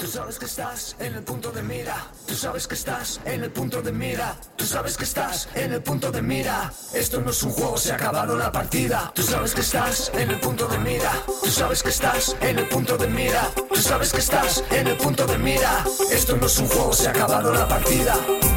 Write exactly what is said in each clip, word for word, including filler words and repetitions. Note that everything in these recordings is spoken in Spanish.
sabes que estás en el punto de mira. Tú sabes que estás en el punto de mira. Tú sabes que estás en el punto de mira. Esto no es un juego, se ha acabado la partida. Tú sabes que estás en el punto de mira. Tú sabes que estás en el punto de mira. Tú sabes que estás en el punto de mira. Esto no es un juego, se ha acabado la partida.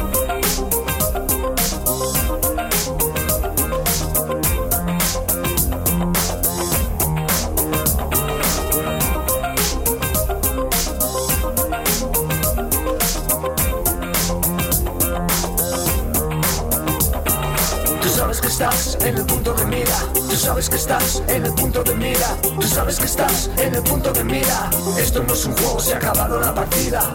Estás en el punto de mira. Tú sabes que estás en el punto de mira. Tú sabes que estás en el punto de mira. Esto no es un juego, se ha acabado la partida.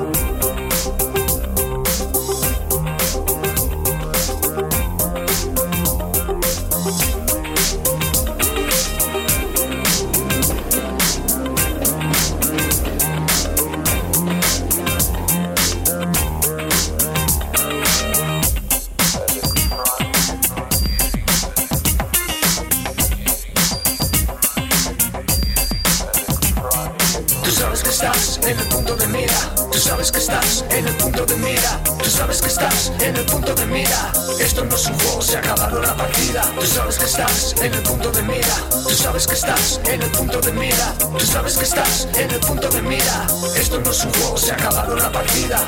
En el punto de mira, tú sabes que estás en el punto de mira. Tú sabes que estás en el punto de mira. Esto no es un juego, se ha acabado la partida. Tú sabes que estás en el punto de mira. Tú sabes que estás en el punto de mira. Tú sabes que estás en el punto de mira. Esto no es un juego, se ha acabado la partida.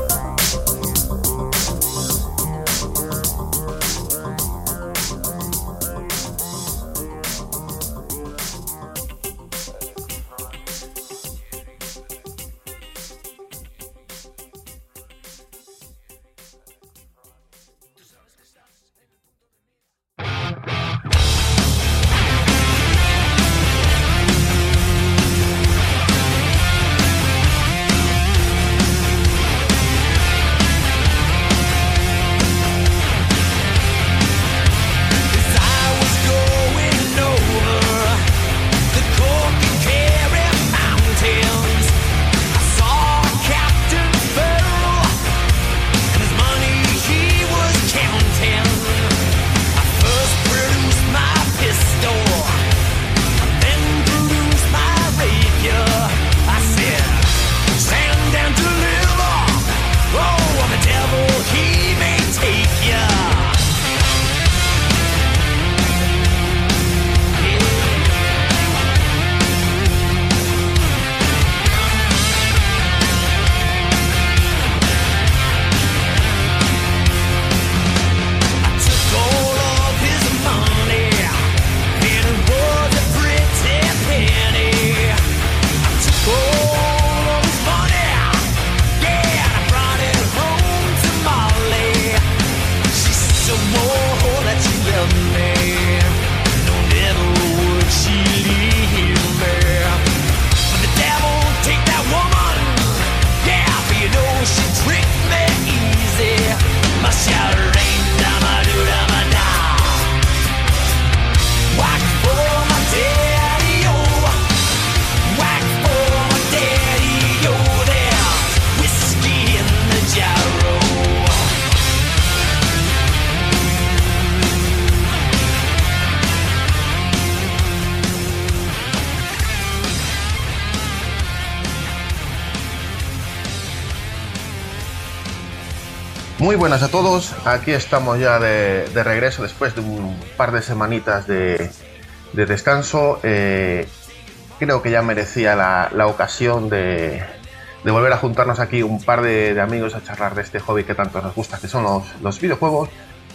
Muy buenas a todos, aquí estamos ya de, de regreso después de un par de semanitas de, de descanso. Eh, creo que ya merecía la, la ocasión de, de volver a juntarnos aquí un par de, de amigos a charlar de este hobby que tanto nos gusta, que son los, los videojuegos.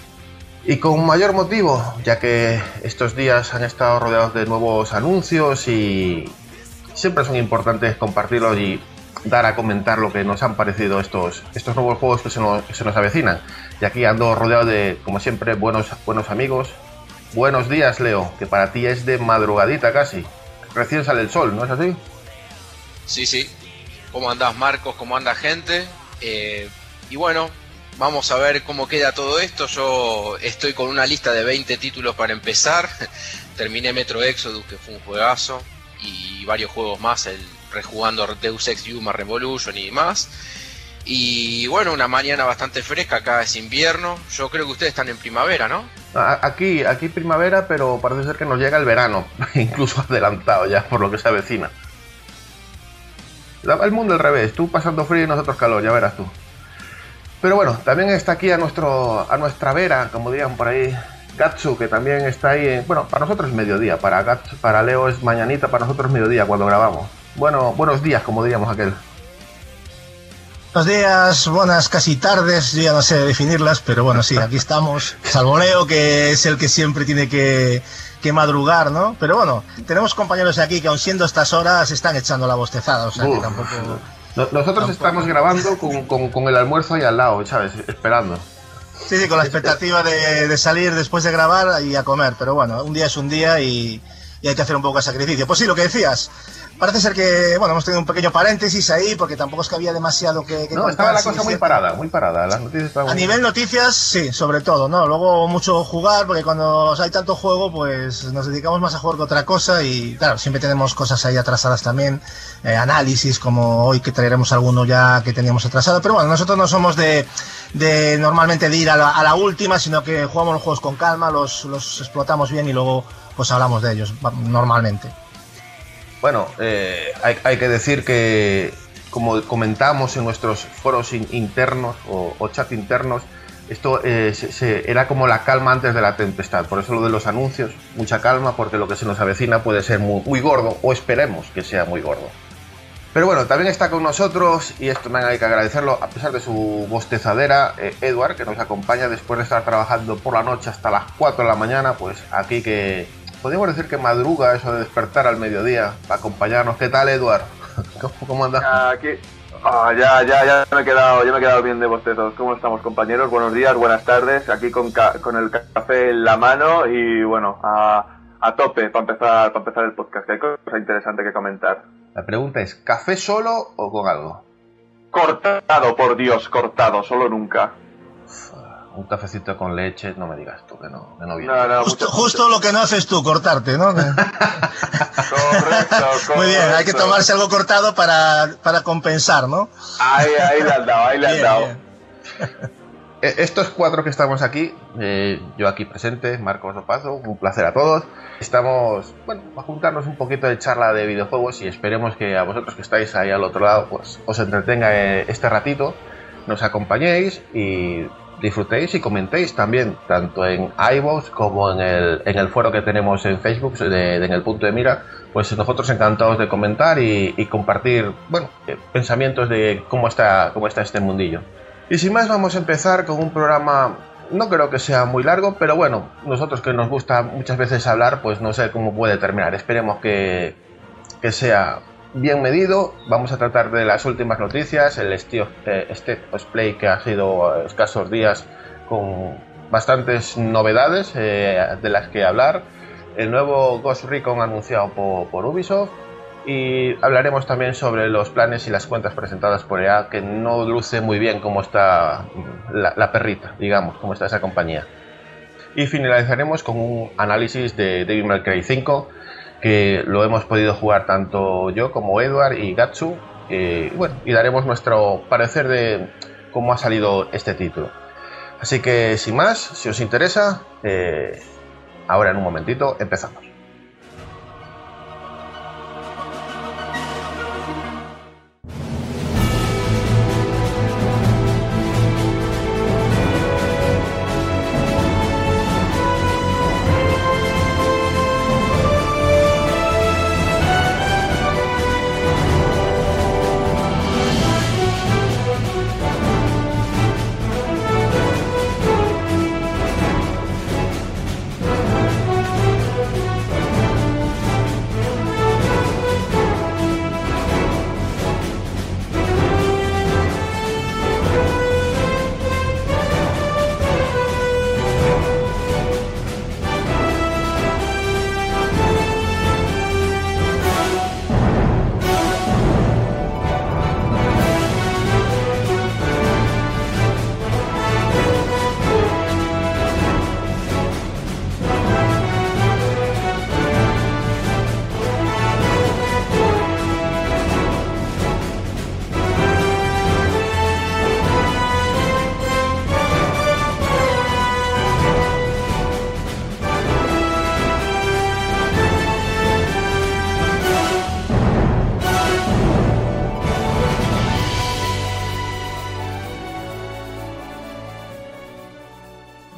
Y con mayor motivo, ya que estos días han estado rodeados de nuevos anuncios y siempre son importantes compartirlos y dar a comentar lo que nos han parecido estos, estos nuevos juegos que se nos, que se nos avecinan. Y aquí ando rodeado de, como siempre, buenos, buenos amigos. Buenos días, Leo, que para ti es de madrugadita casi. Recién sale el sol, ¿no es así? Sí, sí. ¿Cómo andás, Marcos? ¿Cómo anda, gente? Eh, y bueno, vamos a ver cómo queda todo esto. Yo estoy con una lista de veinte títulos para empezar. Terminé Metro Exodus, que fue un juegazo, y varios juegos más, el rejugando Deus Ex Human Revolution y más. Y bueno, una mañana bastante fresca, acá es invierno. Yo creo que ustedes están en primavera, ¿no? Aquí, aquí primavera, pero parece ser que nos llega el verano, incluso adelantado ya por lo que se avecina. El mundo al revés, tú pasando frío y nosotros calor, ya verás tú. Pero bueno, también está aquí a, nuestro, a nuestra vera, como digan por ahí, Gatsu, que también está ahí. En, bueno, para nosotros es mediodía, para, Gatsu, para Leo es mañanita, para nosotros es mediodía cuando grabamos. Bueno, buenos días, como diríamos aquel. Buenos días, buenas casi tardes, yo ya no sé definirlas, pero bueno, sí, aquí estamos. Salvo Leo, que es el que siempre tiene que, que madrugar, ¿no? Pero bueno, tenemos compañeros aquí que aun siendo estas horas están echando la bostezada, o sea Uf, que tampoco... Nosotros tampoco. Estamos grabando con, con, con el almuerzo ahí al lado, ¿sabes? Esperando. Sí, sí, con la expectativa de, de salir después de grabar y a comer, pero bueno, un día es un día y, y hay que hacer un poco de sacrificio. Pues sí, lo que decías, parece ser que, bueno, hemos tenido un pequeño paréntesis ahí, porque tampoco es que había demasiado que, que no, contar. Estaba la cosa sí, muy parada, muy parada, las noticias estaban... A muy... nivel noticias, sí, sobre todo, ¿no? Luego mucho jugar, porque cuando hay tanto juego, pues nos dedicamos más a jugar que otra cosa y, claro, siempre tenemos cosas ahí atrasadas también, eh, análisis, como hoy que traeremos alguno ya que teníamos atrasado, pero bueno, nosotros no somos de, de normalmente de ir a la, a la última, sino que jugamos los juegos con calma, los, los explotamos bien y luego pues hablamos de ellos, normalmente. Bueno, eh, hay, hay que decir que, como comentamos en nuestros foros in, internos o, o chat internos, esto eh, se, se, era como la calma antes de la tempestad. Por eso lo de los anuncios, mucha calma, porque lo que se nos avecina puede ser muy, muy gordo, o esperemos que sea muy gordo. Pero bueno, también está con nosotros, y esto me hay que agradecerlo, a pesar de su bostezadera, eh, Edward, que nos acompaña después de estar trabajando por la noche hasta las cuatro de la mañana, pues aquí que... Podríamos decir que madruga eso de despertar al mediodía para acompañarnos. ¿Qué tal, Eduard? ¿Cómo, cómo andas? Aquí, oh, ya, ya, ya me he quedado, ya me he quedado bien de bostezos. ¿Cómo estamos, compañeros? Buenos días, buenas tardes. Aquí con, ca con el café en la mano y bueno, a, a tope para empezar, para empezar el podcast. Que hay cosa interesante que comentar. La pregunta es, ¿café solo o con algo? Cortado, por Dios, cortado, solo nunca. Un cafecito con leche, no me digas tú que no, que no viene. No, no, justo, mucho, justo mucho. Lo que no haces tú, cortarte, ¿no? correcto, correcto. Muy bien, hay que tomarse algo cortado para, para compensar, ¿no? Ahí, ahí le han dado, ahí le han bien, dado. Bien. Estos cuatro que estamos aquí, eh, yo aquí presente, Marcos Opazo, un placer a todos. Estamos, bueno, a juntarnos un poquito de charla de videojuegos y esperemos que a vosotros que estáis ahí al otro lado, pues os entretenga este ratito, nos acompañéis y disfrutéis y comentéis también, tanto en iVoox como en el, en el foro que tenemos en Facebook, de, de, en el punto de mira, pues nosotros encantados de comentar y, y compartir, bueno, eh, pensamientos de cómo está, cómo está este mundillo. Y sin más vamos a empezar con un programa, no creo que sea muy largo, pero bueno, nosotros que nos gusta muchas veces hablar, pues no sé cómo puede terminar, esperemos que, que sea bien medido. Vamos a tratar de las últimas noticias, el State of, eh, State of Play, que ha sido escasos días con bastantes novedades eh, de las que hablar, el nuevo Ghost Recon anunciado por, por Ubisoft, y hablaremos también sobre los planes y las cuentas presentadas por E A, que no luce muy bien cómo está la, la perrita, digamos, cómo está esa compañía. Y finalizaremos con un análisis de Devil May Cry cinco, que lo hemos podido jugar tanto yo como Edward y Gatsu, eh, bueno, y daremos nuestro parecer de cómo ha salido este título. Así que sin más, si os interesa, eh, ahora en un momentito empezamos.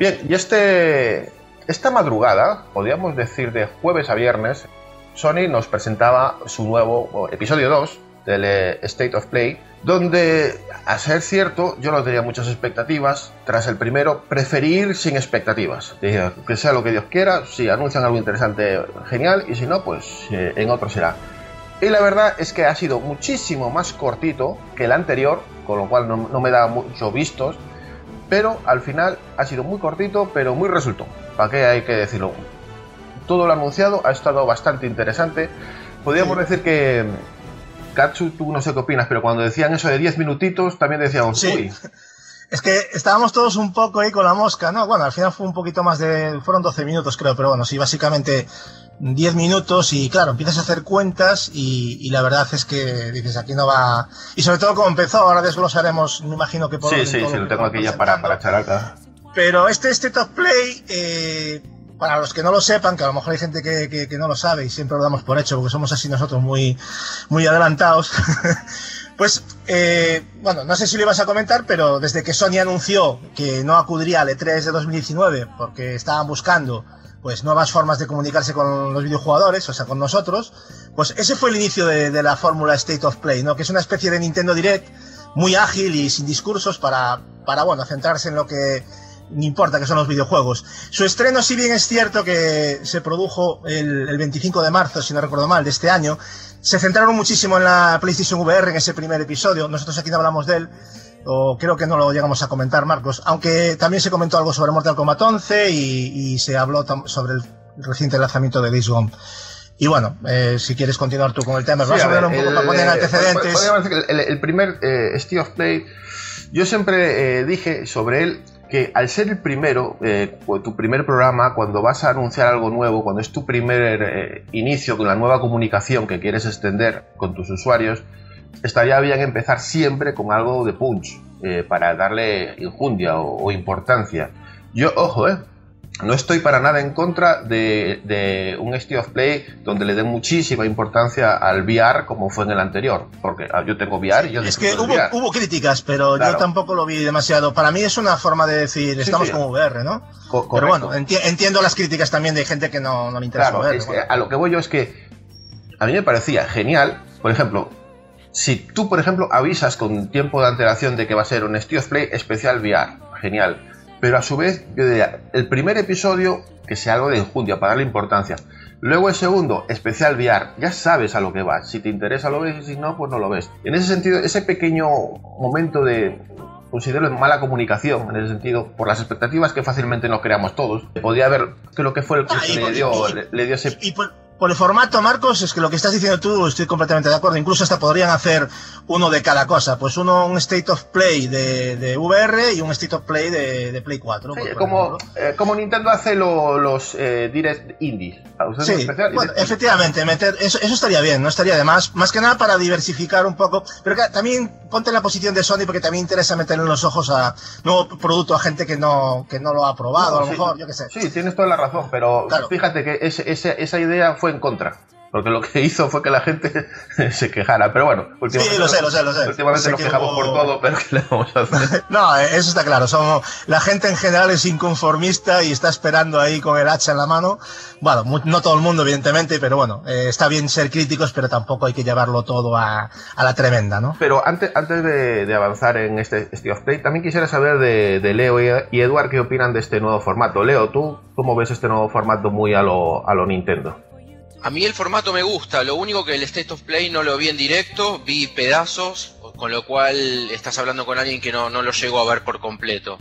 Bien, y este esta madrugada, podríamos decir de jueves a viernes, Sony nos presentaba su nuevo episodio dos del State of Play, donde, a ser cierto, yo no tenía muchas expectativas. Tras el primero, preferí ir sin expectativas. Dije, que sea lo que Dios quiera, si anuncian algo interesante, genial, y si no, pues eh, en otro será. Y la verdad es que ha sido muchísimo más cortito que el anterior, con lo cual no, no me da mucho vistos, pero al final ha sido muy cortito, pero muy resultón. ¿Para qué hay que decirlo? Todo lo anunciado ha estado bastante interesante. Podríamos sí. decir que Katsu, tú no sé qué opinas, pero cuando decían eso de diez minutitos, también decíamos, sí. uy. Es que estábamos todos un poco ahí con la mosca, ¿no? Bueno, al final fue un poquito más de... Fueron doce minutos, creo, pero bueno, sí, básicamente diez minutos y, claro, empiezas a hacer cuentas y, y la verdad es que dices, aquí no va... Y sobre todo como empezó, ahora desglosaremos, me imagino que por... Sí, sí, sí, lo tengo aquí ya para, para echar acá. Pero este State of Play... Eh, para los que no lo sepan, que a lo mejor hay gente que, que, que no lo sabe y siempre lo damos por hecho porque somos así nosotros muy, muy adelantados, pues, eh, bueno, no sé si lo ibas a comentar, pero desde que Sony anunció que no acudiría al E tres de dos mil diecinueve porque estaban buscando pues nuevas formas de comunicarse con los videojugadores, o sea, con nosotros, pues ese fue el inicio de, de la fórmula State of Play, ¿no? Que es una especie de Nintendo Direct muy ágil y sin discursos para, para bueno, centrarse en lo que no importa, que son los videojuegos. Su estreno, si bien es cierto que se produjo el, el veinticinco de marzo, si no recuerdo mal, de este año, se centraron muchísimo en la PlayStation V R en ese primer episodio. Nosotros aquí no hablamos de él, o creo que no lo llegamos a comentar, Marcos, aunque también se comentó algo sobre Mortal Kombat once y, y se habló sobre el reciente lanzamiento de Days Gone. Y bueno, eh, si quieres continuar tú con el tema, sí, vas a ver un poco el, para poner antecedentes. Podríamos decir que el, el primer eh, State of Play, yo siempre eh, dije sobre él que al ser el primero, eh, tu primer programa, cuando vas a anunciar algo nuevo, cuando es tu primer eh, inicio con la nueva comunicación que quieres extender con tus usuarios, estaría bien empezar siempre con algo de punch, eh, para darle injundia o, o importancia. Yo, ojo, eh, no estoy para nada en contra de, de un State of Play donde le den muchísima importancia al V R como fue en el anterior, porque yo tengo V R y yo es que hubo, hubo críticas, pero claro, yo tampoco lo vi demasiado. Para mí es una forma de decir, estamos sí, sí. con V R, ¿no? Co pero bueno, enti entiendo las críticas también de gente que no, no le interesa claro, V R. Es que a lo que voy yo es que a mí me parecía genial, por ejemplo, si tú, por ejemplo, avisas con tiempo de antelación de que va a ser un State of Play especial V R, genial. Pero a su vez, yo diría, el primer episodio, que sea algo de injundia, para darle importancia. Luego el segundo, especial V R, ya sabes a lo que vas. Si te interesa lo ves y si no, pues no lo ves. En ese sentido, ese pequeño momento de, considero mala comunicación, en ese sentido, por las expectativas que fácilmente nos creamos todos, podría haber, creo que fue el que ah, le, dio, y, le, le dio ese... Y, y por, por el formato, Marcos, es que lo que estás diciendo tú, estoy completamente de acuerdo. Incluso hasta podrían hacer uno de cada cosa. Pues uno, un State of Play de, de V R y un State of Play de, de Play cuatro. Sí, como, eh, como Nintendo hace lo, los eh, Direct Indies. Sí, especial, bueno, efectivamente, meter eso, eso estaría bien, no estaría de más. Más que nada para diversificar un poco. Pero que, también ponte en la posición de Sony porque también interesa meterle en los ojos a nuevo producto a gente que no, que no lo ha probado, no, a lo sí, mejor, yo qué sé. Sí, tienes toda la razón, pero claro, fíjate que ese, ese, esa idea fue en contra, porque lo que hizo fue que la gente se quejara, pero bueno, últimamente, sí, lo sé, lo sé, lo sé. últimamente nos quejamos hubo... por todo, pero ¿qué le vamos a hacer? No, eso está claro, somos, la gente en general es inconformista y está esperando ahí con el hacha en la mano. Bueno, no todo el mundo evidentemente, pero bueno, eh, está bien ser críticos, pero tampoco hay que llevarlo todo a, a la tremenda, ¿no? Pero antes, antes de, de avanzar en este State of Play, también quisiera saber de, de Leo y Eduard qué opinan de este nuevo formato. Leo, ¿tú cómo ves este nuevo formato muy a lo, a lo Nintendo? A mí el formato me gusta, lo único que el State of Play no lo vi en directo, vi pedazos, con lo cual estás hablando con alguien que no, no lo llego a ver por completo.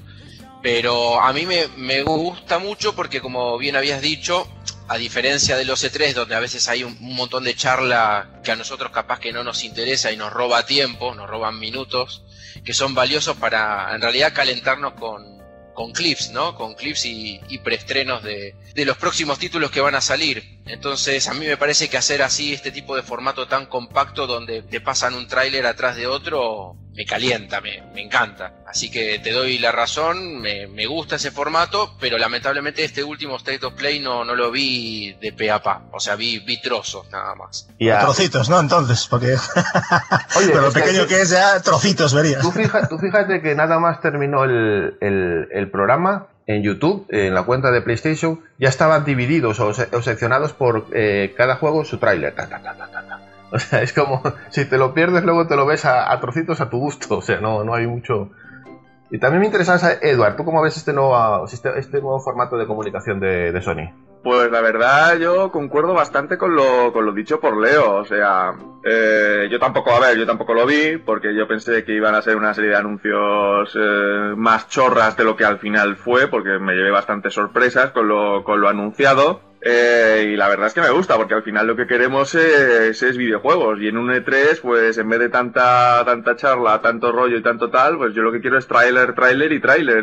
Pero a mí me, me gusta mucho porque, como bien habías dicho, a diferencia de los E tres, donde a veces hay un, un montón de charla que a nosotros capaz que no nos interesa y nos roba tiempo, nos roban minutos, que son valiosos para en realidad calentarnos con... con clips, ¿no? Con clips y, y preestrenos de, de los próximos títulos que van a salir. Entonces a mí me parece que hacer así este tipo de formato tan compacto donde te pasan un tráiler atrás de otro me calienta, me, me encanta. Así que te doy la razón, me, me gusta ese formato, pero lamentablemente este último State of Play no, no lo vi de pe a pa, o sea, vi, vi trozos nada más. Yeah. Trocitos, ¿no? Entonces, porque... Oye, pero lo pequeño que, que es ya, trocitos verías. Tú fíjate, tú fíjate que nada más terminó el, el, el programa en YouTube, en la cuenta de PlayStation, ya estaban divididos o, se o seccionados por eh, cada juego su tráiler. Ta, ta, ta, ta, ta. O sea, es como, si te lo pierdes, luego te lo ves a, a trocitos a tu gusto. O sea, no, no hay mucho... Y también me interesaba saber, Edward, ¿tú cómo ves este nuevo, este, este nuevo formato de comunicación de, de Sony? Pues la verdad yo concuerdo bastante con lo, con lo dicho por Leo, o sea, eh, yo tampoco, a ver, yo tampoco lo vi porque yo pensé que iban a ser una serie de anuncios eh, más chorras de lo que al final fue, porque me llevé bastantes sorpresas con lo, con lo anunciado. Eh, y la verdad es que me gusta, porque al final lo que queremos es, es videojuegos, y en un E tres, pues en vez de tanta tanta charla, tanto rollo y tanto tal, pues yo lo que quiero es tráiler, tráiler y tráiler.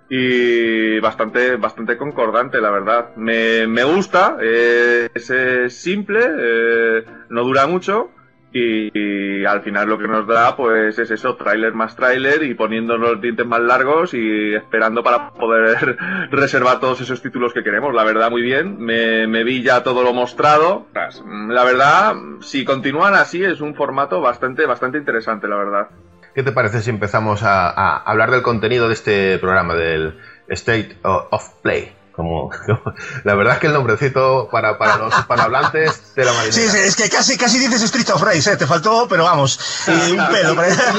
Y bastante bastante concordante, la verdad. Me, me gusta, eh, es, es simple, eh, no dura mucho, y, y al final lo que nos da pues es eso, tráiler más tráiler, y poniéndonos los dientes más largos y esperando para poder reservar todos esos títulos que queremos. La verdad, muy bien, me, me vi ya todo lo mostrado. La verdad, si continúan así, es un formato bastante bastante interesante, la verdad. ¿Qué te parece si empezamos a, a hablar del contenido de este programa, del State of Play? Como, como la verdad es que el nombrecito para, para los hispanohablantes de la marinera. Sí, sí, es que casi, casi dices Street of Rage, ¿eh? Te faltó, pero vamos, y un pelo.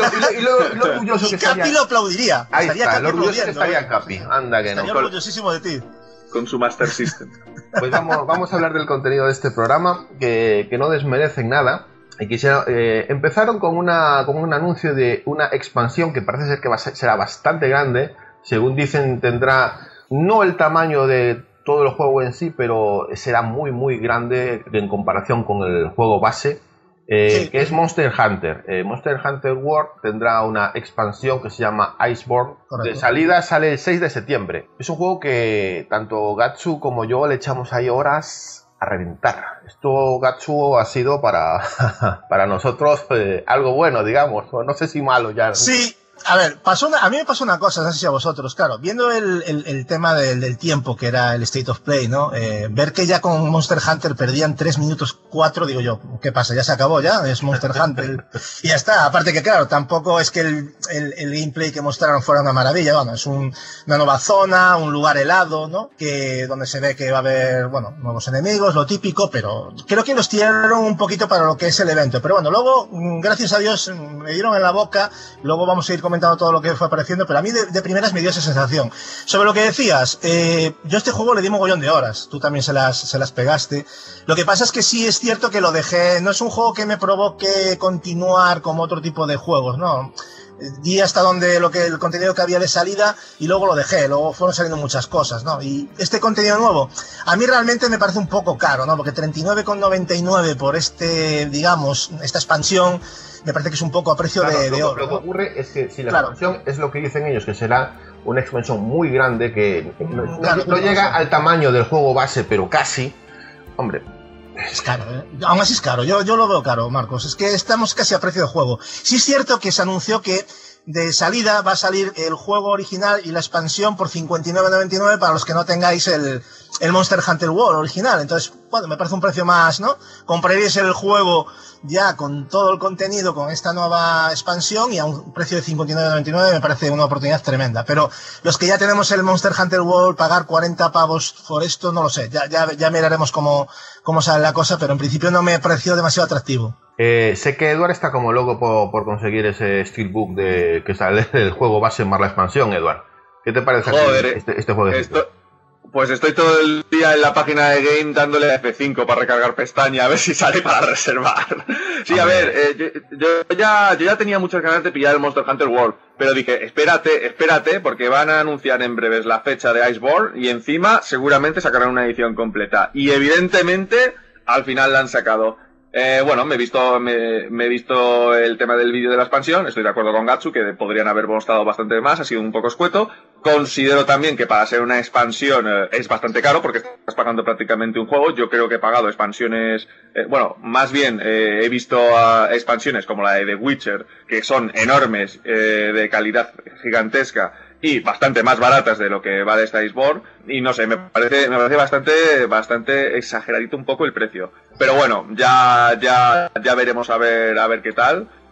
Y lo, y lo, y lo, y lo orgulloso que Capi estaría... lo aplaudiría. Ahí estaría está, Capi lo orgulloso que estaría ¿eh? Capi. Anda que estaría no. orgullosísimo de ti. Con su Master System. Pues vamos, vamos a hablar del contenido de este programa, que, que no desmerecen nada. Y quisiera, eh, empezaron con, una, con un anuncio de una expansión que parece ser que va a ser, será bastante grande. Según dicen, tendrá no el tamaño de todo el juego en sí, pero será muy muy grande en comparación con el juego base, eh, sí. que es Monster Hunter. Eh, Monster Hunter World tendrá una expansión que se llama Iceborne. Correcto. De salida sale el seis de septiembre. Es un juego que tanto Gatsu como yo le echamos ahí horas a reventar. Esto, Gatsu, ha sido para, para nosotros eh, algo bueno, digamos. No sé si malo ya. Sí. A ver, pasó una, a mí me pasó una cosa, no sé si a vosotros, claro, viendo el, el, el tema del, del tiempo, que era el State of Play, ¿no? Eh, ver que ya con Monster Hunter perdían tres minutos cuatro, digo yo, ¿qué pasa? ¿Ya se acabó ya? Es Monster Hunter. Y ya está. Aparte que, claro, tampoco es que el, el, el gameplay que mostraron fuera una maravilla, bueno, es un, una nueva zona, un lugar helado, ¿no? Que, donde se ve que va a haber, bueno, nuevos enemigos, lo típico, pero creo que los tiraron un poquito para lo que es el evento. Pero bueno, luego, gracias a Dios, me dieron en la boca, luego vamos a ir comentando todo lo que fue apareciendo, pero a mí de, de primeras me dio esa sensación. Sobre lo que decías, eh, yo a este juego le di mogollón de horas, tú también se las, se las pegaste. Lo que pasa es que sí es cierto que lo dejé, no es un juego que me provoque continuar como otro tipo de juegos, ¿no? Di hasta donde lo que el contenido que había de salida y luego lo dejé, luego fueron saliendo muchas cosas, ¿no? Y este contenido nuevo, a mí realmente me parece un poco caro, ¿no? Porque treinta y nueve con noventa y nueve por este, digamos, esta expansión, me parece que es un poco a precio claro, de, de lo, oro. Lo que ¿no? ocurre es que si la claro. expansión es lo que dicen ellos, que será una expansión muy grande, que no, claro, no, no llega al tamaño del juego base, pero casi, hombre... Es caro, ¿eh? Aún así es caro, yo, yo lo veo caro, Marcos, es que estamos casi a precio de juego. Sí es cierto que se anunció que de salida va a salir el juego original y la expansión por cincuenta y nueve con noventa y nueve para los que no tengáis el, el Monster Hunter World original. Entonces, bueno, me parece un precio más, ¿no? Compraréis el juego ya con todo el contenido, con esta nueva expansión, y a un precio de cincuenta y nueve con noventa y nueve me parece una oportunidad tremenda. Pero los que ya tenemos el Monster Hunter World, pagar cuarenta pavos por esto, no lo sé. Ya, ya, ya miraremos cómo, cómo sale la cosa, pero en principio no me pareció demasiado atractivo. Eh, sé que Edward está como loco por, por conseguir ese Steelbook de que sale el juego base más la expansión, Edward. ¿Qué te parece Joder, este, este juego de esto, Pues estoy todo el día en la página de Game dándole a F cinco para recargar pestaña a ver si sale para reservar. Sí, a, a ver, ver eh, yo, yo, ya, yo ya tenía muchas ganas de pillar el Monster Hunter World, pero dije, espérate, espérate, porque van a anunciar en breves la fecha de Iceborne y encima seguramente sacarán una edición completa. Y evidentemente, al final la han sacado. Eh, bueno, me he visto me, me he visto el tema del vídeo de la expansión, estoy de acuerdo con Gatsu que podrían haber mostrado bastante más, ha sido un poco escueto. Considero también que para ser una expansión eh, es bastante caro porque estás pagando prácticamente un juego. Yo creo que he pagado expansiones, eh, bueno, más bien eh, he visto uh, expansiones como la de The Witcher, que son enormes, eh, de calidad gigantesca y bastante más baratas de lo que vale esta Iceborne, y no sé, me parece me parece bastante bastante exageradito un poco el precio. Pero bueno, ya ya ya veremos a ver a ver qué tal.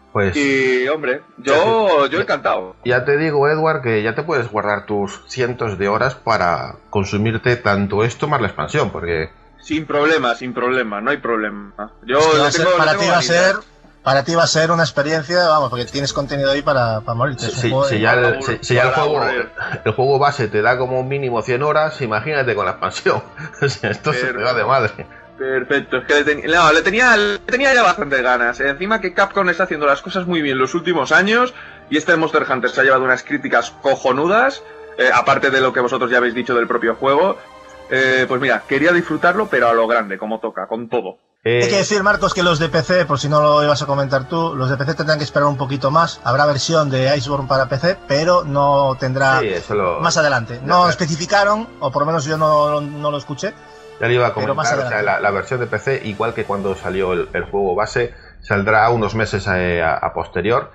Pues, y, hombre, yo, yo encantado. Ya te digo, Edward, que ya te puedes guardar tus cientos de horas para consumirte tanto esto más la expansión, porque... Sin problema, sin problema, no hay problema. Yo Es que va le a ser- tengo, para le ti tengo va a vanidad. ser para ti va a ser una experiencia, vamos, porque tienes contenido ahí para, para morirte. Si, Es un si- juego de- si ya, el, para si- si ya el para juego aburrir. el juego base te da como mínimo cien horas, imagínate con la expansión. O sea, esto se te va de madre. Perfecto, es que le, ten- no, le tenía, le tenía ya bastantes ganas. Encima que Capcom está haciendo las cosas muy bien los últimos años y este Monster Hunter se ha llevado unas críticas cojonudas, eh, aparte de lo que vosotros ya habéis dicho del propio juego. Eh, pues mira, quería disfrutarlo, pero a lo grande, como toca, con todo. Eh, Hay que decir, Marcos, que los de P C, por si no lo ibas a comentar tú, los de P C tendrán que esperar un poquito más. Habrá versión de Iceborne para P C, pero no tendrá sí, eso lo, más adelante. No especificaron, o por lo menos yo no, no lo escuché. ya le iba a pero más comentar, o sea, adelante. la, la versión de P C, igual que cuando salió el, el juego base, saldrá unos meses a, a- a posterior.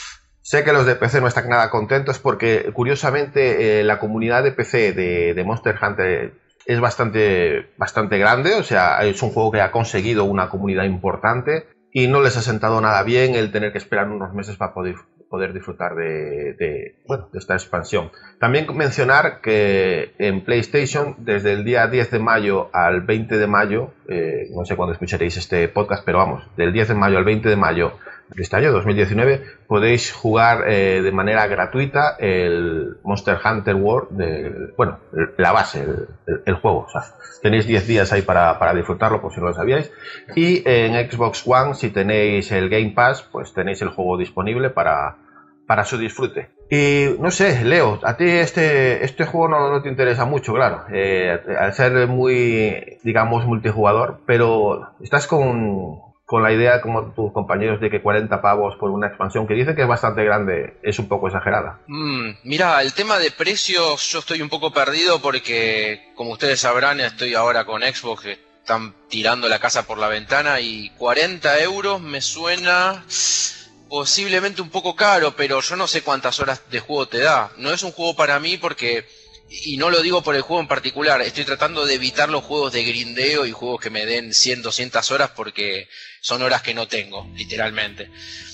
Sé que los de P C no están nada contentos porque, curiosamente, eh, la comunidad de P C de, de Monster Hunter es bastante, bastante grande, o sea, es un juego que ha conseguido una comunidad importante y no les ha sentado nada bien el tener que esperar unos meses para poder, poder disfrutar de, de, bueno, de esta expansión. También mencionar que en PlayStation, desde el día diez de mayo al veinte de mayo, eh, no sé cuándo escucharéis este podcast, pero vamos, del diez de mayo al veinte de mayo de este año, dos mil diecinueve, podéis jugar eh, de manera gratuita el Monster Hunter World, de, bueno, la base, el, el, el juego. O sea, tenéis diez días ahí para, para disfrutarlo, por si no lo sabíais. Y en Xbox One, si tenéis el Game Pass, pues tenéis el juego disponible para, para su disfrute. Y no sé, Leo, a ti este, este juego no, no te interesa mucho, claro, eh, al ser muy, digamos, multijugador, pero estás con... con la idea, como tus compañeros, de que cuarenta pavos por una expansión que dicen que es bastante grande es un poco exagerada. Mm, mira, el tema de precios yo estoy un poco perdido porque, como ustedes sabrán, estoy ahora con Xbox, que están tirando la casa por la ventana, y cuarenta euros me suena posiblemente un poco caro, pero yo no sé cuántas horas de juego te da. No es un juego para mí porque... Y no lo digo por el juego en particular, estoy tratando de evitar los juegos de grindeo y juegos que me den cien, doscientas horas porque son horas que no tengo, literalmente.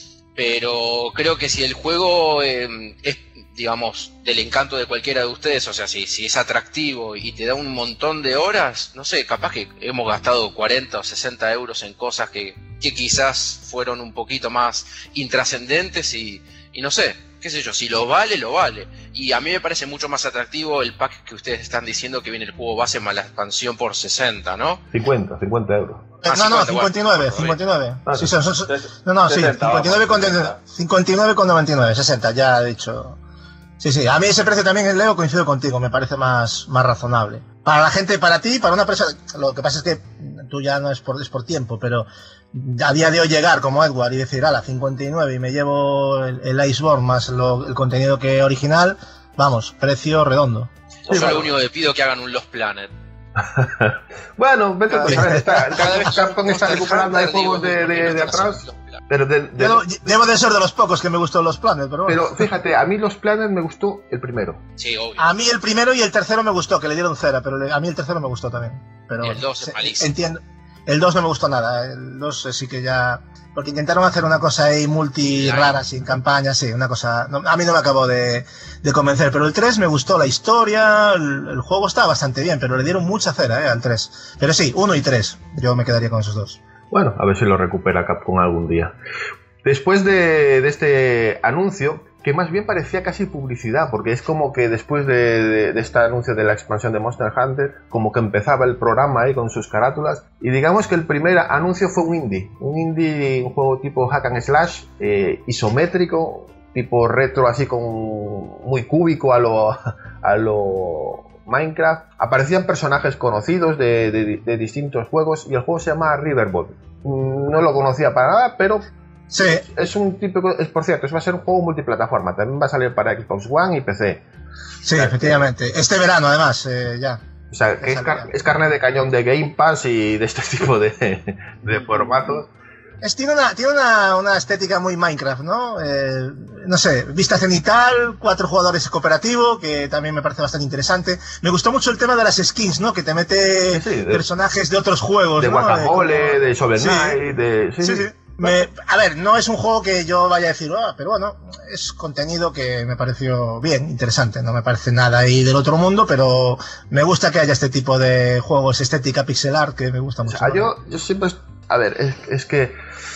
Pero creo que si el juego eh, es, digamos, del encanto de cualquiera de ustedes, o sea, si, si es atractivo y te da un montón de horas, no sé, capaz que hemos gastado cuarenta o sesenta euros en cosas que, que quizás fueron un poquito más intrascendentes y, y no sé, qué sé yo, si lo vale, lo vale. Y a mí me parece mucho más atractivo el pack que ustedes están diciendo, que viene el juego base más la expansión por sesenta, ¿no? cincuenta, cincuenta euros. Eh, Ah, no, no, cincuenta, cincuenta y nueve, bueno, cincuenta y nueve. Ah, Sí, sí. son, son- son- no, no, sí, sesenta, cincuenta y nueve con, vamos, cincuenta y nueve con noventa y nueve, sesenta, ya he dicho. Sí, sí, a mí ese precio también, Leo, coincido contigo, me parece más, más razonable. Para la gente, para ti, para una empresa, lo que pasa es que tú ya no es por, es por tiempo, pero a día de hoy llegar como Edward y decir, ala, cincuenta y nueve y me llevo el, el Iceborne más lo- el contenido que original, vamos, precio redondo. Yo Sí, lo bueno. único que pido es que hagan un Lost Planet. Bueno, vete Cada pues, vez- a ver, está, Cada vez Capcom está Monster recuperando, hay Hunter, juegos digo, de, ¿por qué de, no de están haciendo atrás, Lost Planet? pero de, de- Debo, debo de ser de los pocos que me gustó los planes, pero bueno. pero fíjate, a mí los planes me gustó el primero. Sí, obvio. A mí el primero y el tercero me gustó, que le dieron cera, pero le- a mí el tercero me gustó también. Pero Y el dos es se- malísimo. Entiendo. El dos no me gustó nada, el dos eh, sí que ya... Porque intentaron hacer una cosa ahí multi Claro. rara, sin campaña, sí, una cosa... no, a mí no me acabó de, de convencer, pero el tres me gustó, la historia, el, el juego estaba bastante bien, pero le dieron mucha cera eh, al tres. Pero sí, uno y tres, yo me quedaría con esos dos. Bueno, a ver si lo recupera Capcom algún día. Después de, de este anuncio, que más bien parecía casi publicidad, porque es como que después de, de, de este anuncio de la expansión de Monster Hunter, como que empezaba el programa ahí con sus carátulas, y digamos que el primer anuncio fue un indie, un indie, un juego tipo hack and slash, eh, isométrico, tipo retro, así con muy cúbico a lo, a lo Minecraft. Aparecían personajes conocidos de, de, de distintos juegos, y el juego se llama Riverboat. No lo conocía para nada, pero Sí, es un típico, es por cierto, es va a ser un juego multiplataforma, también va a salir para Xbox One y P C. sí, efectivamente. Este verano, además, eh, ya. O sea, que es, car- es carne de cañón de Game Pass y de este tipo de, de formatos. Es, tiene una, tiene una, una estética muy Minecraft, ¿no? Eh, no sé, vista cenital, cuatro jugadores cooperativo, que también me parece bastante interesante. Me gustó mucho el tema de las skins, ¿no? Que te mete Sí, sí, de- personajes de otros juegos, De ¿no? Guacamole, como- de Shovel Sí. Knight, de... Sí, Sí, sí. sí. Me, a ver, no es un juego que yo vaya a decir, ah, pero bueno, es contenido que me pareció bien, interesante. No me parece nada ahí del otro mundo, pero me gusta que haya este tipo de juegos, estética pixel art, que me gusta mucho. O sea, yo, yo siempre... A ver, es, es que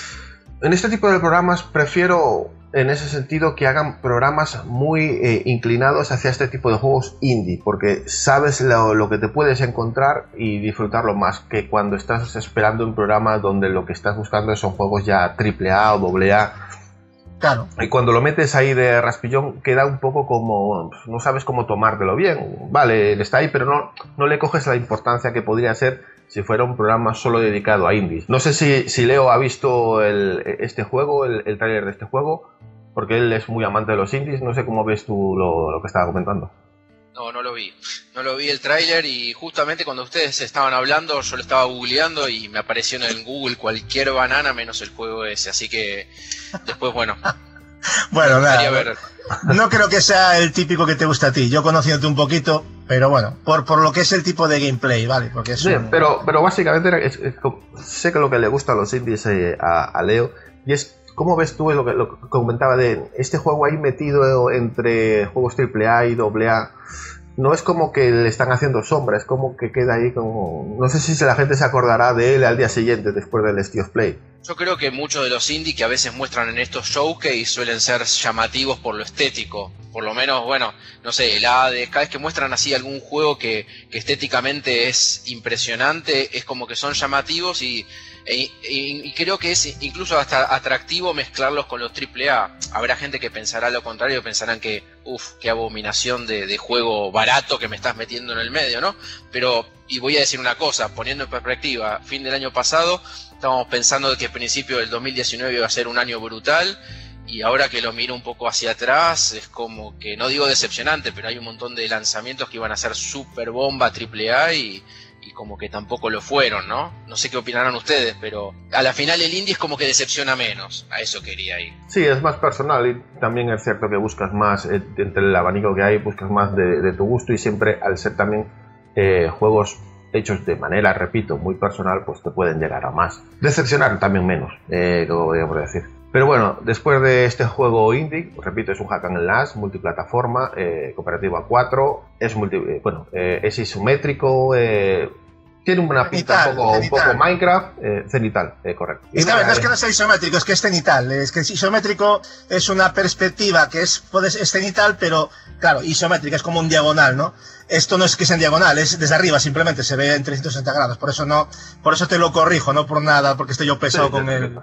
en este tipo de programas prefiero, en ese sentido, que hagan programas muy eh, inclinados hacia este tipo de juegos indie, porque sabes lo, lo que te puedes encontrar y disfrutarlo más que cuando estás esperando un programa donde lo que estás buscando son juegos ya triple A o doble A. Claro. Y cuando lo metes ahí de raspillón queda un poco como... no sabes cómo tomártelo bien. Vale, está ahí, pero no, no le coges la importancia que podría ser si fuera un programa solo dedicado a indies. No sé si, si Leo ha visto el, este juego, el, el tráiler de este juego, porque él es muy amante de los indies. No sé cómo ves tú lo, lo que estaba comentando. No, no lo vi. No lo vi el tráiler y justamente cuando ustedes estaban hablando yo lo estaba googleando y me apareció en el Google cualquier banana menos el juego ese. Así que después, bueno... Bueno, nada, ver. No creo que sea el típico que te gusta a ti. Yo conociéndote un poquito, pero bueno, por, por lo que es el tipo de gameplay, ¿vale? Porque es sí, un... pero, pero básicamente es, es, es, sé que lo que le gusta a los indies eh, a, a Leo, y es cómo ves tú lo que, lo que comentaba de este juego ahí metido entre juegos triple A y doble A. No es como que le están haciendo sombra, es como que queda ahí como... No sé si la gente se acordará de él al día siguiente después del State of Play. Yo creo que muchos de los indie que a veces muestran en estos showcase suelen ser llamativos por lo estético. Por lo menos, bueno, no sé, el Hades, cada vez que muestran así algún juego que, que estéticamente es impresionante, es como que son llamativos y, e, e, y creo que es incluso hasta atractivo mezclarlos con los triple A. Habrá gente que pensará lo contrario, pensarán que, uff, qué abominación de, de juego barato que me estás metiendo en el medio, ¿no? Pero, y voy a decir una cosa, poniendo en perspectiva, fin del año pasado... Estábamos pensando que a principio del dos mil diecinueve iba a ser un año brutal y ahora que lo miro un poco hacia atrás es como que, no digo decepcionante, pero hay un montón de lanzamientos que iban a ser super bomba triple A y, y como que tampoco lo fueron, ¿no? No sé qué opinarán ustedes, pero a la final el indie es como que decepciona menos, a eso quería ir. Sí, es más personal y también es cierto que buscas más, eh, entre el abanico que hay, buscas más de, de tu gusto y siempre al ser también eh, juegos hechos de manera, repito, muy personal, pues te pueden llegar a más. Decepcionar también menos, eh, lo voy a decir. Pero bueno, después de este juego indie, repito, es un hack and slash, multiplataforma, eh, cooperativa a cuatro, es multi, eh, bueno, eh, es isométrico, eh, tiene una pinta un poco, un poco Minecraft, eh, cenital, eh, correcto. Es que a ver, no es que no sea isométrico, es que es cenital. Es que isométrico es una perspectiva que es, puedes, es cenital, pero claro, isométrica es como un diagonal, ¿no? Esto no es que sea en diagonal, es desde arriba, simplemente se ve en trescientos sesenta grados. Por eso no, por eso te lo corrijo, no por nada, porque estoy yo pesado sí, con él.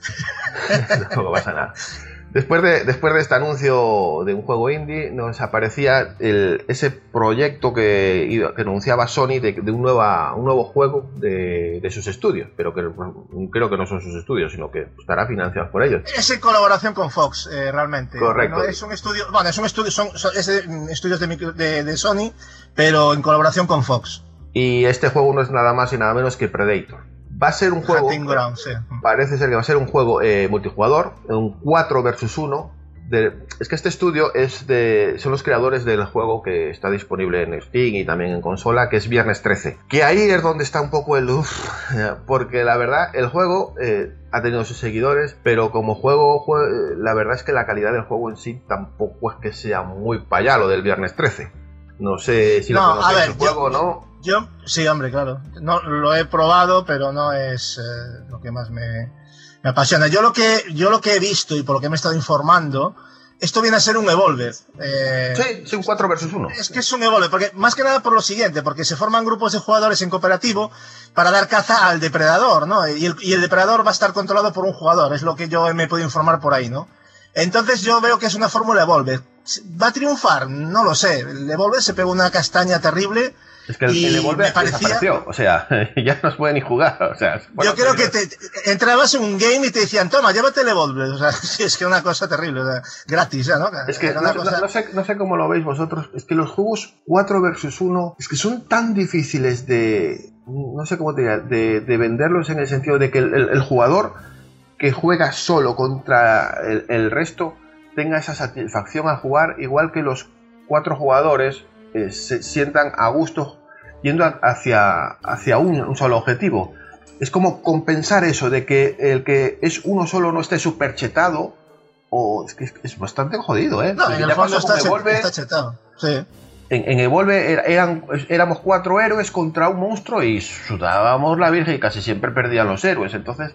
No pasa nada. Después de, después de este anuncio de un juego indie, nos aparecía el, ese proyecto que, que anunciaba Sony de, de un, nueva, un nuevo juego de, de sus estudios, pero que creo que no son sus estudios, sino que estará financiado por ellos. Es en colaboración con Fox, eh, realmente. Correcto. No, es un estudio, bueno, es un estudio, son, son es de, estudios de, de, de Sony, pero en colaboración con Fox. Y este juego no es nada más y nada menos que Predator. Va a ser un juego, Ground, sí. Parece ser que va a ser un juego eh, multijugador, un cuatro versus uno. De, es que este estudio es de, son los creadores del juego que está disponible en Steam y también en consola, que es Viernes trece. Que ahí es donde está un poco el uff, porque la verdad el juego eh, ha tenido sus seguidores, pero como juego, juego, la verdad es que la calidad del juego en sí tampoco es que sea muy payalo del Viernes trece. No sé si no, lo conocéis el juego o yo, no. Yo, sí, hombre, claro. No, lo he probado, pero no es eh, lo que más me, me apasiona. Yo lo que, yo lo que he visto y por lo que me he estado informando, esto viene a ser un Evolved. Eh, sí, sí, un cuatro versus uno. Es que es un Evolved, porque más que nada por lo siguiente, porque se forman grupos de jugadores en cooperativo para dar caza al depredador, ¿no? Y el, y el depredador va a estar controlado por un jugador, es lo que yo me he podido informar por ahí, ¿no? Entonces yo veo que es una fórmula Evolved. ¿Va a triunfar? No lo sé. El Evolved se pegó una castaña terrible. Es que el, el Evolved parecía... desapareció, o sea, ya no se puede ni jugar, o sea... Yo creo que te, te entrabas en un game y te decían, toma, llévate el Evolved, o sea, es que una cosa terrible, o sea, gratis, ¿ya, no? Es que no, cosa... no, no, sé, no sé cómo lo veis vosotros, es que los juegos cuatro versus uno, es que son tan difíciles de... no sé cómo te diría, de, de venderlos en el sentido de que el, el, el jugador que juega solo contra el, el resto tenga esa satisfacción al jugar, igual que los cuatro jugadores eh, se sientan a gusto yendo hacia, hacia un, un solo objetivo. es como compensar eso de que el que es uno solo no esté súper chetado, o es que es, es bastante jodido, ¿eh? No, Porque en el ya fondo pasó está, con Evolve, está chetado, sí. En, en Evolve era, eran, éramos cuatro héroes contra un monstruo y sudábamos la virgen y casi siempre perdían los héroes. Entonces,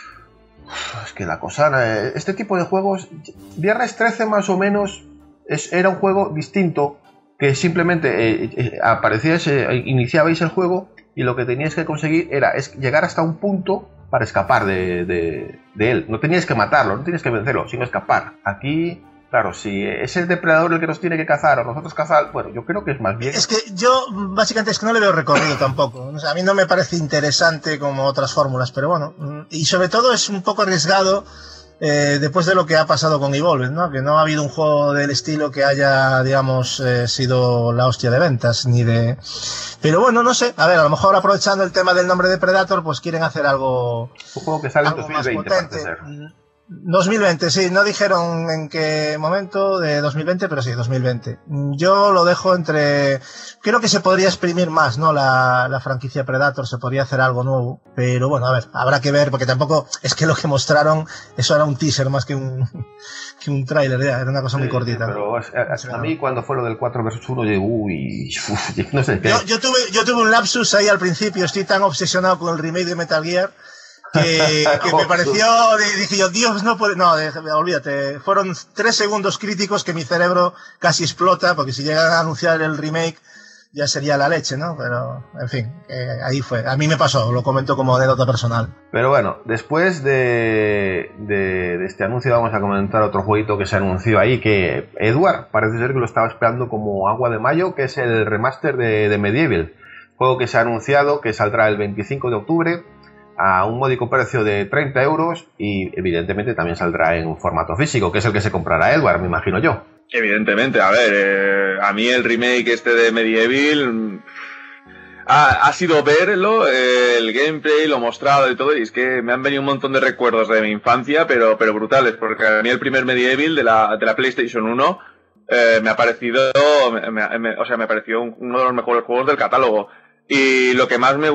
es que la cosa... Este tipo de juegos... Viernes trece más o menos es, era un juego distinto que simplemente eh, eh, aparecíais, eh, iniciabais el juego y lo que teníais que conseguir era es llegar hasta un punto para escapar de, de, de él. No teníais que matarlo, no teníais que vencerlo, sino escapar. Aquí... Claro, si es el depredador el que nos tiene que cazar o nosotros cazar, bueno, yo creo que es más bien... Es que yo, básicamente, es que no le veo recorrido tampoco. O sea, a mí no me parece interesante como otras fórmulas, pero bueno. Y sobre todo es un poco arriesgado eh, después de lo que ha pasado con Evolve, ¿no? Que no ha habido un juego del estilo que haya, digamos, eh, sido la hostia de ventas, ni de... Pero bueno, no sé. A ver, a lo mejor aprovechando el tema del nombre de Predator, pues quieren hacer algo... Un juego que sale en algo dos mil veinte, más potente. parece ser. dos mil veinte, sí, no dijeron en qué momento de dos mil veinte, pero sí, dos mil veinte. Yo lo dejo entre... Creo que se podría exprimir más, ¿no? La, la franquicia Predator, se podría hacer algo nuevo, pero bueno, a ver, habrá que ver, porque tampoco es que lo que mostraron, eso era un teaser más que un, que un tráiler, ya, era una cosa Sí, muy cortita. Pero a, a, a mí cuando fue lo del cuatro versus uno, yo, uy, uf, no sé qué. Yo, yo, tuve, yo tuve un lapsus ahí al principio, estoy tan obsesionado con el remake de Metal Gear, que, que me pareció, dije yo, Dios, no puede, no, de, olvídate, fueron tres segundos críticos que mi cerebro casi explota, porque si llegan a anunciar el remake ya sería la leche, ¿no? Pero, en fin, eh, ahí fue, a mí me pasó, lo comento como anécdota personal. Pero bueno, después de, de, de este anuncio vamos a comentar otro jueguito que se anunció ahí, que Edward parece ser que lo estaba esperando como agua de mayo, que es el remaster de, de Medieval, juego que se ha anunciado que saldrá el veinticinco de octubre, a un módico precio de treinta euros y evidentemente también saldrá en formato físico, que es el que se comprará Edward, me imagino yo. Evidentemente, a ver, eh, a mí el remake este de Medieval ha, ha sido verlo, eh, el gameplay, lo mostrado y todo, y es que me han venido un montón de recuerdos de mi infancia, pero, pero brutales, porque a mí el primer Medieval de la, de la PlayStation uno eh, me ha parecido, me, me, o sea, me pareció uno de los mejores juegos del catálogo. Y lo que más me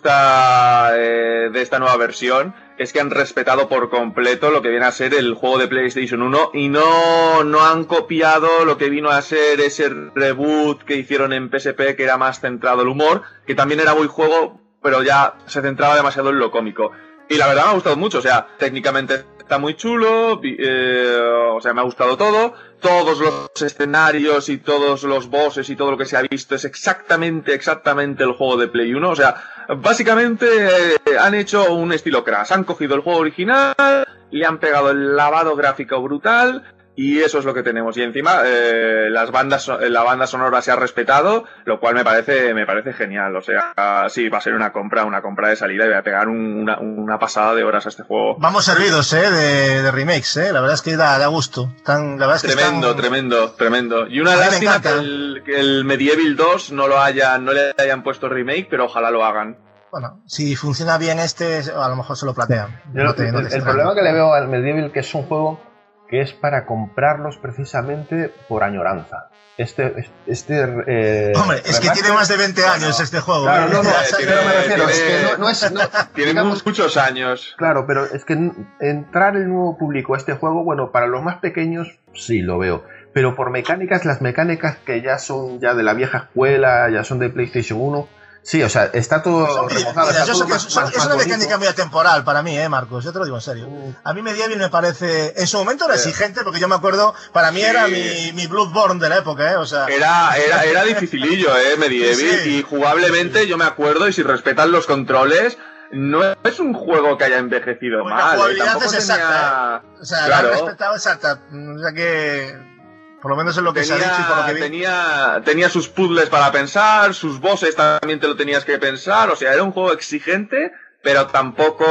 gusta eh, de esta nueva versión es que han respetado por completo lo que viene a ser el juego de PlayStation uno y no, no han copiado lo que vino a ser ese reboot que hicieron en P S P, que era más centrado en el humor, que también era buen juego, pero ya se centraba demasiado en lo cómico. Y la verdad me ha gustado mucho, o sea, técnicamente está muy chulo, eh, o sea, me ha gustado todo. Todos los escenarios y todos los bosses y todo lo que se ha visto es exactamente, exactamente el juego de Play uno. O sea, básicamente eh, han hecho un estilo Crash. Han cogido el juego original, le han pegado el lavado gráfico brutal y eso es lo que tenemos. Y encima eh, las bandas, la banda sonora se ha respetado, lo cual me parece, me parece genial. O sea, sí, va a ser una compra, una compra de salida y voy a pegar un, una, una pasada de horas a este juego. Vamos servidos, eh, de, de remakes, eh. La verdad es que da, da gusto. Tan, la verdad es que tremendo, están... tremendo, tremendo. Y una lástima que el, que el Medieval dos no lo hayan, no le hayan puesto remake, pero ojalá lo hagan. Bueno, si funciona bien este, a lo mejor se lo plantean. Yo, no te, no te el, el problema que le veo al Medieval, que es un juego que es para comprarlos precisamente por añoranza. Este, este eh, Hombre, es remaster, que tiene más de veinte años no, este juego. Claro, no, no, tiene, pero me refiero, tiene, es que no, no es... No, tiene digamos, muchos años. Claro, pero es que entrar el nuevo público a este juego, bueno, para los más pequeños sí lo veo. Pero por mecánicas, las mecánicas que ya son ya de la vieja escuela, ya son de PlayStation uno... Sí, o sea, está todo remozado. Mira, está todo que más, es, más, es más una bonito. mecánica muy atemporal para mí, eh, Marcos. Yo te lo digo en serio. A mí Medieval me parece... En su momento era exigente, porque yo me acuerdo... Para mí sí. era mi, mi Bloodborne de la época, eh. O sea... Era, era, era dificilillo, eh, Medieval. Sí. Y jugablemente yo me acuerdo, y si respetan los controles... No es un juego que haya envejecido pues mal. La jugabilidad eh, es exacta, tenía... eh. O sea, claro. la han respetado exacta. O sea que... Por lo menos es lo que tenía, se ha dicho y por lo que vi. Tenía, tenía sus puzzles para pensar, sus bosses también te lo tenías que pensar, o sea, era un juego exigente, pero tampoco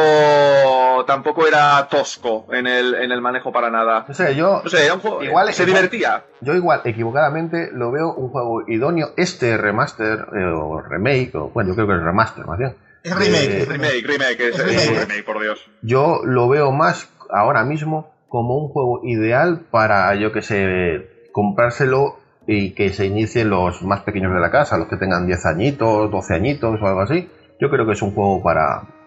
tampoco era tosco en el, en el manejo para nada. O sea, yo... O sea, era un juego igual, se igual, divertía. Yo igual, equivocadamente, lo veo un juego idóneo, este remaster, eh, o remake, o bueno, yo creo que es remaster más bien. Es remake, eh, remake, remake, es, es remake, remake, es remake, por Dios. Yo lo veo más ahora mismo como un juego ideal para, yo que sé... comprárselo y que se inicien los más pequeños de la casa, los que tengan diez añitos, doce añitos o algo así. Yo creo que es un juego para,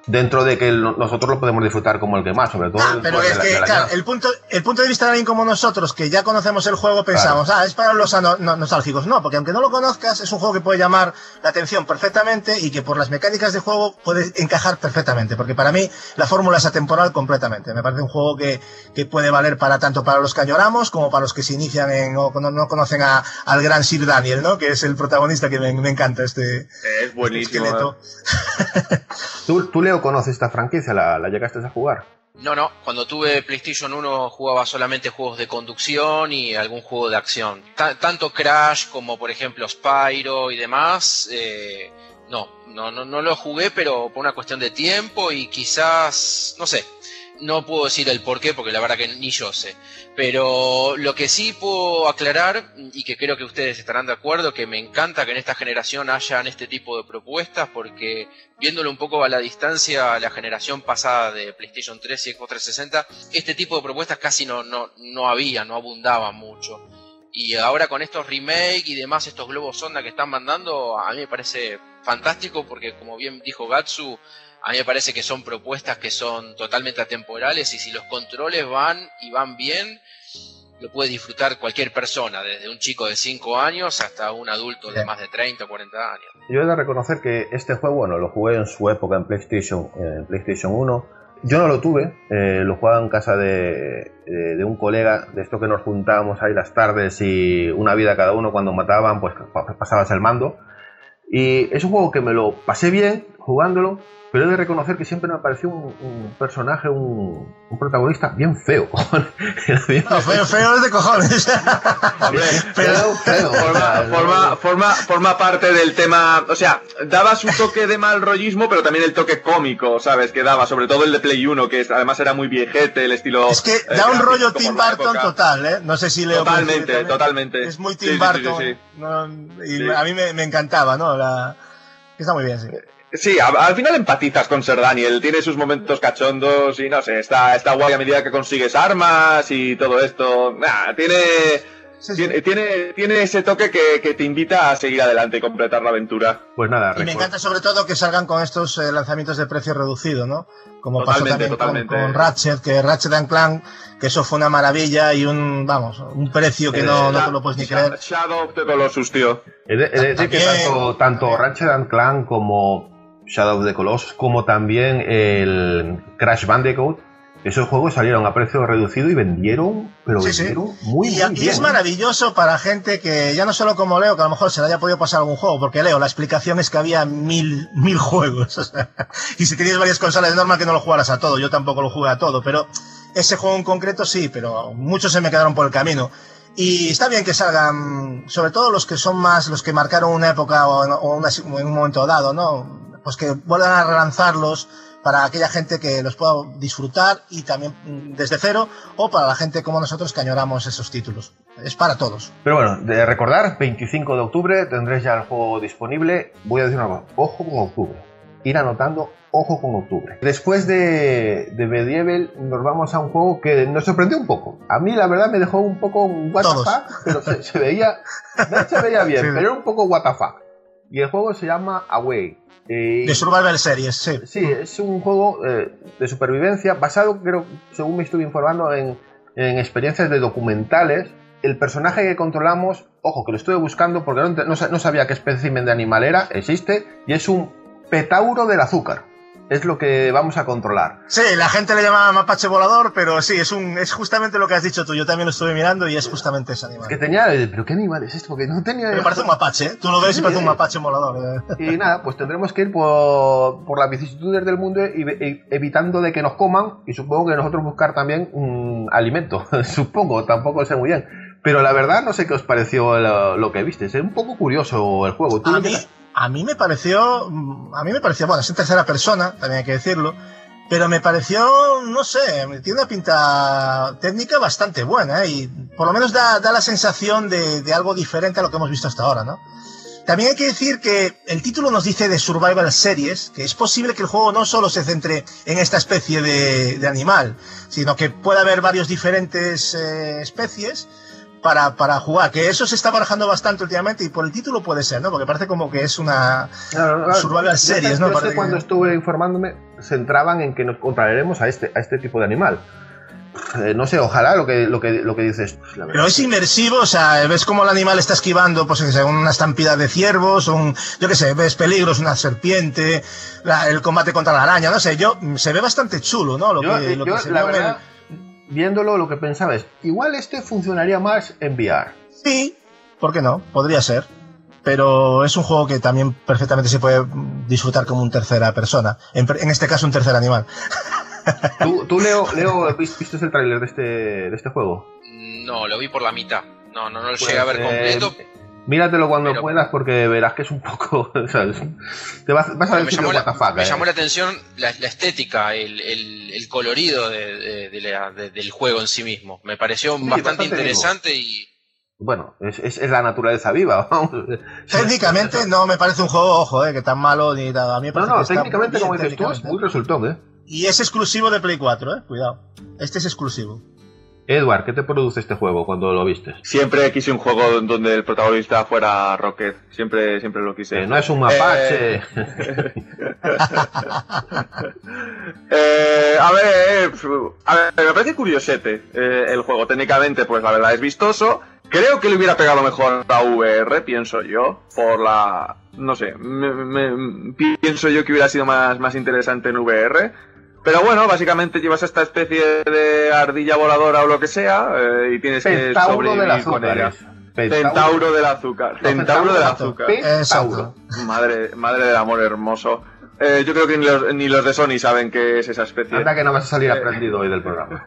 dentro de que lo, nosotros lo podemos disfrutar como el que más, sobre todo. Ah, pero es que, claro, el punto, el punto de vista de alguien como nosotros, que ya conocemos el juego, pensamos, claro, ah, es para los ano, no, nostálgicos. No, porque aunque no lo conozcas, es un juego que puede llamar la atención perfectamente y que por las mecánicas de juego puede encajar perfectamente, porque para mí la fórmula es atemporal completamente. Me parece un juego que, que puede valer para tanto para los que añoramos como para los que se inician en, o no, no conocen a, al gran Sir Daniel, ¿no? Que es el protagonista, que me, me encanta este, es buenísimo, este esqueleto. ¿eh? ¿Tú, ¿Tú, Leo, conoces esta franquicia? ¿La, la llegaste a jugar? No, no. Cuando tuve PlayStation uno jugaba solamente juegos de conducción y algún juego de acción. T- tanto Crash como, por ejemplo, Spyro y demás, eh, no, no, no, no lo jugué, pero por una cuestión de tiempo y quizás, no sé. No puedo decir el por qué, porque la verdad que ni yo sé. Pero lo que sí puedo aclarar, y que creo que ustedes estarán de acuerdo, que me encanta que en esta generación hayan este tipo de propuestas, porque viéndolo un poco a la distancia, a la generación pasada de PlayStation tres y Xbox trescientos sesenta, este tipo de propuestas casi no, no, no había, no abundaban mucho. Y ahora con estos remakes y demás, estos globos sonda que están mandando, a mí me parece fantástico, porque como bien dijo Gatsu, a mí me parece que son propuestas que son totalmente atemporales y si los controles van y van bien, lo puede disfrutar cualquier persona, desde un chico de cinco años hasta un adulto de más de treinta o cuarenta años. Yo he de reconocer que este juego, bueno, lo jugué en su época en PlayStation, en PlayStation uno. Yo no lo tuve, eh, lo jugaba en casa de, de, de un colega, de esto que nos juntábamos ahí las tardes y una vida cada uno, cuando mataban, pues pasabas el mando. Y es un juego que me lo pasé bien jugándolo, pero he de reconocer que siempre me pareció un, un personaje, un, un protagonista bien feo. bien no, feo, feo es de cojones. Hombre, feo, feo. Forma, forma, forma, forma parte del tema, o sea, daba su toque de mal rollismo, pero también el toque cómico, ¿sabes? Que daba, sobre todo el de Play uno, que es, además era muy viejete, el estilo... Es que da eh, un rollo Tim Burton total, ¿eh? No sé si Leo... Totalmente, totalmente. Es muy Tim sí, Burton. Sí, sí, sí. ¿no? Y sí. A mí me, me encantaba, ¿no? La... Está muy bien, sí. Sí, a, al final empatizas con Sir Daniel, tiene sus momentos cachondos y no sé, está, está guay a medida que consigues armas y todo esto. Nah, tiene, sí, sí. tiene, tiene, tiene ese toque que, que te invita a seguir adelante y completar la aventura. Pues nada, y recuerdo. Me encanta sobre todo que salgan con estos eh, lanzamientos de precio reducido, ¿no? Como totalmente, pasó también totalmente. Con, con Ratchet, que Ratchet and Clank, que eso fue una maravilla y un, vamos, un precio que eh, no, no te lo puedes ni creer. Shadow of the Colossus, tío. He de, he de decir que tanto, tanto Ratchet and Clank como Shadow of the Colossus, como también el Crash Bandicoot, esos juegos salieron a precio reducido y vendieron, pero sí, vendieron sí. muy, y, muy y bien. Y es maravilloso para gente que, ya no solo como Leo, que a lo mejor se le haya podido pasar algún juego, porque Leo, la explicación es que había mil, mil juegos, o sea, y si tenías varias consolas es normal que no lo jugaras a todo, yo tampoco lo jugué a todo, pero ese juego en concreto sí, pero muchos se me quedaron por el camino. Y está bien que salgan, sobre todo los que son más, los que marcaron una época o, o una, en un momento dado, ¿no? Pues que vuelvan a relanzarlos para aquella gente que los pueda disfrutar y también desde cero, o para la gente como nosotros que añoramos esos títulos. Es para todos. Pero bueno, de recordar, veinticinco de octubre tendréis ya el juego disponible. Voy a decir una cosa, ojo con octubre. Ir anotando, ojo con octubre. Después de, de Medieval nos vamos a un juego que nos sorprendió un poco. A mí la verdad me dejó un poco what the fuck, pero se, se veía se veía bien, sí. Pero era un poco what the fuck. Y el juego se llama Away. Eh, de Survival Series, sí. Sí, es un juego eh, de supervivencia basado, creo, según me estuve informando, en, en experiencias de documentales. El personaje que controlamos, ojo, que lo estuve buscando porque no, no, no sabía qué espécimen de animal era, existe, y es un petauro del azúcar. Es lo que vamos a controlar. Sí, la gente le llama mapache volador, pero sí, es un es justamente lo que has dicho tú. Yo también lo estuve mirando y es justamente ese animal. Es que tenía... ¿Pero qué animal es esto? Porque no tenía... Me parece un mapache, ¿eh? Tú lo ves y parece un mapache volador. ¿eh? Y nada, pues tendremos que ir por, por las vicisitudes del mundo y, y, evitando de que nos coman, y supongo que nosotros buscar también un alimento. Supongo, tampoco sé muy bien. Pero la verdad no sé qué os pareció lo, lo que viste. Es un poco curioso el juego. ¿Tú a mí... A mí me pareció, a mí me pareció, bueno, es en tercera persona, también hay que decirlo, pero me pareció, no sé, tiene una pinta técnica bastante buena, ¿eh? Y por lo menos da, da la sensación de, de algo diferente a lo que hemos visto hasta ahora, ¿no? También hay que decir que el título nos dice de Survival Series, que es posible que el juego no solo se centre en esta especie de, de animal, sino que pueda haber varios diferentes eh, especies, para, para jugar, que eso se está barajando bastante últimamente y por el título puede ser, ¿no? Porque parece como que es una claro, claro, survival series, ¿no? Yo sé que... cuando estuve informándome se centraban en que nos contraeremos a este, a este tipo de animal. Eh, no sé, ojalá lo que, lo que, lo que dices. Pues, la Pero es inmersivo, o sea, ves cómo el animal está esquivando, pues que sea una estampida de ciervos, un, yo qué sé, ves peligros, una serpiente, la, el combate contra la araña, no sé, yo, se ve bastante chulo, ¿no? Lo yo, que, lo yo, que se la ve verdad, el... viéndolo, lo que pensaba es, igual este funcionaría más en V R. Sí, ¿por qué no? Podría ser. Pero es un juego que también perfectamente se puede disfrutar como un tercera persona, en, en este caso un tercer animal. ¿Tú, tú Leo, Leo, viste el tráiler de este, de este juego? No, lo vi por la mitad. No, no, no lo pues, llegué a ver completo. Eh, míratelo cuando pero, puedas porque verás que es un poco... ¿sabes? Te vas, vas a ver me si llamó, la, la, me eh. llamó la atención la, la estética, el, el, el colorido de, de, de la, de, del juego en sí mismo. Me pareció sí, bastante, bastante interesante vivo. y... Bueno, es, es, es la naturaleza viva, vamos. Técnicamente no me parece un juego, ojo, eh, que tan malo ni nada. A mí me parece no, no, que técnicamente, bien, como dices tú, es muy resultón, ¿eh? Y es exclusivo de Play cuatro, eh, cuidado. Este es exclusivo. Edward, ¿qué te produce este juego cuando lo viste? Siempre quise un juego donde el protagonista fuera Rocket. Siempre, siempre lo quise. Eh, no es un mapache. Eh... eh, a ver, a ver, me parece curiosete eh, el juego. Técnicamente, pues la verdad es vistoso. Creo que le hubiera pegado mejor a V R, pienso yo, por la... no sé, me, me, pienso yo que hubiera sido más, más interesante en V R. Pero bueno, básicamente llevas esta especie de ardilla voladora o lo que sea eh, y tienes Pentauro que sobrevivir del azúcar, con ella. Pentauro. Centauro del azúcar. Centauro del azúcar. Pentauro. Madre, madre del amor hermoso. Eh, yo creo que ni los, ni los de Sony saben qué es esa especie. Anda que no vas a salir aprendido hoy del programa.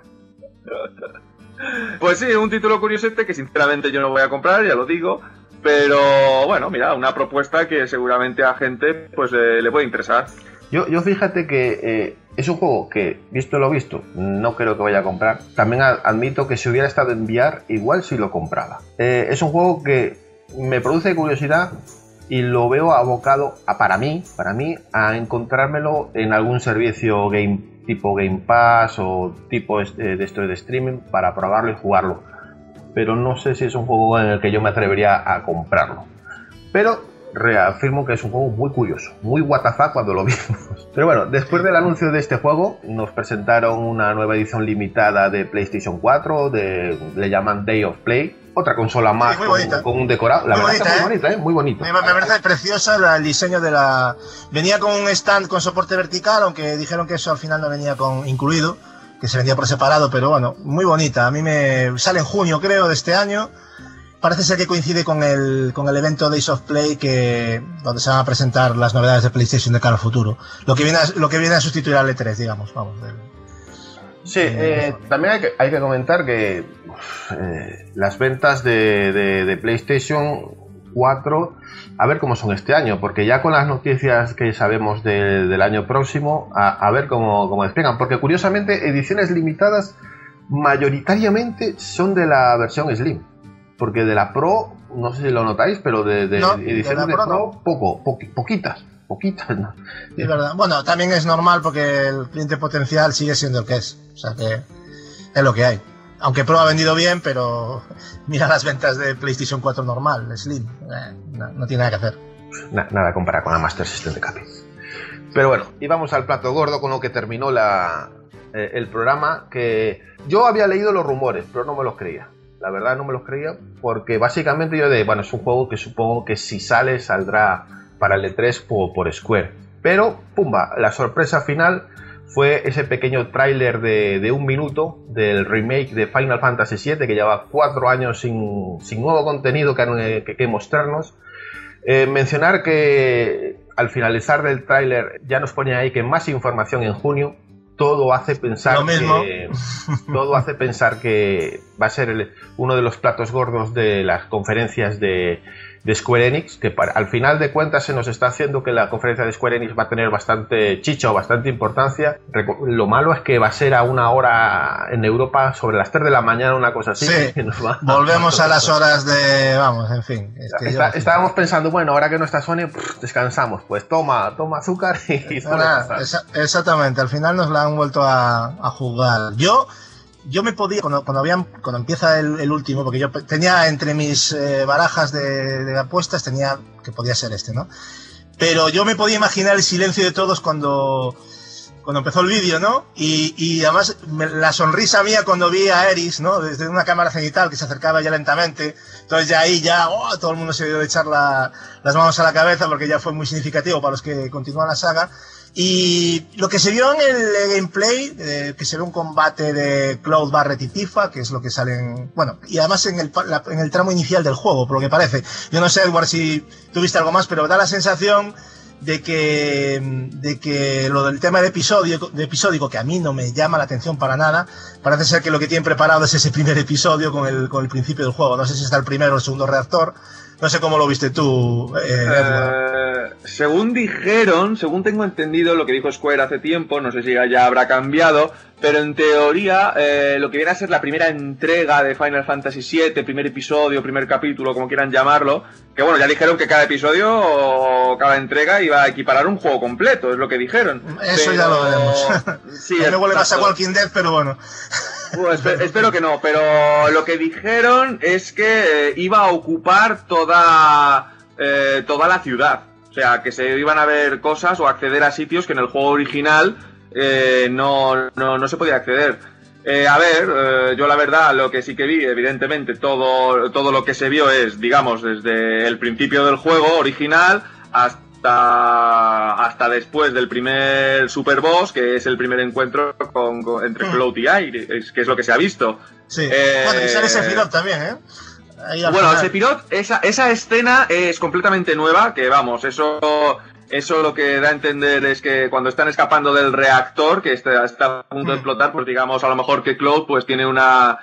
Pues sí, un título curiosete que sinceramente yo no voy a comprar, ya lo digo. Pero bueno, mira, una propuesta que seguramente a gente pues eh, le puede interesar. Yo, yo fíjate que eh, es un juego que, visto lo visto, no creo que vaya a comprar. También admito que si hubiera estado en V R, igual sí lo compraba. Eh, es un juego que me produce curiosidad y lo veo abocado a, para mí, para mí, a encontrármelo en algún servicio game tipo Game Pass o tipo de esto de streaming para probarlo y jugarlo. Pero no sé si es un juego en el que yo me atrevería a comprarlo. Pero reafirmo que es un juego muy curioso, muy what the fuck cuando lo vimos. Pero bueno, después del anuncio de este juego, nos presentaron una nueva edición limitada de PlayStation cuatro, de, le llaman Day of Play, otra consola más sí, con, con un decorado. La muy verdad bonita, está ¿eh? muy bonita, ¿eh? Muy bonito. Me, me parece preciosa el diseño de la... Venía con un stand con soporte vertical, aunque dijeron que eso al final no venía con incluido, que se vendía por separado, pero bueno, muy bonita. A mí me sale en junio, creo, de este año. Parece ser que coincide con el, con el evento Days of Play, que, donde se van a presentar las novedades de PlayStation de cara al futuro. Lo que viene a, lo que viene a sustituir al E tres, digamos. Vamos, del, sí, eh, también hay que, hay que comentar que eh, las ventas de, de, de PlayStation cuatro, a ver cómo son este año, porque ya con las noticias que sabemos de, del año próximo, a, a ver cómo, cómo despegan. Porque curiosamente, ediciones limitadas mayoritariamente son de la versión Slim. Porque de la Pro, no sé si lo notáis, pero de, de no, ediciones de, de Pro, Pro no. poco, po, poquitas, poquitas. ¿no? Es verdad. Bueno, también es normal porque el cliente potencial sigue siendo el que es. O sea que es lo que hay. Aunque Pro ha vendido bien, pero mira las ventas de PlayStation cuatro normal, Slim. Eh, no, no tiene nada que hacer. Na, nada comparar con la Master System de Capi. Pero bueno, y vamos al plato gordo con lo que terminó la, eh, el programa, que yo había leído los rumores, pero no me los creía. La verdad no me los creía porque básicamente yo de, bueno, es un juego que supongo que si sale saldrá para el E tres por, por Square. Pero, pumba, la sorpresa final fue ese pequeño tráiler de, de un minuto del remake de Final Fantasy siete, que lleva cuatro años sin, sin nuevo contenido que, que, que mostrarnos. Eh, mencionar que al finalizar del tráiler ya nos ponía ahí que más información en junio. Todo hace pensar Lo mismo. que todo hace pensar que va a ser el, uno de los platos gordos de las conferencias de, de Square Enix, que para, al final de cuentas se nos está haciendo que la conferencia de Square Enix va a tener bastante chicha o bastante importancia. Lo malo es que va a ser a una hora en Europa sobre las tres de la mañana, una cosa así. Sí. Que nos va, Volvemos a las horas de... Vamos, en fin. Es que está, yo... Estábamos pensando, bueno, ahora que no está Sony, pff, descansamos. Pues toma, toma azúcar y... Nada, esa, exactamente, al final nos la han vuelto a, a jugar. Yo yo me podía, cuando, cuando, habían, cuando empieza el, el último, porque yo tenía entre mis eh, barajas de, de apuestas, tenía que podía ser este, ¿no? Pero yo me podía imaginar el silencio de todos cuando, cuando empezó el vídeo, ¿no? Y, y además me, la sonrisa mía cuando vi a Eris, ¿no? Desde una cámara cenital que se acercaba ya lentamente. Entonces ya ahí ya, oh, todo el mundo se dio de echar la, las manos a la cabeza porque ya fue muy significativo para los que continúan la saga. Y lo que se vio en el gameplay, eh, que se ve un combate de Cloud, Barret y Tifa, que es lo que sale en... Bueno, y además en el, la, en el tramo inicial del juego, por lo que parece. Yo no sé, Edward, si tuviste algo más, pero da la sensación de que, de que lo del tema de, episodio, de episódico, que a mí no me llama la atención para nada, parece ser que lo que tienen preparado es ese primer episodio con el, con el principio del juego. No sé si está el primero o el segundo reactor. No sé cómo lo viste tú, eh, Edward. Uh, según dijeron, según tengo entendido, lo que dijo Square hace tiempo, no sé si ya habrá cambiado, pero en teoría eh, lo que viene a ser la primera entrega de Final Fantasy siete, primer episodio, primer capítulo, como quieran llamarlo, que bueno, ya dijeron que cada episodio o cada entrega iba a equiparar un juego completo, es lo que dijeron. Eso pero... ya lo veremos. Sí, luego le pasa a Walking Dead, pero bueno. Bueno, espero, espero que no, pero lo que dijeron es que eh, iba a ocupar toda, eh, toda la ciudad. O sea, que se iban a ver cosas o acceder a sitios que en el juego original eh, no, no, no se podía acceder. Eh, a ver, eh, yo la verdad lo que sí que vi, evidentemente, todo, todo lo que se vio es, digamos, desde el principio del juego original hasta hasta después del primer Super Boss, que es el primer encuentro con, con, entre Cloud y Aerith, que es lo que se ha visto. Sí, eh, bueno, y sale Sephiroth también, ¿eh? Bueno, Sephiroth, esa, esa escena es completamente nueva, que vamos, eso... Eso lo que da a entender es que cuando están escapando del reactor, que está, está a punto de explotar, pues digamos, a lo mejor que Cloud pues tiene una...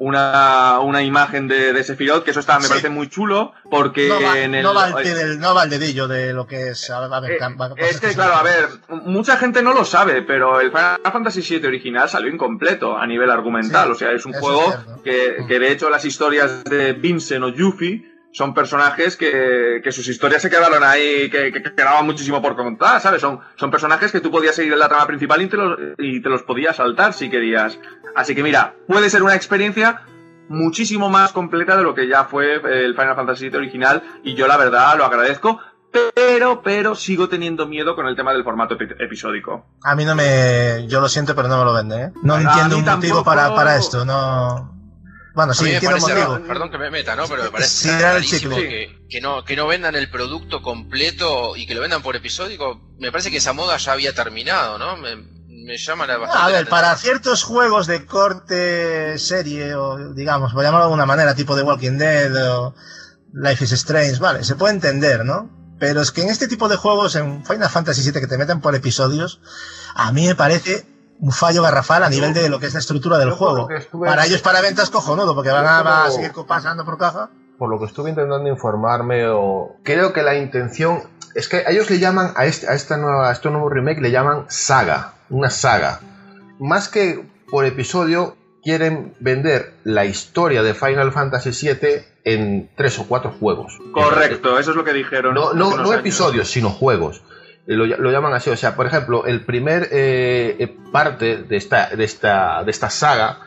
Una, una imagen de, de Sephiroth, que eso está, me sí. parece muy chulo, porque no va, en el... No va, el, del, no va el dedillo de lo que es... A ver, a ver, eh, va, es que, claro, a ver, mucha gente no lo sabe, pero el Final Fantasy siete original salió incompleto a nivel argumental, sí, o sea, es un juego es que, que de hecho las historias de Vincent o Yuffie son personajes que, que sus historias se quedaron ahí, que, que quedaban muchísimo por contar, ¿sabes? Son, son personajes que tú podías seguir en la trama principal y te, los, y te los podías saltar si querías. Así que mira, puede ser una experiencia muchísimo más completa de lo que ya fue el Final Fantasy siete original, y yo la verdad lo agradezco, pero, pero sigo teniendo miedo con el tema del formato epi episódico. A mí no me... Yo lo siento, pero no me lo vende, ¿eh? No entiendo un tampoco... motivo para, para esto, no... Bueno, sí, entiendo parece, motivo. Raro, perdón que me meta, ¿no? Pero me parece sí, rarísimo que, que, no, que no vendan el producto completo y que lo vendan por episódico. Me parece que esa moda ya había terminado, ¿no? Me, me llama la bastante. A ver, la para ciertos juegos de corte serie, o digamos, por llamarlo de alguna manera, tipo de Walking Dead o Life is Strange, vale, se puede entender, ¿no? Pero es que en este tipo de juegos, en Final Fantasy siete, que te meten por episodios, a mí me parece un fallo garrafal a nivel de lo que es la estructura del juego. Para ellos, para ventas, cojonudo, porque van a, van a seguir pasando por caja. Por lo que estuve intentando informarme, o creo que la intención es que ellos le llaman a este, a esta nueva, a este nuevo remake le llaman saga, una saga. Más que por episodio, quieren vender la historia de Final Fantasy siete en tres o cuatro juegos. Correcto, eso es lo que dijeron. No, no, no episodios, sino juegos. Lo, lo llaman así, o sea, por ejemplo, el primer eh, parte de esta, de esta, de esta saga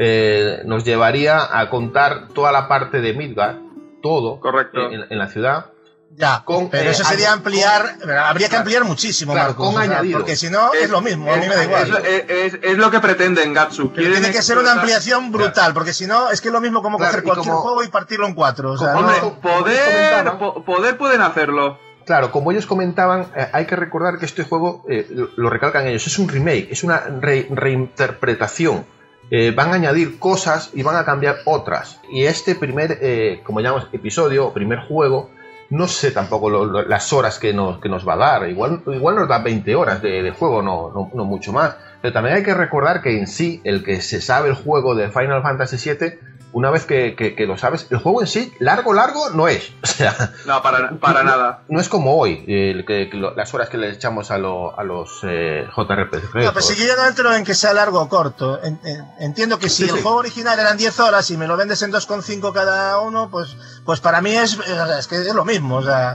eh, nos llevaría a contar toda la parte de Midgard, todo. Correcto. En, en la ciudad. Ya, con, pero eh, eso sería ampliar, con, habría que ampliar muchísimo, claro, Marcos, con o sea, añadido. Porque si no, es, es lo mismo, es, a mí me da igual. Es, es, es lo que pretenden Gatsu. Tiene que ser una ampliación brutal, claro. Porque si no, es que es lo mismo como claro, coger cualquier como, juego y partirlo en cuatro. O sea, hombre, no, poder, po, poder pueden hacerlo. Claro, como ellos comentaban, eh, hay que recordar que este juego, eh, lo, lo recalcan ellos, es un remake, es una re, reinterpretación. Eh, van a añadir cosas y van a cambiar otras. Y este primer, eh, como llamamos, episodio, primer juego, no sé tampoco lo, lo, las horas que nos, que nos va a dar. Igual, igual nos da veinte horas de, de juego, no, no, no mucho más. Pero también hay que recordar que en sí, el que se sabe el juego de Final Fantasy siete... Una vez que, que, que lo sabes, el juego en sí, largo, largo, no es. O sea, no, para, para no, nada. No es como hoy, el, que, que lo, las horas que le echamos a, lo, a los eh, J R P G. No, pero si yo no entro en que sea largo o corto. En, en, entiendo que si sí, el sí. juego original eran diez horas y me lo vendes en dos coma cinco cada uno, pues, pues para mí es, es que es lo mismo. O sea,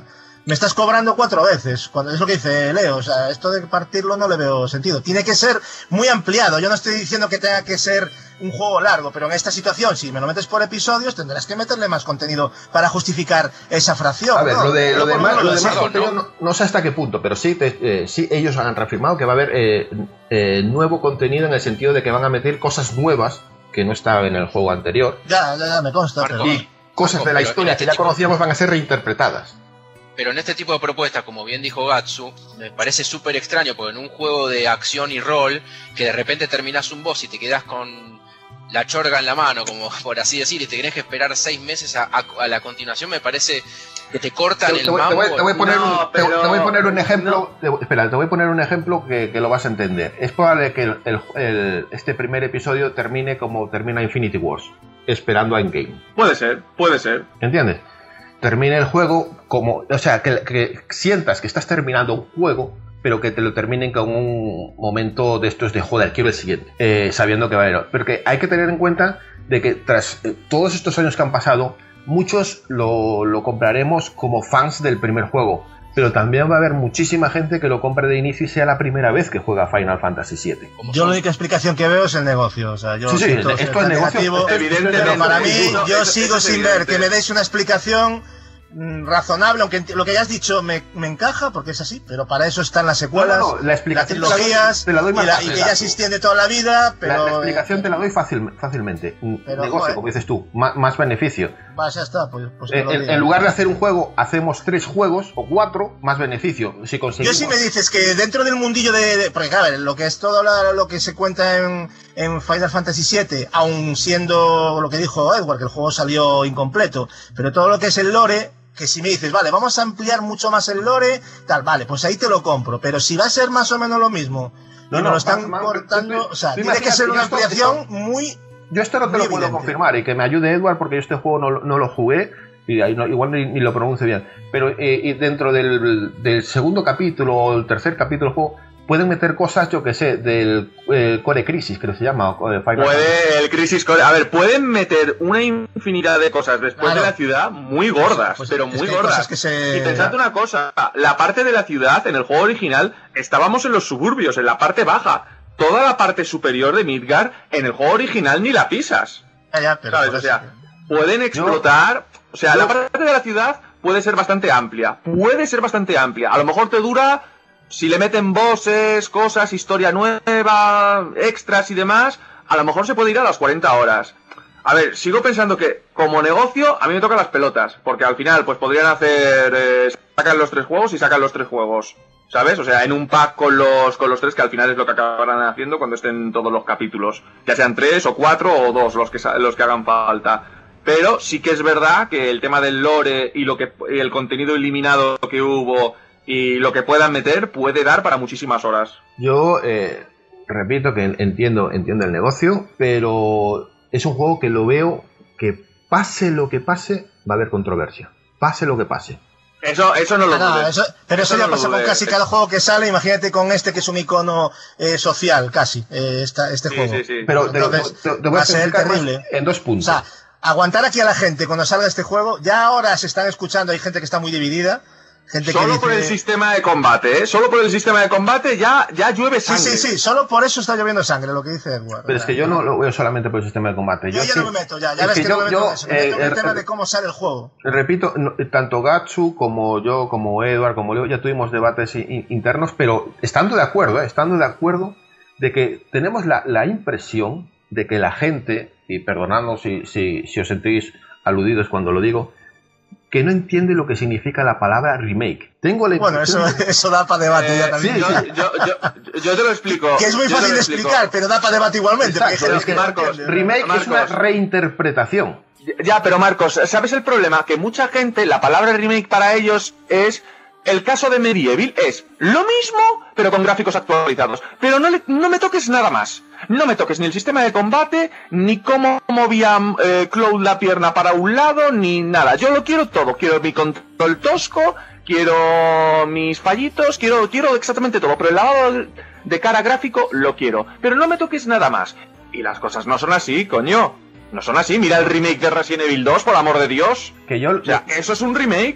me estás cobrando cuatro veces, cuando es lo que dice Leo, o sea, esto de partirlo no le veo sentido. Tiene que ser muy ampliado, yo no estoy diciendo que tenga que ser un juego largo, pero en esta situación, si me lo metes por episodios, tendrás que meterle más contenido para justificar esa fracción. A ver, ¿no? lo de, lo de más, lo de más no, contenido no. no, no sé hasta qué punto, pero sí, te, eh, sí ellos han reafirmado que va a haber eh, eh, nuevo contenido en el sentido de que van a meter cosas nuevas que no estaban en el juego anterior. Ya, ya, ya me consta, Marco, pero... Y cosas Marco, de la pero historia en que este ya tipo- conocíamos van a ser reinterpretadas. Pero en este tipo de propuestas, como bien dijo Gatsu, me parece súper extraño, porque en un juego de acción y rol, que de repente terminás un boss y te quedás con la chorga en la mano, como por así decir, y te tenés que esperar seis meses a, a, a la continuación, me parece que te cortan Te, el te voy, te mambo. voy- te voy a poner No, un, te- pero- te voy a poner un ejemplo. te- espera, te voy a poner un ejemplo que, que lo vas a entender. Es probable que el- el- el- este primer episodio termine como termina Infinity Wars, esperando a Endgame. Puede ser, puede ser. ¿Entiendes? Termine el juego como, o sea, que, que sientas que estás terminando un juego, pero que te lo terminen con un momento de estos de joder, quiero el siguiente, eh, sabiendo que va a haber. Pero que hay que tener en cuenta de que tras eh, todos estos años que han pasado, muchos lo, lo compraremos como fans del primer juego, pero también va a haber muchísima gente que lo compre de inicio y sea la primera vez que juega Final Fantasy siete. Como Yo son. la única explicación que veo es el negocio, o sea, yo Sí, sí, siento esto ser es tan negocio, negativo, esto es- Evidentemente, pero para mí, eso- yo eso- sigo eso es sin ver evidente. que me deis una explicación mm, razonable, aunque enti- lo que hayas dicho me, me encaja, porque es así, pero para eso están las secuelas, No, no, no, la explicación las trilogías, te la doy más y, la- y fácil, que ya Gato. se extiende toda la vida, pero... La, la explicación te la doy fácil, fácilmente. Pero, Negocio, joder. como dices tú, más, más beneficio. Va, ya está, pues, pues que Eh, lo en, diga. en lugar de hacer un juego, hacemos tres juegos o cuatro, más beneficio. Si Yo conseguimos... si me dices que dentro del mundillo de... de- porque claro, lo que es todo la- lo que se cuenta en, en Final Fantasy siete, aun siendo lo que dijo Edward, que el juego salió incompleto, pero todo lo que es el lore, que si me dices, vale, vamos a ampliar mucho más el lore, tal, vale, pues ahí te lo compro, pero si va a ser más o menos lo mismo, No, y no, me lo están más- más- cortando, tú- o sea, tú tiene que imagínate, ser una yo esto- ampliación esto- muy... Yo esto no te muy lo puedo evidente. confirmar y que me ayude Edward porque yo este juego no, lo- no lo jugué y ahí no- igual ni, ni lo pronuncio bien. Pero eh, y dentro del, del segundo capítulo o el tercer capítulo del juego pueden meter cosas, yo que sé, del eh, Core Crisis, creo que se llama. o, eh, Final Fantasy. Puede el Crisis Core. A ver, pueden meter una infinidad de cosas después Claro. de la ciudad muy gordas, Pues pero es muy que hay gordas. cosas que se- Y pensad una cosa: la parte de la ciudad en el juego original estábamos en los suburbios, en la parte baja. Toda la parte superior de Midgar en el juego original ni la pisas. Ya, ya, pero ¿Sabes? por O eso- sea, pueden explotar. O sea, yo- la parte de la ciudad puede ser bastante amplia. Puede ser bastante amplia. A lo mejor te dura. Si le meten bosses, cosas, historia nueva, extras y demás, a lo mejor se puede ir a las cuarenta horas. A ver, sigo pensando que como negocio a mí me tocan las pelotas, porque al final pues podrían hacer eh, sacan los tres juegos y sacan los tres juegos, ¿sabes? O sea, en un pack con los con los tres, que al final es lo que acabarán haciendo cuando estén todos los capítulos, ya sean tres o cuatro o dos los que sa- los que hagan falta. Pero sí que es verdad que el tema del lore y lo que y el contenido eliminado que hubo y lo que puedan meter puede dar para muchísimas horas. Yo eh, repito que entiendo, entiendo el negocio, pero es un juego que lo veo que pase lo que pase, va a haber controversia. Pase lo que pase. Eso, eso no lo Ah, no, dudes. eso- pero eso, Eso ya no lo pasa con dudes. casi cada juego que sale. Imagínate con este que es un icono eh, social, casi, eh, esta, este Sí, juego. sí, sí. Pero te, lo- Entonces, te- te voy va a a ser explicar más terrible. en dos O puntos. sea, aguantar aquí a la gente cuando salga este juego. Ya ahora se están escuchando, hay gente que está muy dividida. Gente Solo que por el dice... sistema de combate, ¿eh? Solo por el sistema de combate ya, ya llueve Sí, sangre. sí, sí, solo por eso está lloviendo sangre, lo que dice Edward. Pero es que yo no lo veo solamente por el sistema de combate. Yo, Yo, ya sí- no me meto, ya, ya es ves que que, yo- no me meto yo, en eso. Me meto en eh, el tema eh, de cómo sale el juego. Repito, no- tanto Gatsu como yo, como Edward, como Leo, ya tuvimos debates i- internos, pero estando de acuerdo, ¿eh? estando de acuerdo de que tenemos la, la impresión de que la gente, y perdonadnos si, si, si os sentís aludidos cuando lo digo, que no entiende lo que significa la palabra remake. Tengo la Bueno, eso, impresión de- eso da para debate Eh, ya también. sí, yo, yo, yo, yo te lo explico. Que es muy yo te fácil lo de explico. explicar, pero da para debate igualmente. Exacto, porque hay es gente que no Marcos, entiende, ¿no? remake es una Marcos. reinterpretación. Ya, pero Marcos, ¿sabes el problema? Que mucha gente, la palabra remake para ellos es... El caso de Medieval es lo mismo, pero con gráficos actualizados. Pero no, le- no me toques nada más. No me toques ni el sistema de combate, ni cómo movía eh, Cloud la pierna para un lado, ni nada. Yo lo quiero todo. Quiero mi control tosco, quiero mis fallitos, quiero, quiero exactamente todo. Pero el lavado de cara gráfico lo quiero. Pero no me toques nada más. Y las cosas no son así, coño. No son así. Mira el remake de Resident Evil dos, por amor de Dios. Que yo, O sea, eso es un remake.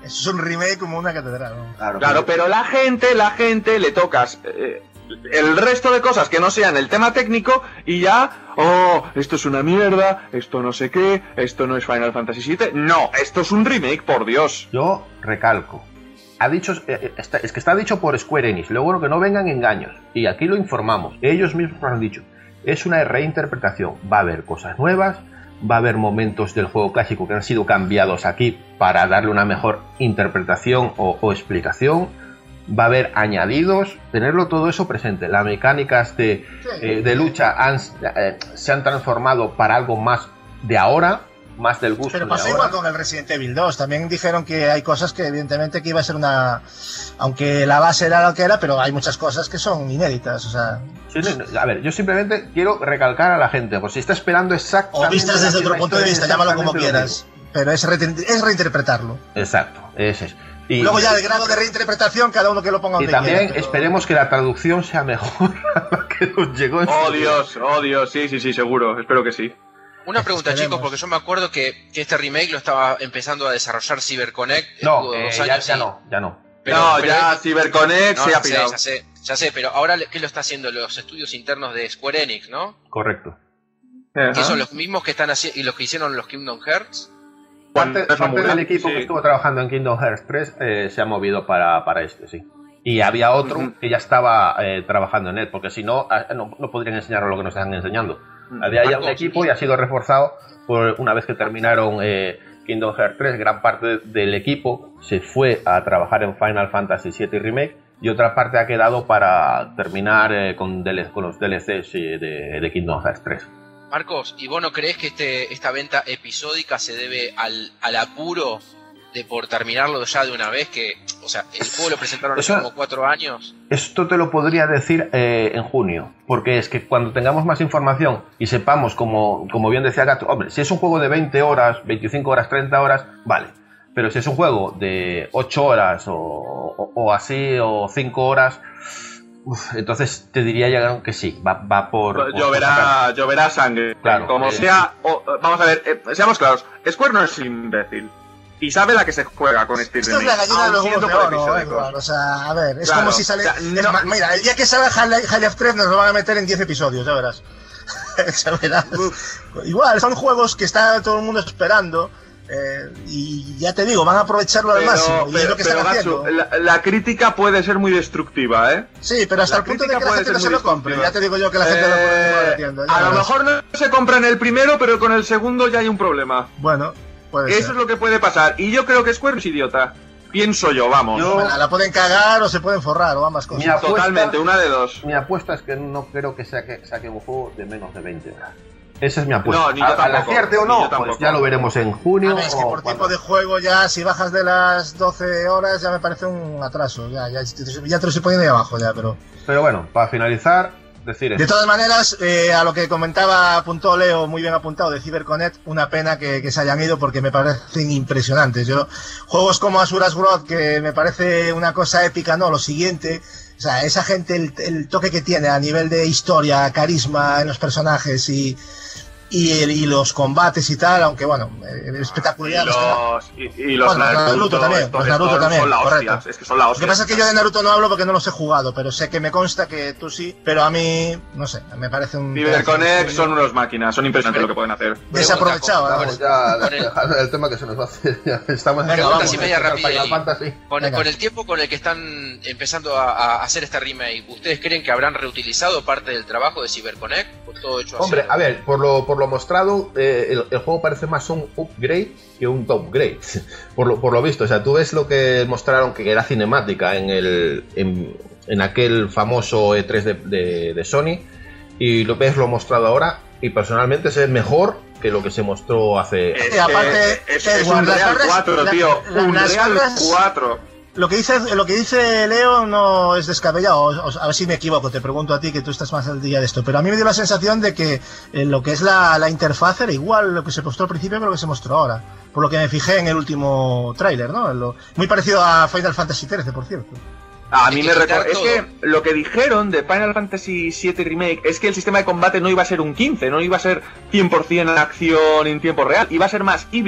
Eso es un remake como una catedral, ¿no? Claro, claro, pero la gente, la gente le tocas eh, el resto de cosas que no sean el tema técnico y ya, oh, esto es una mierda, esto no sé qué, esto no es Final Fantasy siete. No, esto es un remake, por Dios. Yo recalco. Ha dicho, eh, está, es que está dicho por Square Enix, luego que no vengan engaños. Y aquí lo informamos, ellos mismos nos han dicho. Es una reinterpretación, va a haber cosas nuevas, va a haber momentos del juego clásico que han sido cambiados aquí para darle una mejor interpretación o, o explicación, va a haber añadidos, tenerlo todo eso presente. Las mecánicas de, eh, de lucha han, eh, se han transformado para algo más de ahora, más del gusto. Pero pasó de igual ahora. con el Resident Evil dos, también dijeron que hay cosas que evidentemente que iba a ser una... Aunque la base era lo que era, pero hay muchas cosas que son inéditas, o sea... Sí, no, a ver, yo simplemente quiero recalcar a la gente, por si está esperando exactamente... O vistas desde otro punto de vista, llámalo como quieras, mismo. pero es, re es reinterpretarlo. Exacto, ese es. Y, luego ya el grado de reinterpretación, cada uno que lo ponga donde y también quiera, pero... esperemos que la traducción sea mejor a la que nos llegó en Oh su Dios, oh Dios, sí, sí, sí, seguro, espero que sí. Una pregunta, Esperemos. chicos, porque yo me acuerdo que, que este remake lo estaba empezando a desarrollar CyberConnect. No, estuvo eh, dos ya, años ya y- no, ya no. pero- no, pero ya él- CyberConnect No, se ha ya sé, pirado. ya sé, ya sé, pero ahora ¿qué lo está haciendo? Los estudios internos de Square Enix, ¿no? Correcto. Ajá. Que son los mismos que están haciendo y los que hicieron los Kingdom Hearts. Parte, Esa parte muda, del equipo sí. que estuvo trabajando en Kingdom Hearts tres eh, se ha movido para, para este, sí. Y había otro Ujú. que ya estaba eh, trabajando en él, porque si no, ah, no, no podrían enseñar lo que nos están enseñando. Había ya un Marcos, equipo y ha sido reforzado por una vez que terminaron eh, Kingdom Hearts tres, gran parte del equipo se fue a trabajar en Final Fantasy siete y Remake y otra parte ha quedado para terminar eh, con, D L C, con los D L Cs eh, de, de Kingdom Hearts tres. Marcos, ¿y vos no crees que este, esta venta episódica se debe al, al apuro de por terminarlo ya de una vez? Que, o sea, el juego lo presentaron hace Eso- como cuatro años. Esto te lo podría decir eh, en junio, porque es que cuando tengamos más información y sepamos, como, como bien decía Gato, hombre, si es un juego de veinte horas, veinticinco horas, treinta horas, vale. Pero si es un juego de ocho horas o, o, o así, o cinco horas, uf, entonces te diría ya que sí, va, va por... por- por sacar. Lloverá, lloverá sangre. Claro, Como eh, sea, o- vamos a ver, eh, seamos claros, Square no es imbécil. Y sabe la que se juega con este Esto es la gallina de los huevos de oro, Edward. O sea, a ver, es Claro, como si sale... o sea, es no- ma- mira, el día que salga Half-Life tres nos lo van a meter en diez episodios, ya verás. Ya verás. Igual, son juegos que está todo el mundo esperando. Eh, y ya te digo, van a aprovecharlo al Pero, máximo. Y es pero, lo que pero, están Gatsu, haciendo. la, la crítica puede ser muy destructiva, ¿eh? Sí, pero hasta la el punto de que crítica la puede gente no ser se muy lo compre. destructiva. Ya te digo yo que la gente Eh, lo puede metiendo. ya A lo verás. mejor no se compra en el primero, pero con el segundo ya hay un problema. Bueno, puede Eso ser. es lo que puede pasar. Y yo creo que Square es idiota. Pienso yo, vamos. Yo- Bueno, la pueden cagar o se pueden forrar o ambas cosas. Mi apuesta- Totalmente, una de dos. Mi apuesta es que no creo que saque, saque un juego de menos de veinte horas. Esa es mi apuesta. No, ni yo A- al tampoco, acierte o ni no, yo tampoco. pues ya lo veremos en junio. A ver, es que o por cuando- tipo de juego ya, si bajas de las doce horas, ya me parece un atraso. Ya, ya, ya te lo estoy poniendo ahí abajo, ya, pero... Pero bueno, para finalizar, decir De esto. todas maneras, eh, a lo que comentaba, apuntó Leo, muy bien apuntado, de CyberConnect, una pena que, que se hayan ido porque me parecen impresionantes. Yo, juegos como Asura's Wrath, que me parece una cosa épica, no, lo siguiente, o sea, esa gente, el, el toque que tiene a nivel de historia, carisma en los personajes y, y, el- y los combates y tal, aunque bueno, eh, Y espectaculares. los, y, y los Bueno, Naruto también, estos- los Naruto estos también, son la hostia. correcto. Es que son la Lo hostia. que pasa es que yo de Naruto no hablo porque no los he jugado, pero sé que me consta que tú sí, pero a mí, no sé, me parece un... CyberConnect son unos máquinas, son impresionantes lo que pueden hacer. Desaprovechado, Pregunta, vamos. Vamos ya Con el- dejando el tema que se nos va a hacer. Ya estamos Venga, en vamos. Preguntas y media rápida, Final Eli. Fantasy. Con, Venga. con el tiempo con el que están empezando a, a hacer este remake, ¿ustedes creen que habrán reutilizado parte del trabajo de CyberConnect? ¿O todo hecho así? Hombre, a ver, por lo, por lo mostrado, eh, el, el juego parece más un upgrade que un downgrade. Por lo, por lo visto, o sea, tú ves lo que mostraron que era cinemática en el en, en aquel famoso E tres de, de, de Sony y lo ves lo mostrado ahora y personalmente se ve mejor que lo que se mostró hace... Es, Y aparte, es, eh, es un las Real barras- cuatro, la- tío. la- Un las Real barras- cuatro. Lo que dice lo que dice Leo no es descabellado, o- o- a ver si me equivoco, te pregunto a ti que tú estás más al día de esto, pero a mí me dio la sensación de que eh, lo que es la, la interfaz era igual lo que se mostró al principio que lo que se mostró ahora, por lo que me fijé en el último tráiler, ¿no? Lo- muy parecido a Final Fantasy trece, por cierto. A Hay mí que me quitar recuerda. Es todo. que lo que dijeron de Final Fantasy siete Remake es que el sistema de combate no iba a ser un quince, no iba a ser cien por ciento acción en tiempo real, iba a ser más híbrido.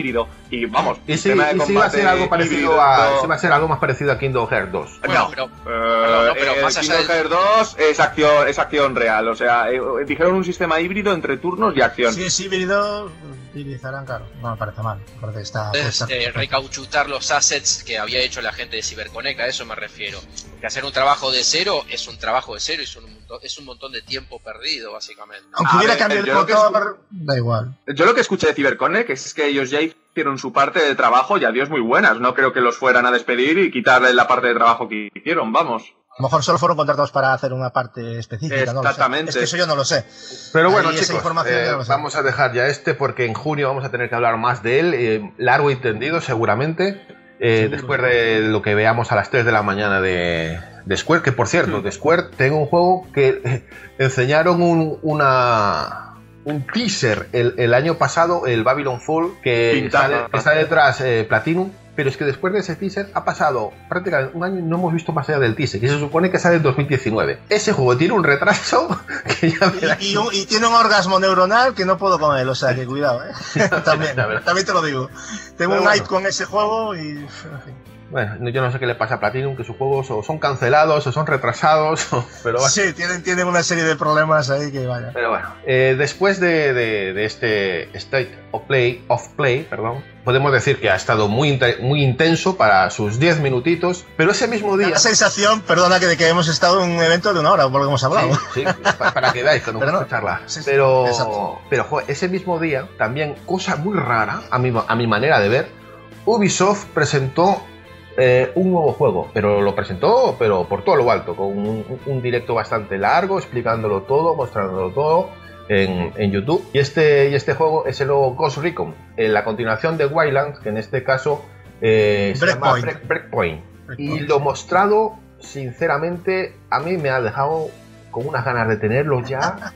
Y vamos, y si, y si va a ser algo parecido a, si va a ser algo más parecido a Kingdom Hearts dos. Bueno, no, pero, uh, perdón, no, pero eh, más allá Kingdom del... Hearts dos es acción, es acción real, o sea, eh, dijeron un sistema híbrido entre turnos y acción. Si es híbrido, utilizarán, claro, no me parece mal, me parece que está... Es, está eh, recauchutar los assets que había hecho la gente de CyberConnect, a eso me refiero. Que hacer un trabajo de cero es un trabajo de cero, es un montón, es un montón de tiempo perdido, básicamente. Aunque A hubiera ver, cambiado el yo lo que motor, da igual. Yo lo que escuché de CyberConnect es que ellos ya hicieron su parte de trabajo y adiós muy buenas. No creo que los fueran a despedir y quitarle la parte de trabajo que hicieron, vamos. A lo mejor solo fueron contratados para hacer una parte específica. Exactamente. No lo sé. Es que eso yo no lo sé. Pero bueno, ahí chicos, eh, no lo sé. vamos a dejar ya este porque en junio vamos a tener que hablar más de él, eh, largo y tendido seguramente, eh, después de lo que veamos a las tres de la mañana de, de Square, que por cierto, de Square tengo un juego que eh, enseñaron un, una... un teaser el, el año pasado, el Babylon Fall, que está, de, que está detrás eh, Platinum, pero es que después de ese teaser ha pasado prácticamente un año y no hemos visto más allá del teaser, que se supone que sale en dos mil diecinueve. Ese juego tiene un retraso que ya verás. Y, y, un, y tiene un orgasmo neuronal que no puedo con él, o sea que cuidado, ¿eh? también, también te lo digo. Tengo pero un hype bueno. con ese juego y... En fin. Bueno, yo no sé qué le pasa a Platinum, que sus juegos o son cancelados o son retrasados, o, pero bueno. Sí, tienen, tienen una serie de problemas ahí que vaya. Pero bueno, eh, después de, de, de este State of Play, of Play, perdón, podemos decir que ha estado muy, muy intenso para sus diez minutitos, pero ese mismo día... La sensación, perdona, que de que hemos estado en un evento de una hora, por lo que hemos hablado. Sí, sí para, para que veáis, cuando vamos a charlar. Sí, sí, pero, exacto. pero joder, ese mismo día, también, cosa muy rara, a mi, a mi manera de ver, Ubisoft presentó Eh, un nuevo juego, pero lo presentó pero por todo lo alto, con un, un directo bastante largo, explicándolo todo, mostrándolo todo en, en YouTube. Y este, y este juego es el nuevo Ghost Recon, en la continuación de Wildlands, que en este caso eh, se llama Break, Breakpoint. Breakpoint. Y lo mostrado, sinceramente, a mí me ha dejado con unas ganas de tenerlo ya.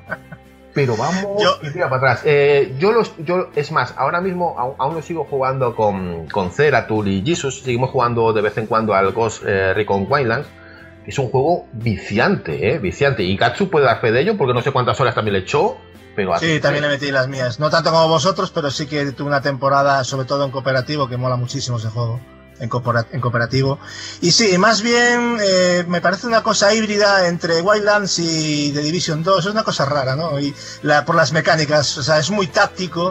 Pero vamos yo, y tira para atrás. Eh, yo los, yo es más, ahora mismo aún, aún lo sigo jugando con, con Zeratul y Jesus. Seguimos jugando de vez en cuando al Ghost eh, Recon Wildlands. Es un juego viciante, eh, viciante. Y Gatsu puede dar fe de ello porque no sé cuántas horas también le echó. Pero sí, también le metí las mías. No tanto como vosotros, pero sí que tuve una temporada, sobre todo en cooperativo, que mola muchísimo ese juego. En, en cooperativo. Y sí, más bien eh, me parece una cosa híbrida entre Wildlands y The Division dos. Es una cosa rara, ¿no? Y la, por las mecánicas, o sea, es muy táctico.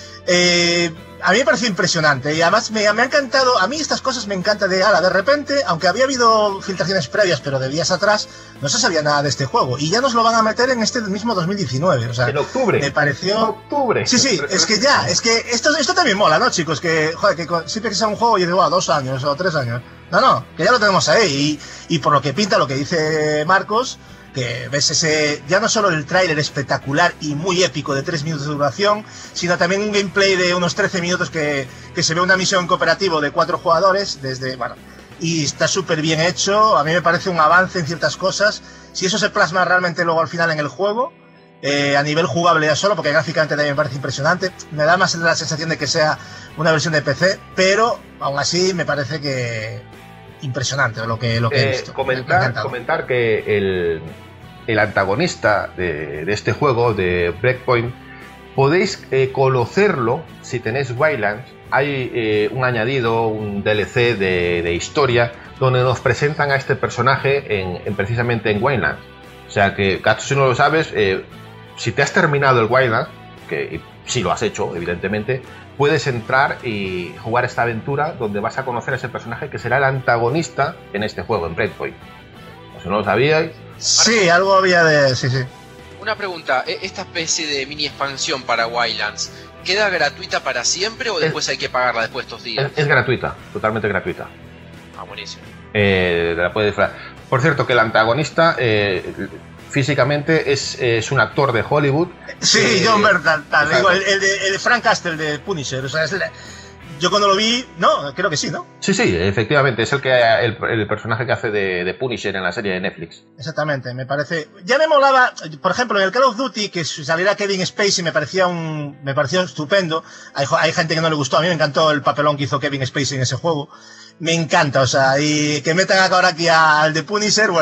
Eh, a mí me parece impresionante y además me, me ha encantado. A mí estas cosas me encantan de ala. De repente, aunque había habido filtraciones previas, pero de días atrás, no se sabía nada de este juego y ya nos lo van a meter en este mismo dos mil diecinueve. O sea, en octubre. Me pareció. En octubre. Sí, sí, es que ya, es que esto, esto también mola, ¿no, chicos? Que, joder, que siempre que sea un juego, yo digo, ah, dos años o tres años. No, no, que ya lo tenemos ahí y, y por lo que pinta, lo que dice Marcos, que ves ese, ya no solo el tráiler espectacular y muy épico de tres minutos de duración, sino también un gameplay de unos trece minutos que, que se ve una misión cooperativo de cuatro jugadores desde, bueno, y está súper bien hecho. A mí me parece un avance en ciertas cosas. Si eso se plasma realmente luego al final en el juego, eh, a nivel jugable ya solo, porque gráficamente también me parece impresionante, me da más la sensación de que sea una versión de P C, pero aún así me parece que impresionante lo que, lo que eh, he visto. Comentar, comentar que el, el antagonista de, de este juego, de Breakpoint, podéis eh, conocerlo si tenéis Wildlands. Hay eh, un añadido, un D L C de, de historia, donde nos presentan a este personaje en, en precisamente en Wildlands. O sea que, Gatsu, si no lo sabes, eh, si te has terminado el Wildlands, que si lo has hecho, evidentemente, puedes entrar y jugar esta aventura donde vas a conocer a ese personaje que será el antagonista en este juego, en Breakpoint. O si no lo sabíais. Sí, algo había de... Sí, sí. Una pregunta, ¿esta especie de mini expansión para Wildlands queda gratuita para siempre o después es, hay que pagarla después de estos días? Es, es gratuita, totalmente gratuita. Ah, buenísimo. Eh, la puedes disfrutar. Por cierto, que el antagonista eh, físicamente es, es un actor de Hollywood. Sí, eh, John Bernthal, digo, el, el, de, el de Frank Castle de Punisher. O sea, es el, yo cuando lo vi, no, creo que sí, ¿no? Sí, sí, efectivamente, es el que el, el personaje que hace de, de Punisher en la serie de Netflix. Exactamente, me parece. Ya me molaba, por ejemplo, en el Call of Duty, que saliera Kevin Spacey, me parecía un, me pareció estupendo. Hay, hay gente que no le gustó, a mí me encantó el papelón que hizo Kevin Spacey en ese juego. Me encanta, o sea, y que metan ahora aquí al de Punisher, bueno,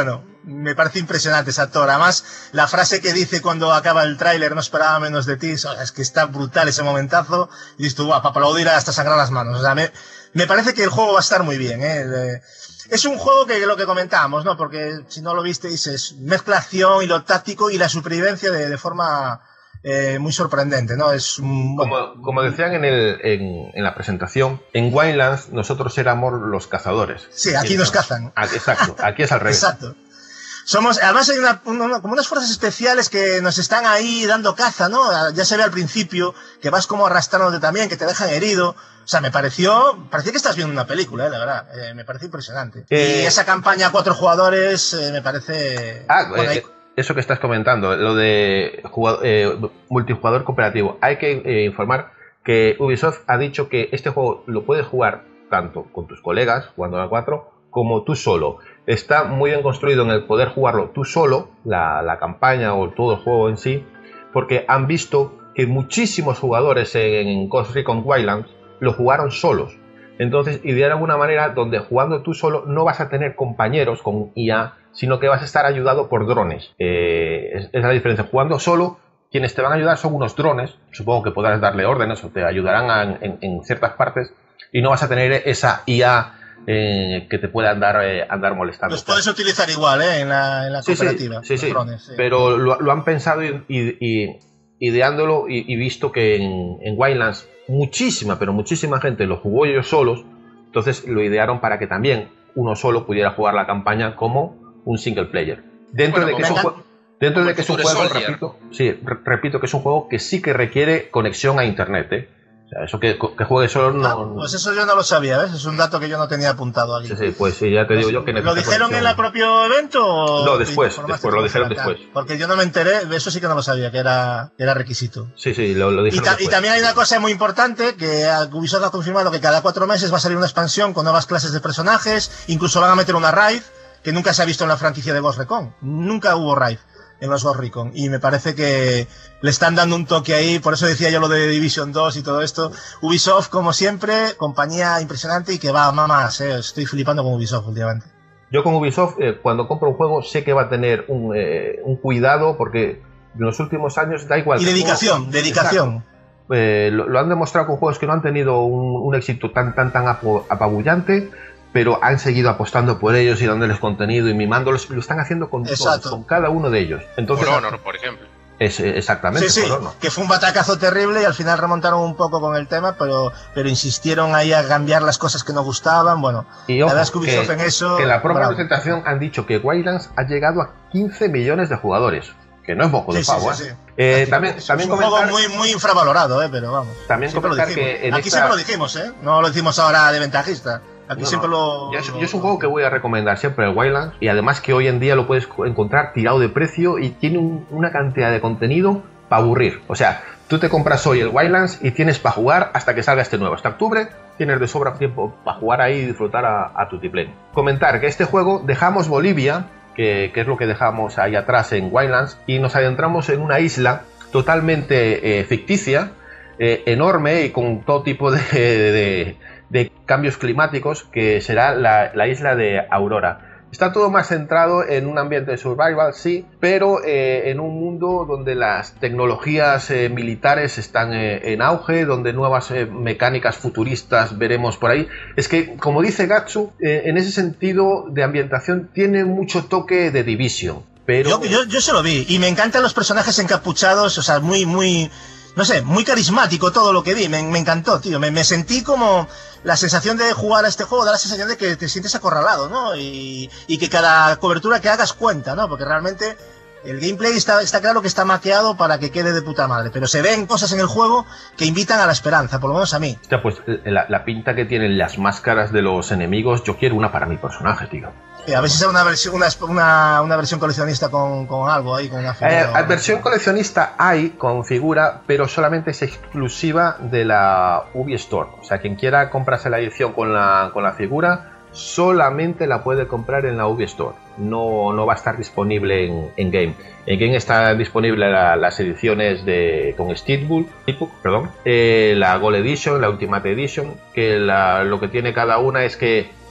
me parece impresionante ese actor. Además, la frase que dice cuando acaba el tráiler, no esperaba menos de ti, o sea, es que está brutal ese momentazo. Y dices tú, guau, para aplaudir hasta sangrar las manos. O sea, me, me parece que el juego va a estar muy bien, ¿eh? De, es un juego que lo que comentábamos, ¿no? Porque si no lo visteis, es mezcla acción y lo táctico y la supervivencia de, de forma eh, muy sorprendente, ¿no? Es un, bueno, como, como decían en, el, en, en la presentación, en Wildlands nosotros éramos los cazadores. Sí, aquí nos cazan. Aquí, exacto, aquí es al revés. Exacto. Somos, además hay una, una, como unas fuerzas especiales que nos están ahí dando caza, ¿no? Ya se ve al principio que vas como arrastrándote también, que te dejan herido. O sea, me pareció, parecía que estás viendo una película, ¿eh? La verdad, eh, me parece impresionante. Eh, y esa campaña a cuatro jugadores eh, me parece... Ah, bueno, eh, eso que estás comentando, lo de jugador, eh, multijugador cooperativo. Hay que eh, informar que Ubisoft ha dicho que este juego lo puedes jugar tanto con tus colegas, jugando a cuatro, como tú solo. Está muy bien construido en el poder jugarlo tú solo, la, la campaña o todo el juego en sí, porque han visto que muchísimos jugadores en, en Ghost Recon Wildlands lo jugaron solos. Entonces idearon una manera donde jugando tú solo no vas a tener compañeros con I A, sino que vas a estar ayudado por drones. Eh, es, es la diferencia. Jugando solo, quienes te van a ayudar son unos drones. Supongo que podrás darle órdenes o te ayudarán a, en, en ciertas partes, y no vas a tener esa I A Eh, que te pueda andar, eh, andar molestando. Los puedes utilizar igual, ¿eh? En la, en la sí, cooperativa. Sí, sí, sí. Drones, sí. Pero lo, lo han pensado y, y, y ideándolo y, y visto que en, en Wildlands muchísima, pero muchísima gente lo jugó ellos solos, entonces lo idearon para que también uno solo pudiera jugar la campaña como un single player. Dentro bueno, de que es un juego, dentro de que es un juego, repito, sí, re repito que es un juego que sí que requiere conexión a internet, ¿eh? O sea, eso que, que juegue solo no, ah, pues eso yo no lo sabía, ¿ves? Es un dato que yo no tenía apuntado aquí. Sí, sí, pues sí, ya te digo yo que ¿Lo dijeron conexión en el propio evento? O no, después, después lo dijeron después. Porque yo no me enteré, eso sí que no lo sabía, que era, era requisito. Sí, sí, lo, lo dijeron y, ta después. Y también hay una cosa muy importante, que Ubisoft ha confirmado que cada cuatro meses va a salir una expansión con nuevas clases de personajes, incluso van a meter una raid, que nunca se ha visto en la franquicia de Ghost Recon. Nunca hubo raid en los Ghost Recon, y me parece que le están dando un toque ahí, por eso decía yo lo de Division dos y todo esto. Ubisoft, como siempre, compañía impresionante y que va a más, eh. Estoy flipando con Ubisoft últimamente. Yo con Ubisoft, eh, cuando compro un juego, sé que va a tener un, eh, un cuidado, porque en los últimos años da igual. Y dedicación, juego, dedicación. Eh, lo, lo han demostrado con juegos que no han tenido un, un éxito tan, tan, tan apabullante, pero han seguido apostando por ellos y dándoles contenido y mimándolos, y lo están haciendo con todos, con cada uno de ellos. Entonces, por Honor, por ejemplo. Es, exactamente, sí, sí, por Honor. Que fue un batacazo terrible y al final remontaron un poco con el tema, pero, pero insistieron ahí a cambiar las cosas que no gustaban. Bueno, y ojo, la verdad es que Ubisoft en eso... Que en la propia bravo. presentación han dicho que Wildlands ha llegado a quince millones de jugadores, que no es poco de sí, pavo, sí, sí, ¿eh? sí. Eh, Aquí, también, es también un comentar, juego muy, muy infravalorado, ¿eh? Pero vamos. También comentar que en Aquí esta... siempre lo dijimos, ¿eh? No lo decimos ahora de ventajista. Aquí no, siempre no. lo... Yo es, yo es un juego que voy a recomendar siempre, el Wildlands, y además que hoy en día lo puedes encontrar tirado de precio y tiene un, una cantidad de contenido para aburrir. O sea, tú te compras hoy el Wildlands y tienes para jugar hasta que salga este nuevo. Hasta octubre tienes de sobra tiempo para jugar ahí y disfrutar a, a tu tiplén. Comentar que este juego dejamos Bolivia, que, que es lo que dejamos ahí atrás en Wildlands, y nos adentramos en una isla totalmente eh, ficticia, eh, enorme y con todo tipo de... de, de de cambios climáticos, que será la, la isla de Aurora. Está todo más centrado en un ambiente de survival, sí, pero eh, en un mundo donde las tecnologías eh, militares están eh, en auge, donde nuevas eh, mecánicas futuristas veremos por ahí. Es que, como dice Gatsu, eh, en ese sentido de ambientación tiene mucho toque de Division. Pero... Yo, yo, yo se lo vi, y me encantan los personajes encapuchados, o sea, muy, muy... No sé, muy carismático todo lo que vi, me, me encantó, tío, me, me sentí como la sensación de jugar a este juego, da la sensación de que te sientes acorralado, ¿no? Y, y que cada cobertura que hagas cuenta, ¿no? Porque realmente el gameplay está, está claro que está maqueado para que quede de puta madre, pero se ven cosas en el juego que invitan a la esperanza, por lo menos a mí. Hostia, pues la, la pinta que tienen las máscaras de los enemigos, yo quiero una para mi personaje, tío. A ver si es una versión, una, una, una versión coleccionista con, con algo ahí, con una figura. Eh, versión coleccionista hay con figura, pero solamente es exclusiva de la Ubi Store. O sea, quien quiera comprarse la edición con la, con la figura, solamente la puede comprar en la Ubi Store. No, no va a estar disponible en, en Game. En Game está disponible la, las ediciones de con Steelbook, perdón, eh, la Gold Edition, la Ultimate Edition, que la, lo que tiene cada una es que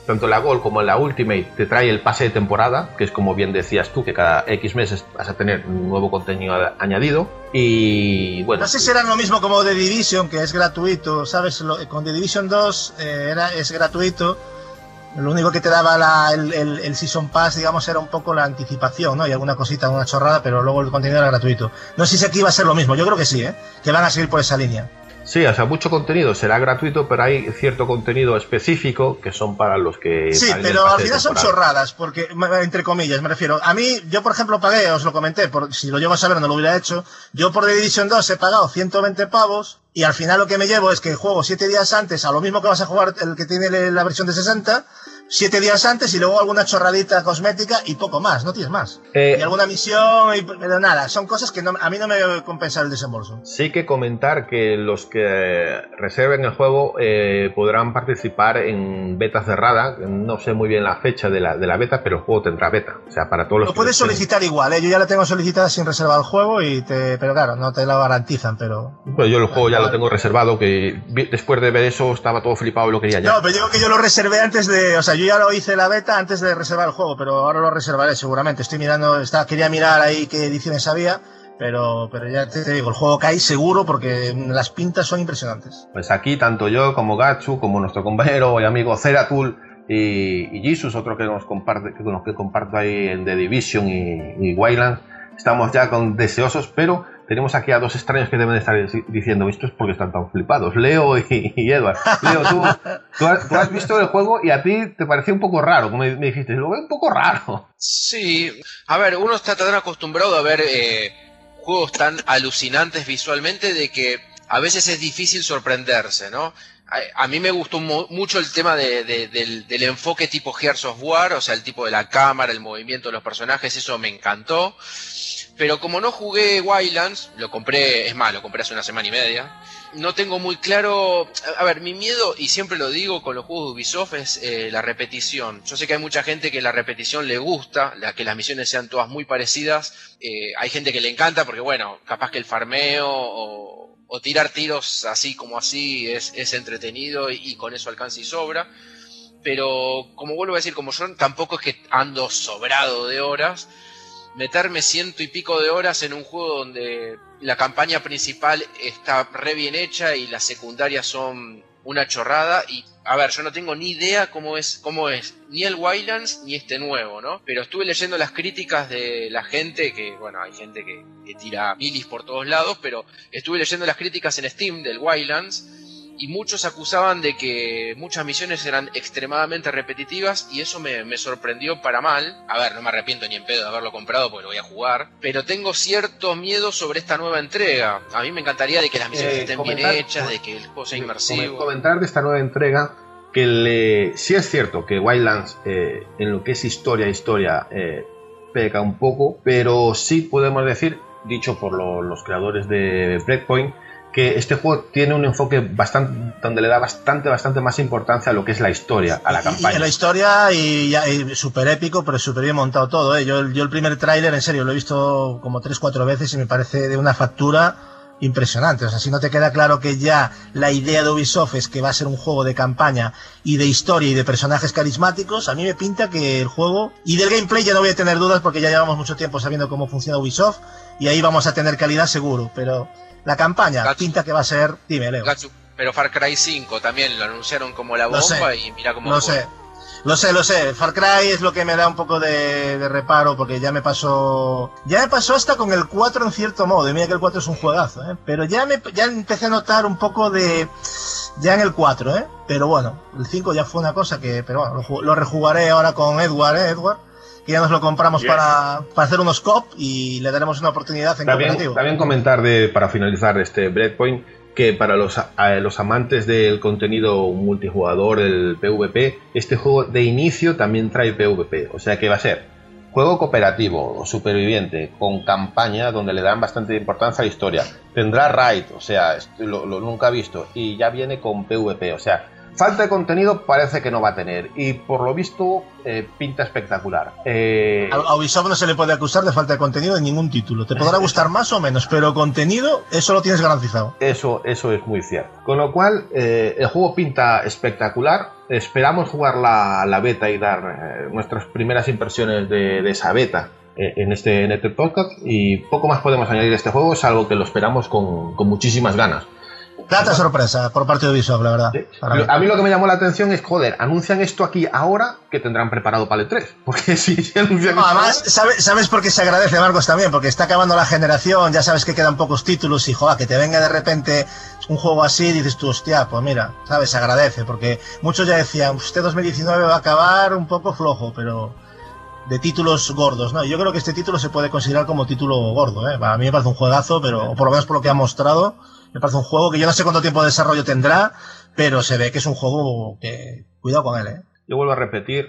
tanto en la Gold como en la Ultimate te trae el pase de temporada, que es como bien decías tú, que cada X meses vas a tener un nuevo contenido añadido. Y bueno, no sé si será lo mismo como The Division, que es gratuito, ¿sabes? Con The Division dos eh, era, es gratuito. Lo único que te daba la, el, el, el Season Pass, digamos, era un poco la anticipación, ¿no? Y alguna cosita, una chorrada, pero luego el contenido era gratuito. No sé si aquí va a ser lo mismo, yo creo que sí, ¿eh? Que van a seguir por esa línea. Sí, o sea, mucho contenido será gratuito, pero hay cierto contenido específico que son para los que... Sí, pero al final son chorradas, porque, entre comillas, me refiero. A mí, yo por ejemplo pagué, os lo comenté, por, si lo llego a saber no lo hubiera hecho, yo por The Division dos he pagado ciento veinte pavos, y al final lo que me llevo es que juego siete días antes a lo mismo que vas a jugar el que tiene la versión de sesenta, siete días antes y luego alguna chorradita cosmética y poco más, no tienes más. Eh, y alguna misión, y, pero nada, son cosas que no, a mí no me compensa el desembolso. Sí que comentar que los que reserven el juego eh, podrán participar en beta cerrada, no sé muy bien la fecha de la, de la beta, pero el juego tendrá beta, o sea, para todos los... Lo puedes solicitar tienen... igual, ¿eh? Yo ya la tengo solicitada sin reservar el juego, y te, pero claro, no te lo garantizan, pero... Pues yo el juego ya lo tengo reservado, que después de ver eso estaba todo flipado y lo quería ya. No, pero digo que yo lo reservé antes de... O sea, yo ya lo hice la beta antes de reservar el juego, pero ahora lo reservaré seguramente. Estoy mirando, está, quería mirar ahí qué ediciones había, pero, pero ya te, te digo, el juego cae seguro porque las pintas son impresionantes. Pues aquí tanto yo como Gatsu, como nuestro compañero y amigo Zeratul y, y Jesus, otro que nos comparte, que con los que comparto ahí en The Division y, y Wildlands, estamos ya con deseosos, pero tenemos aquí a dos extraños que deben estar diciendo esto es porque están tan flipados, Leo y, y Edward. Leo, tú, tú, has, tú has visto el juego y a ti te pareció un poco raro, como me, me dijiste, lo veo un poco raro. Sí, a ver, uno está tan acostumbrado a ver eh, juegos tan alucinantes visualmente de que a veces es difícil sorprenderse, ¿no? A, a mí me gustó mu mucho el tema de, de, del, del enfoque tipo Gears of War, o sea, el tipo de la cámara, el movimiento de los personajes, eso me encantó. Pero como no jugué Wildlands, lo compré, es más, lo compré hace una semana y media, no tengo muy claro... A ver, mi miedo, y siempre lo digo con los juegos de Ubisoft, es eh, la repetición. Yo sé que hay mucha gente que la repetición le gusta, la, que las misiones sean todas muy parecidas. Eh, hay gente que le encanta porque, bueno, capaz que el farmeo o, o tirar tiros así como así es, es entretenido y, y con eso alcanza y sobra. Pero, como vuelvo a decir, como yo tampoco es que ando sobrado de horas... Meterme ciento y pico de horas en un juego donde la campaña principal está re bien hecha y las secundarias son una chorrada. Y, a ver, yo no tengo ni idea cómo es, cómo es ni el Wildlands ni este nuevo, ¿no? Pero estuve leyendo las críticas de la gente, que, bueno, hay gente que, que tira milis por todos lados, pero estuve leyendo las críticas en Steam del Wildlands. Y muchos acusaban de que muchas misiones eran extremadamente repetitivas y eso me, me sorprendió para mal. A ver, no me arrepiento ni en pedo de haberlo comprado porque lo voy a jugar. Pero tengo cierto miedo sobre esta nueva entrega. A mí me encantaría de que las misiones eh, estén comentar, bien hechas, de que el juego sea inmersivo. Comentar de esta nueva entrega que le, sí es cierto que Wildlands eh, en lo que es historia, historia eh, peca un poco, pero sí podemos decir, dicho por lo, los creadores de Breakpoint, que este juego tiene un enfoque bastante donde le da bastante bastante más importancia a lo que es la historia, a la campaña. Y, y la historia y, y súper épico, pero súper bien montado todo, ¿eh? Yo, yo el primer tráiler, en serio, lo he visto como tres cuatro veces y me parece de una factura impresionante. O sea, si no te queda claro que ya la idea de Ubisoft es que va a ser un juego de campaña y de historia y de personajes carismáticos, a mí me pinta que el juego... Y del gameplay ya no voy a tener dudas porque ya llevamos mucho tiempo sabiendo cómo funciona Ubisoft y ahí vamos a tener calidad seguro, pero... La campaña Gatsu. Pinta que va a ser... Dime, Leo. Gatsu. Pero Far Cry cinco también lo anunciaron como la bomba y mira cómo Lo fue. sé, lo sé, lo sé. Far Cry es lo que me da un poco de, de reparo porque ya me pasó... Ya me pasó hasta con el cuatro en cierto modo. Y mira que el cuatro es un juegazo, ¿eh? Pero ya, me, ya empecé a notar un poco de... Ya en el cuatro, ¿eh? Pero bueno, el cinco ya fue una cosa que... Pero bueno, lo, lo rejugaré ahora con Edward, ¿eh, Edward? Que ya nos lo compramos yes. para, para hacer unos cop y le daremos una oportunidad en también, cooperativo. También comentar, de, para finalizar este Breakpoint, que para los, a, los amantes del contenido multijugador, el PvP, este juego de inicio también trae PvP. O sea que va a ser juego cooperativo o superviviente con campaña donde le dan bastante importancia a la historia. Tendrá raid, o sea, lo, lo nunca visto, y ya viene con PvP, o sea... Falta de contenido parece que no va a tener, y por lo visto eh, pinta espectacular. Eh... A, a Ubisoft no se le puede acusar de falta de contenido en ningún título. Te podrá gustar más o menos, pero contenido, eso lo tienes garantizado. Eso, eso es muy cierto. Con lo cual, eh, el juego pinta espectacular. Esperamos jugar la, la beta y dar eh, nuestras primeras impresiones de, de esa beta eh, en, este, en este podcast, y poco más podemos añadir a este juego, salvo que lo esperamos con, con muchísimas ganas. Grata sorpresa por parte de Ubisoft, la verdad. Sí. A mí lo que me llamó la atención es, joder, anuncian esto aquí ahora, que tendrán preparado para el E tres. Porque si, si anuncian no, esto además, ahora... ¿sabes, ¿sabes por qué se agradece, Marcos, también? Porque está acabando la generación, ya sabes que quedan pocos títulos y, joder, que te venga de repente un juego así, dices tú, hostia, pues mira, ¿sabes? Se agradece, porque muchos ya decían, este dos mil diecinueve va a acabar un poco flojo, pero de títulos gordos, ¿no? Yo creo que este título se puede considerar como título gordo, ¿eh? A mí me parece un juegazo, pero o por lo menos por lo que ha mostrado, me parece un juego que yo no sé cuánto tiempo de desarrollo tendrá, pero se ve que es un juego que... Cuidado con él, ¿eh? Yo vuelvo a repetir,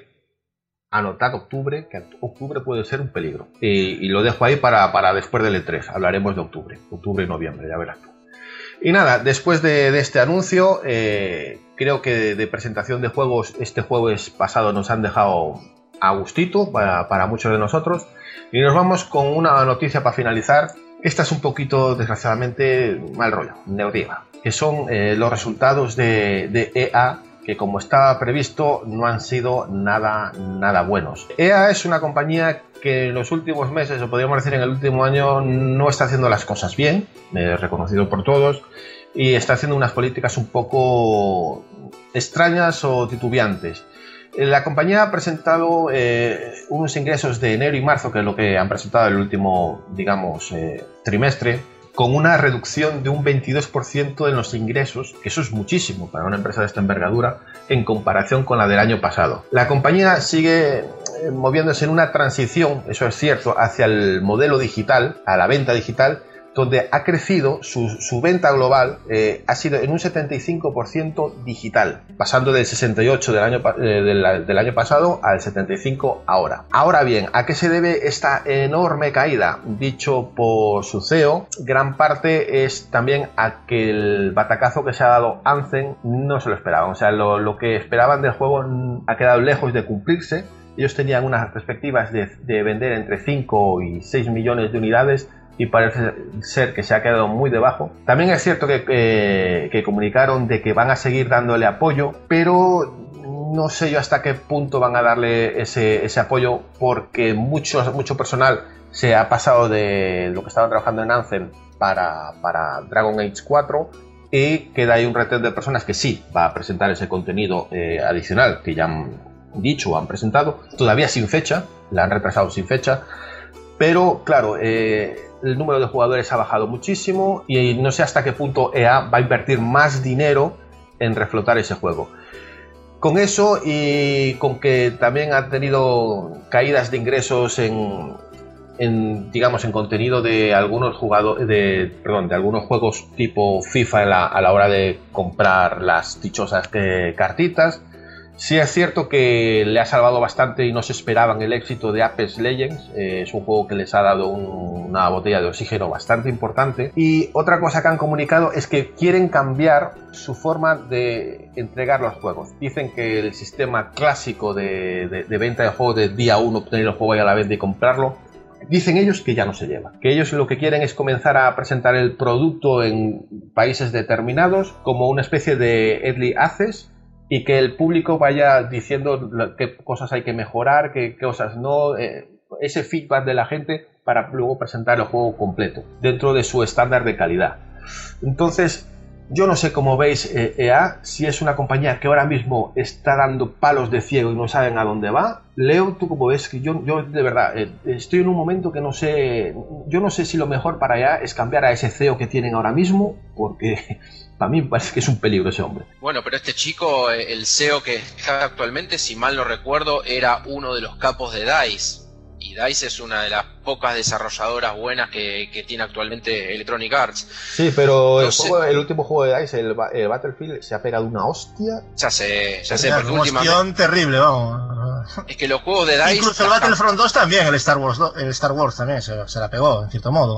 anotad octubre, que octubre puede ser un peligro. Y, y lo dejo ahí para, para después del E tres, hablaremos de octubre, octubre y noviembre, ya verás tú. Y nada, después de, de este anuncio, eh, creo que de, de presentación de juegos, este jueves pasado nos han dejado a gustito para, para muchos de nosotros. Y nos vamos con una noticia para finalizar. Esta es un poquito, desgraciadamente, mal rollo, negativa, que son eh, los resultados de, de E A, que como estaba previsto no han sido nada, nada buenos. E A es una compañía que en los últimos meses, o podríamos decir en el último año, no está haciendo las cosas bien, eh, reconocido por todos, y está haciendo unas políticas un poco extrañas o titubeantes. La compañía ha presentado eh, unos ingresos de enero y marzo, que es lo que han presentado el último, digamos, eh, trimestre, con una reducción de un veintidós por ciento en los ingresos, que eso es muchísimo para una empresa de esta envergadura, en comparación con la del año pasado. La compañía sigue eh, moviéndose en una transición, eso es cierto, hacia el modelo digital, a la venta digital, donde ha crecido su, su venta global, eh, ha sido en un setenta y cinco por ciento digital, pasando del sesenta y ocho por ciento del año, eh, del, del año pasado al setenta y cinco por ciento ahora. Ahora bien, ¿a qué se debe esta enorme caída? Dicho por su C E O, gran parte es también a que el batacazo que se ha dado Anthem no se lo esperaban. O sea, lo, lo que esperaban del juego ha quedado lejos de cumplirse. Ellos tenían unas perspectivas de, de vender entre cinco y seis millones de unidades, y parece ser que se ha quedado muy debajo. También es cierto que, que, que comunicaron de que van a seguir dándole apoyo, pero no sé yo hasta qué punto van a darle ese, ese apoyo, porque mucho, mucho personal se ha pasado de lo que estaban trabajando en Anthem para, para Dragon Age cuatro, y queda ahí un retén de personas que sí va a presentar ese contenido eh, adicional que ya han dicho o han presentado, todavía sin fecha, la han retrasado sin fecha, pero claro, eh, el número de jugadores ha bajado muchísimo y no sé hasta qué punto E A va a invertir más dinero en reflotar ese juego. Con eso, y con que también ha tenido caídas de ingresos en, en digamos, en contenido de algunos jugadores, de, perdón, de algunos juegos tipo FIFA a la, a la hora de comprar las dichosas eh, cartitas. Sí es cierto que le ha salvado bastante y no se esperaban el éxito de Apex Legends. Eh, es un juego que les ha dado un, una botella de oxígeno bastante importante. Y otra cosa que han comunicado es que quieren cambiar su forma de entregar los juegos. Dicen que el sistema clásico de, de, de venta de juegos de día uno, obtener el juego y a la vez de comprarlo, dicen ellos que ya no se lleva. Que ellos lo que quieren es comenzar a presentar el producto en países determinados como una especie de Early Access, y que el público vaya diciendo qué cosas hay que mejorar, qué cosas no, eh, ese feedback de la gente para luego presentar el juego completo dentro de su estándar de calidad. Entonces, yo no sé cómo veis eh, E A, si es una compañía que ahora mismo está dando palos de ciego y no saben a dónde va. Leo, tú como ves, que yo, yo de verdad eh, estoy en un momento que no sé, yo no sé si lo mejor para E A es cambiar a ese C E O que tienen ahora mismo, porque para mí me parece que es un peligro ese hombre. Bueno, pero este chico, el C E O que está actualmente, si mal no recuerdo, era uno de los capos de DICE. Y DICE es una de las pocas desarrolladoras buenas que, que tiene actualmente Electronic Arts. Sí, pero no el, juego, el último juego de DICE, el, el Battlefield, se ha pegado una hostia. Ya sé, ya sé, Una porque últimamente... cuestión terrible, vamos. Es que los juegos de DICE... Incluso el Battlefront dos también, el Star Wars, el Star Wars también se, se la pegó, en cierto modo.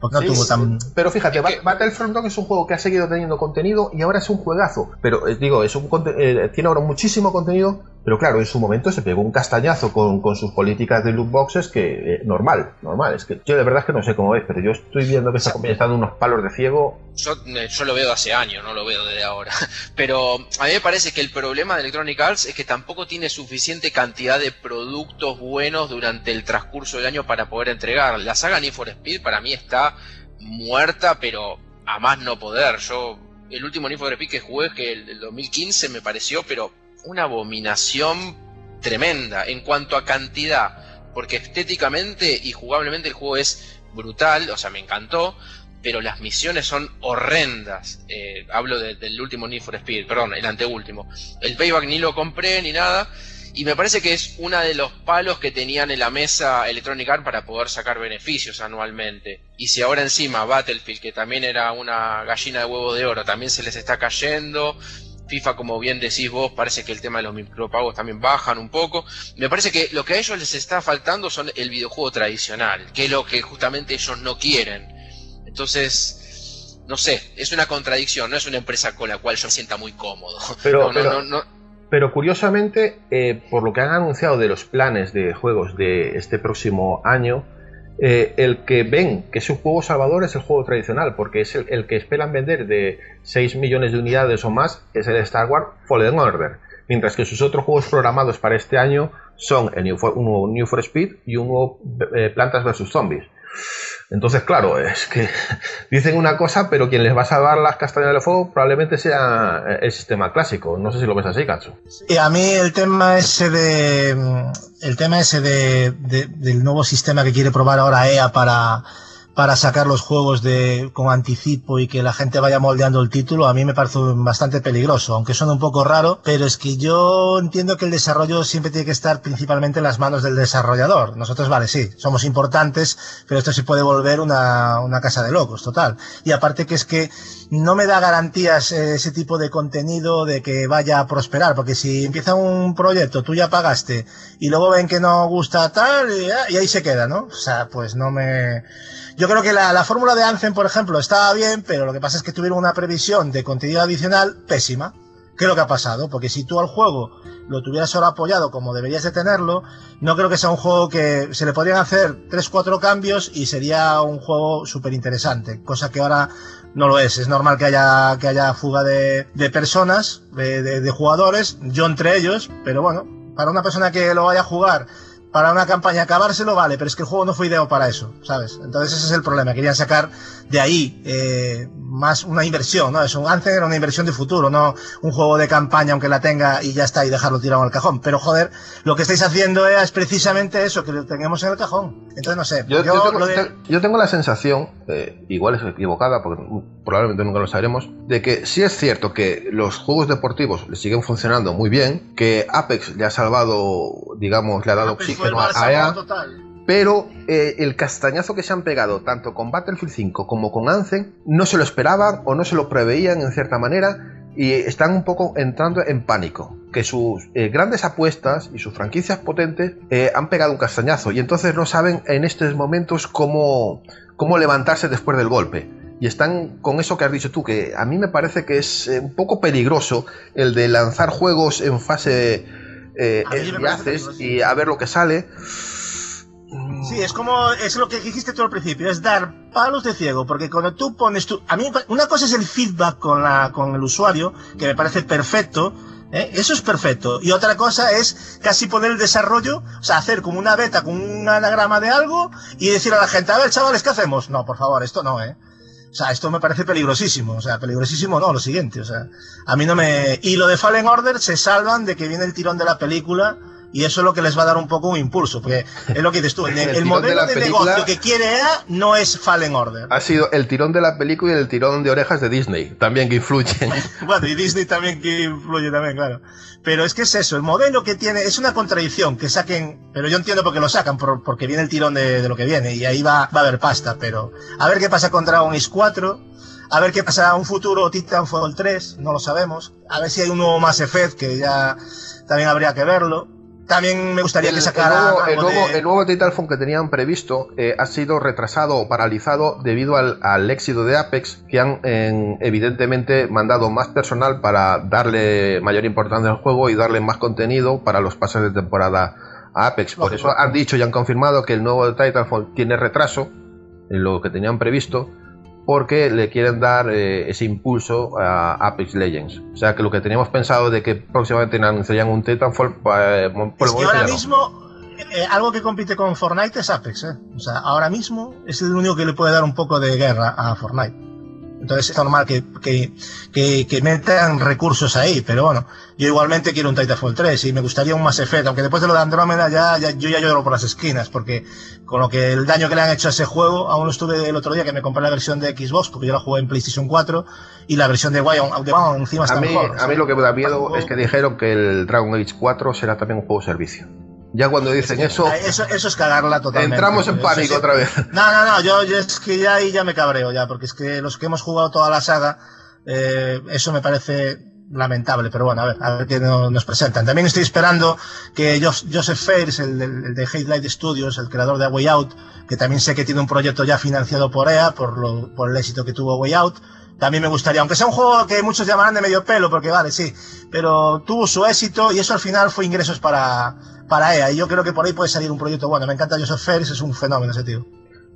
porque no sí, tuvo tan... Pero fíjate, es que... Battlefront dos es un juego que ha seguido teniendo contenido y ahora es un juegazo. Pero eh, digo, es un eh, tiene ahora muchísimo contenido, pero claro, en su momento se pegó un castañazo con, con sus políticas de loot boxes que eh, normal, normal. Es que yo de verdad es que no sé cómo es, pero yo estoy viendo que esta compañía está dando unos palos de ciego. Yo, yo lo veo de hace años, no lo veo desde ahora. Pero a mí me parece que el problema de Electronic Arts es que tampoco tiene suficiente cantidad de productos buenos durante el transcurso del año para poder entregar. La saga Need for Speed para mí está muerta, pero a más no poder. Yo, el último Need for Speed que jugué, que el, el dos mil quince, me pareció, pero una abominación tremenda en cuanto a cantidad, porque estéticamente y jugablemente el juego es brutal, o sea, me encantó, pero las misiones son horrendas. Eh, hablo de, del último Need for Speed, perdón, el anteúltimo. El Payback ni lo compré ni nada, y me parece que es uno de los palos que tenían en la mesa Electronic Arts para poder sacar beneficios anualmente. Y si ahora encima Battlefield, que también era una gallina de huevo de oro, también se les está cayendo. FIFA, como bien decís vos, parece que el tema de los micropagos también bajan un poco. Me parece que lo que a ellos les está faltando son el videojuego tradicional, que es lo que justamente ellos no quieren. Entonces, no sé, es una contradicción, no es una empresa con la cual yo me sienta muy cómodo. Pero, no, pero, no, no, no. pero curiosamente, eh, por lo que han anunciado de los planes de juegos de este próximo año, Eh, el que ven que es un juego salvador es el juego tradicional, porque es el, el que esperan vender de seis millones de unidades o más, es el Star Wars Fallen Order, mientras que sus otros juegos programados para este año son el New for, un nuevo New for Speed y un nuevo eh, Plantas versus Zombies. Entonces, claro, es que dicen una cosa, pero quien les va a salvar las castañas del fuego probablemente sea el sistema clásico. No sé si lo ves así, Katsu. Y a mí el tema ese de el tema ese de, de del nuevo sistema que quiere probar ahora E A para para sacar los juegos de con anticipo y que la gente vaya moldeando el título, a mí me parece bastante peligroso, aunque suena un poco raro, pero es que yo entiendo que el desarrollo siempre tiene que estar principalmente en las manos del desarrollador. Nosotros, vale, sí, somos importantes, pero esto se puede volver una, una casa de locos, total. Y aparte que es que no me da garantías eh, ese tipo de contenido de que vaya a prosperar, porque si empieza un proyecto, tú ya pagaste, y luego ven que no gusta tal, y, y ahí se queda, ¿no? O sea, pues no me... Yo creo que la, la fórmula de Anthem, por ejemplo, estaba bien, pero lo que pasa es que tuvieron una previsión de contenido adicional pésima. ¿Qué es lo que ha pasado? Porque si tú al juego lo tuvieras solo apoyado como deberías de tenerlo, no creo que sea un juego que se le podrían hacer tres cuatro cambios y sería un juego súper interesante, cosa que ahora no lo es. Es normal que haya que haya fuga de, de personas, de, de, de jugadores, yo entre ellos, pero bueno, para una persona que lo vaya a jugar para una campaña acabárselo, vale, pero es que el juego no fue ideado para eso, ¿sabes? Entonces ese es el problema, querían sacar de ahí eh, más una inversión, ¿no? Es un Anthem era una inversión de futuro, no un juego de campaña aunque la tenga y ya está y dejarlo tirado en el cajón. Pero joder, lo que estáis haciendo es precisamente eso, que lo tengamos en el cajón. Entonces no sé. Yo, yo, yo, tengo, lo de... yo tengo la sensación, eh, igual es equivocada porque probablemente nunca lo sabremos, de que sí es cierto que los juegos deportivos le siguen funcionando muy bien, que Apex le ha salvado, digamos, le ha dado Apex oxígeno a E A, pero eh, el castañazo que se han pegado tanto con Battlefield cinco como con Anthem no se lo esperaban o no se lo preveían en cierta manera y están un poco entrando en pánico, que sus eh, grandes apuestas y sus franquicias potentes eh, han pegado un castañazo y entonces no saben en estos momentos cómo, cómo levantarse después del golpe. Y están con eso que has dicho tú, que a mí me parece que es eh, un poco peligroso el de lanzar juegos en fase eh, de haces y a ver lo que sale. Sí, es como, es lo que dijiste tú al principio, es dar palos de ciego, porque cuando tú pones tu, a mí, una cosa es el feedback con la, con el usuario, que me parece perfecto, ¿eh? Eso es perfecto, y otra cosa es casi poner el desarrollo, o sea, hacer como una beta con un anagrama de algo, y decir a la gente, a ver chavales, ¿qué hacemos? No, por favor, esto no, eh. O sea, esto me parece peligrosísimo, o sea, peligrosísimo no, lo siguiente, o sea, a mí no me... Y lo de Fallen Order se salvan de que viene el tirón de la película, y eso es lo que les va a dar un poco un impulso, porque es lo que dices tú, el, el, el modelo de, de negocio que quiere E A no es Fallen Order. Ha sido el tirón de la película y el tirón de orejas de Disney, también que influyen. Bueno, y Disney también que influye también, claro. Pero es que es eso, el modelo que tiene, es una contradicción que saquen, pero yo entiendo por qué lo sacan, por, porque viene el tirón de, de lo que viene, y ahí va, va a haber pasta, pero a ver qué pasa con Dragon Age cuatro, a ver qué pasa un futuro Titanfall tres, no lo sabemos, a ver si hay un nuevo Mass Effect, que ya también habría que verlo. también me gustaría el, que sacaran el nuevo, el nuevo, de... el nuevo Titanfall que tenían previsto eh, ha sido retrasado o paralizado debido al, al éxito de Apex, que han eh, evidentemente mandado más personal para darle mayor importancia al juego y darle más contenido para los pases de temporada a Apex. Por eso han dicho y han confirmado que el nuevo Titanfall tiene retraso en lo que tenían previsto, porque le quieren dar eh, ese impulso a Apex Legends. O sea que lo que teníamos pensado de que próximamente anunciarían un Titanfall, eh, por es el que ahora ya no. mismo eh, algo que compite con Fortnite es Apex, ¿eh? O sea, ahora mismo es el único que le puede dar un poco de guerra a Fortnite. Entonces es normal que, que, que, que metan recursos ahí, pero bueno, yo igualmente quiero un Titanfall tres y me gustaría un Mass Effect, aunque después de lo de Andrómeda ya, ya yo ya lloro por las esquinas, porque con lo que el daño que le han hecho a ese juego, aún lo estuve el otro día que me compré la versión de Xbox, porque yo la jugué en PlayStation cuatro, y la versión de One, de One encima está a mí, mejor. A o sea, mí lo que me da miedo juego... es que dijeron que el Dragon Age cuatro será también un juego servicio. Ya cuando dicen es que, eso, eso, eso es cagarla totalmente. Entramos en pánico sí. otra vez. No, no, no, yo, yo es que ya ahí ya me cabreo ya, porque es que los que hemos jugado toda la saga, eh, eso me parece lamentable, pero bueno, a ver, a ver qué nos presentan. También estoy esperando que Joseph Fares, el, el, el de Hatelight Studios, el creador de A Way Out, que también sé que tiene un proyecto ya financiado por E A, por, lo, por el éxito que tuvo A Way Out, también me gustaría, aunque sea un juego que muchos llamarán de medio pelo, porque vale, sí, pero tuvo su éxito y eso al final fue ingresos para, para E A, y yo creo que por ahí puede salir un proyecto bueno. Me encanta Joseph Fares, es un fenómeno ese tío.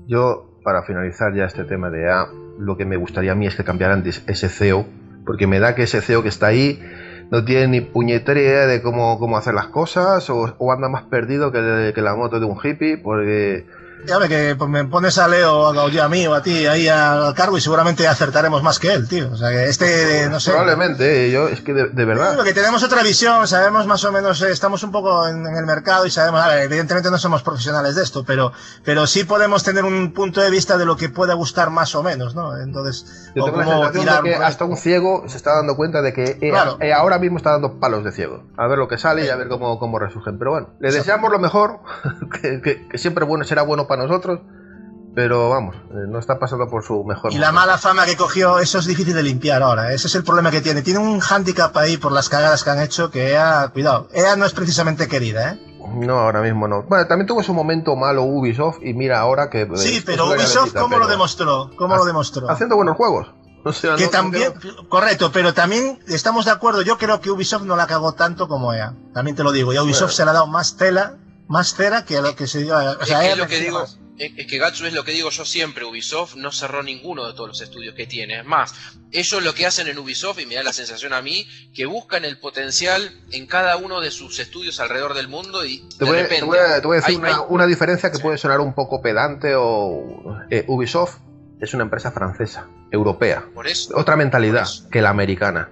Yo, para finalizar ya este tema de E A, lo que me gustaría a mí es que cambiaran ese C E O, porque me da que ese C E O que está ahí no tiene ni puñetera idea de cómo, cómo hacer las cosas, o, o anda más perdido que, que la moto de un hippie, porque... Ya ve que me pones a Leo, o a mí o a ti ahí al cargo y seguramente acertaremos más que él, tío. O sea que este, no sé. Probablemente, yo es que de, de verdad. Lo que tenemos otra visión, sabemos más o menos, eh, estamos un poco en, en el mercado y sabemos, a ver, evidentemente no somos profesionales de esto, pero, pero sí podemos tener un punto de vista de lo que pueda gustar más o menos, ¿no? Entonces, yo tengo la sensación de que hasta un ciego se está dando cuenta de que E A, claro. E A ahora mismo está dando palos de ciego. A ver lo que sale y a ver cómo, cómo resurgen. Pero bueno, le deseamos lo mejor, que, que, que siempre bueno será bueno para nosotros, pero vamos, no está pasando por su mejor y momento. La mala fama que cogió, eso es difícil de limpiar ahora, ese es el problema que tiene, tiene un hándicap ahí por las cagadas que han hecho, que E A, cuidado, E A no es precisamente querida, ¿eh? No, ahora mismo no. Bueno, también tuvo su momento malo Ubisoft y mira ahora que... Sí, pero Ubisoft, ¿cómo pero... lo demostró? ¿Cómo ha, lo demostró? Haciendo buenos juegos. O sea, que no, también, no... correcto, pero también estamos de acuerdo, yo creo que Ubisoft no la cagó tanto como E A, también te lo digo, y a Ubisoft bueno. se le ha dado más tela, más cera que a lo que se dio a... O sea, es que E A lo que digo... más. Es que Gatsu es lo que digo yo siempre, Ubisoft no cerró ninguno de todos los estudios que tiene. Es más, ellos lo que hacen en Ubisoft, y me da la sensación a mí, que buscan el potencial en cada uno de sus estudios alrededor del mundo y te de voy, repente... Te voy a, te voy a decir hay, una, hay... una diferencia que sí. puede sonar un poco pedante o... Eh, Ubisoft es una empresa francesa, europea. Por eso, otra mentalidad por eso. que la americana.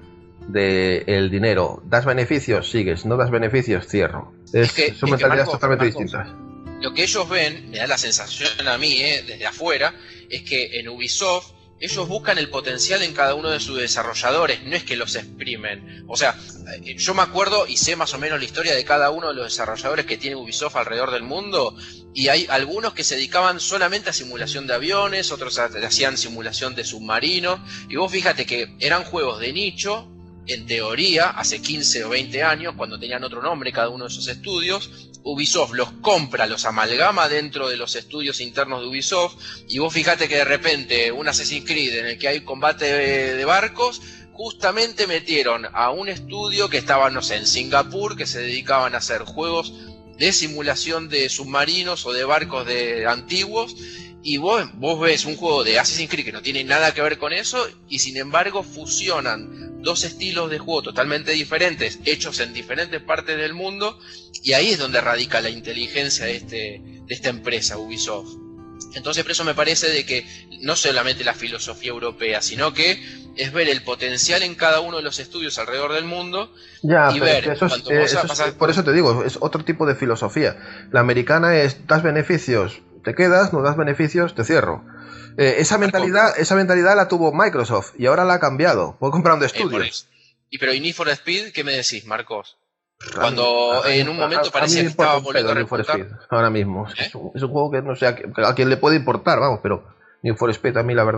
De el dinero, das beneficios, sigues, no das beneficios, cierro. Es, es que, son es mentalidades que Marcos, totalmente Marcos, distintas. Lo que ellos ven, me da la sensación a mí, eh, desde afuera, es que en Ubisoft ellos buscan el potencial en cada uno de sus desarrolladores, no es que los exprimen. O sea, yo me acuerdo y sé más o menos la historia de cada uno de los desarrolladores que tiene Ubisoft alrededor del mundo, y hay algunos que se dedicaban solamente a simulación de aviones, otros hacían simulación de submarinos, y vos fíjate que eran juegos de nicho, en teoría, hace quince o veinte años, cuando tenían otro nombre cada uno de esos estudios. Ubisoft los compra, los amalgama dentro de los estudios internos de Ubisoft, y vos fíjate que de repente un Assassin's Creed en el que hay combate de, de barcos, justamente metieron a un estudio que estaba, no sé, en Singapur, que se dedicaban a hacer juegos de simulación de submarinos o de barcos de antiguos, y vos, vos ves un juego de Assassin's Creed que no tiene nada que ver con eso, y sin embargo fusionan dos estilos de juego totalmente diferentes, hechos en diferentes partes del mundo, y ahí es donde radica la inteligencia de, este, de esta empresa, Ubisoft. Entonces por eso me parece de que no solamente la filosofía europea, sino que es ver el potencial en cada uno de los estudios alrededor del mundo ya, y ver eso es, eh, eso pasar... es, por eso te digo, es otro tipo de filosofía. La americana es, das beneficios, te quedas, no das beneficios, te cierro. Eh, esa mentalidad esa mentalidad la tuvo Microsoft y ahora la ha cambiado. Puedo comprar un de estudios. Eh, y pero ¿y Need for Speed qué me decís, Marcos? Cuando a mí, en un momento a, parecía a que estaba volviendo a repuntar. Ahora mismo. ¿Eh? Es, un, es un juego que no sé a, a quién le puede importar, vamos, pero Need for Speed a mí la verdad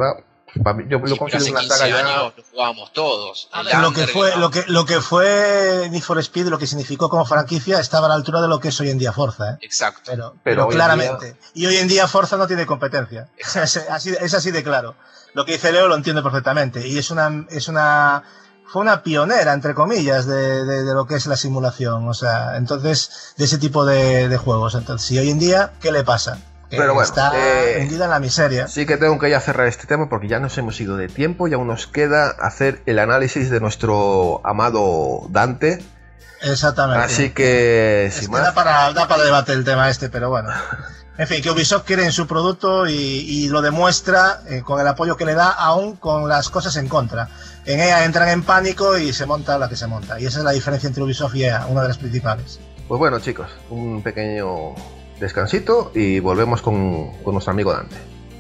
Para mí, yo Sí, lo pero considero hace una quince saga ya... años lo jugábamos todos. El Lo que, Under, fue, ¿no? lo, que, lo que fue Need for Speed, lo que significó como franquicia, estaba a la altura de lo que es hoy en día Forza. ¿eh? Exacto. Pero, Pero pero hoy en claramente. día- Y hoy en día Forza no tiene competencia. Es así, es así de claro. Lo que dice Leo lo entiendo perfectamente. Y es una, es una, fue una pionera, entre comillas, de, de, de lo que es la simulación. O sea, entonces, de ese tipo de, de juegos. Entonces, y hoy en día, ¿qué le pasa? Que Pero bueno, está eh, hundida en la miseria. Sí que tengo que ya cerrar este tema porque ya nos hemos ido de tiempo y aún nos queda hacer el análisis de nuestro amado Dante. Exactamente. Así que, Es sin que más... da para, da para debate el tema este, pero bueno. En fin, que Ubisoft quiere en su producto y, y lo demuestra eh, con el apoyo que le da, aún con las cosas en contra. En E A entran en pánico y se monta la que se monta. Y esa es la diferencia entre Ubisoft y E A, una de las principales. Pues bueno, chicos, un pequeño descansito y volvemos con, con nuestro amigo Dante.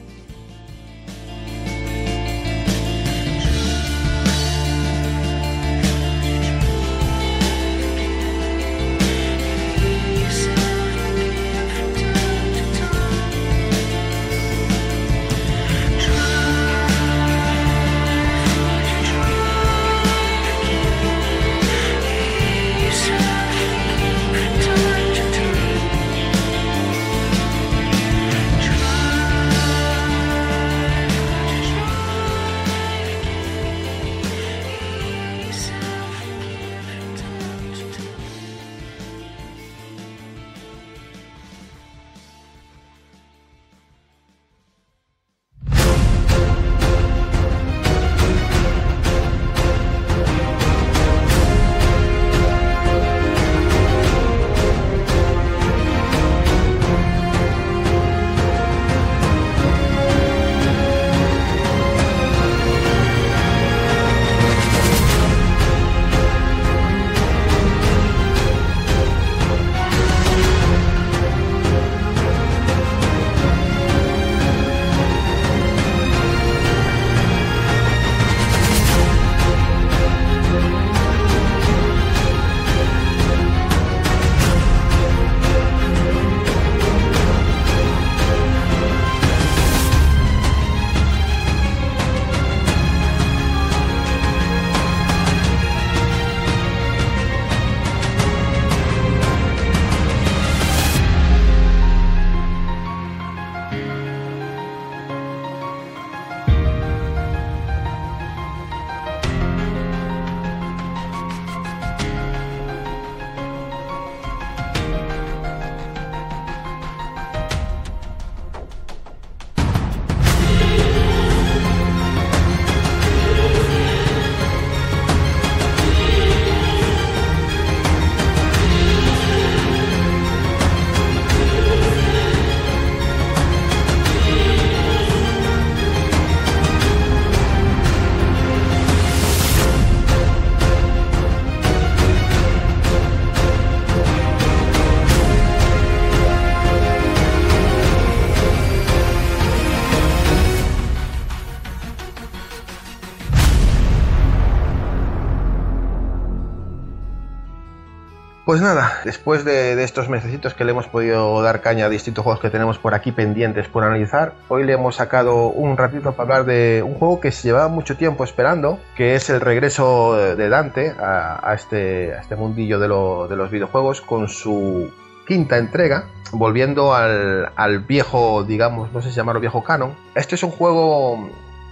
Pues nada, después de, de estos mesecitos que le hemos podido dar caña a distintos juegos que tenemos por aquí pendientes por analizar, hoy le hemos sacado un ratito para hablar de un juego que se llevaba mucho tiempo esperando, que es el regreso de Dante a, a, este, a este mundillo de, lo, de los videojuegos con su quinta entrega, volviendo al, al viejo, digamos, no sé si llamarlo viejo canon. Este es un juego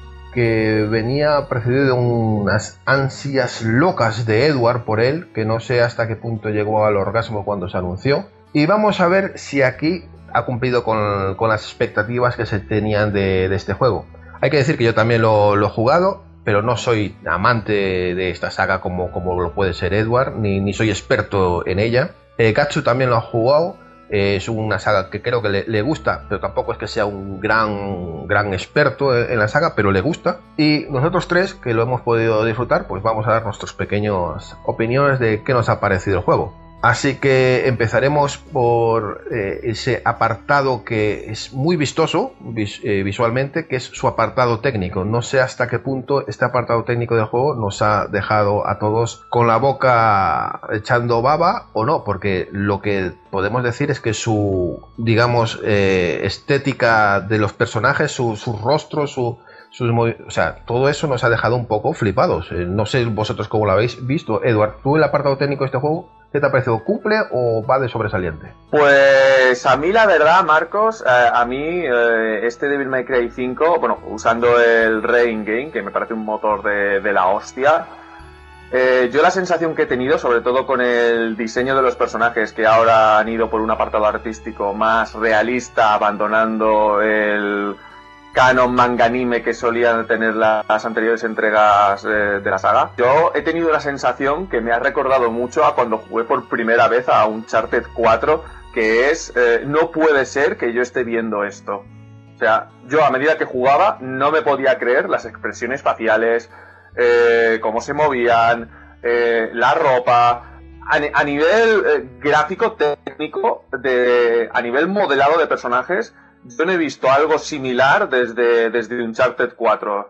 que venía precedido de unas ansias locas de Edward por él, que no sé hasta qué punto llegó al orgasmo cuando se anunció. Y vamos a ver si aquí ha cumplido con, con las expectativas que se tenían de, de este juego. Hay que decir que yo también lo, lo he jugado, pero no soy amante de esta saga como, como lo puede ser Edward, ni, ni soy experto en ella. Eh, Gatsu también lo ha jugado. Eh, es una saga que creo que le, le gusta, pero tampoco es que sea un gran, gran experto en la saga, pero le gusta. Y nosotros tres, que lo hemos podido disfrutar, pues vamos a dar nuestras pequeñas opiniones de qué nos ha parecido el juego. Así que empezaremos por eh, ese apartado que es muy vistoso vis, eh, visualmente, que es su apartado técnico. No sé hasta qué punto este apartado técnico del juego nos ha dejado a todos con la boca echando baba o no, porque lo que podemos decir es que su, digamos, eh, estética de los personajes, su, sus rostros, su, sus o sea, todo eso nos ha dejado un poco flipados. Eh, no sé vosotros cómo lo habéis visto. Edward, ¿tú el apartado técnico de este juego, qué te ha parecido? ¿Cumple o va de sobresaliente? Pues a mí la verdad, Marcos, eh, a mí eh, este Devil May Cry cinco, bueno, usando el Rain Game, que me parece un motor de, de la hostia, eh, yo la sensación que he tenido, sobre todo con el diseño de los personajes, que ahora han ido por un apartado artístico más realista, abandonando el canon manga anime que solían tener las anteriores entregas eh, de la saga, yo he tenido la sensación que me ha recordado mucho a cuando jugué por primera vez a Uncharted cuatro, que es, eh, no puede ser que yo esté viendo esto. O sea, yo a medida que jugaba no me podía creer las expresiones faciales, eh, cómo se movían, eh, la ropa, a, a nivel eh, gráfico, técnico, de, a nivel modelado de personajes. Yo no he visto algo similar desde, desde Uncharted cuatro,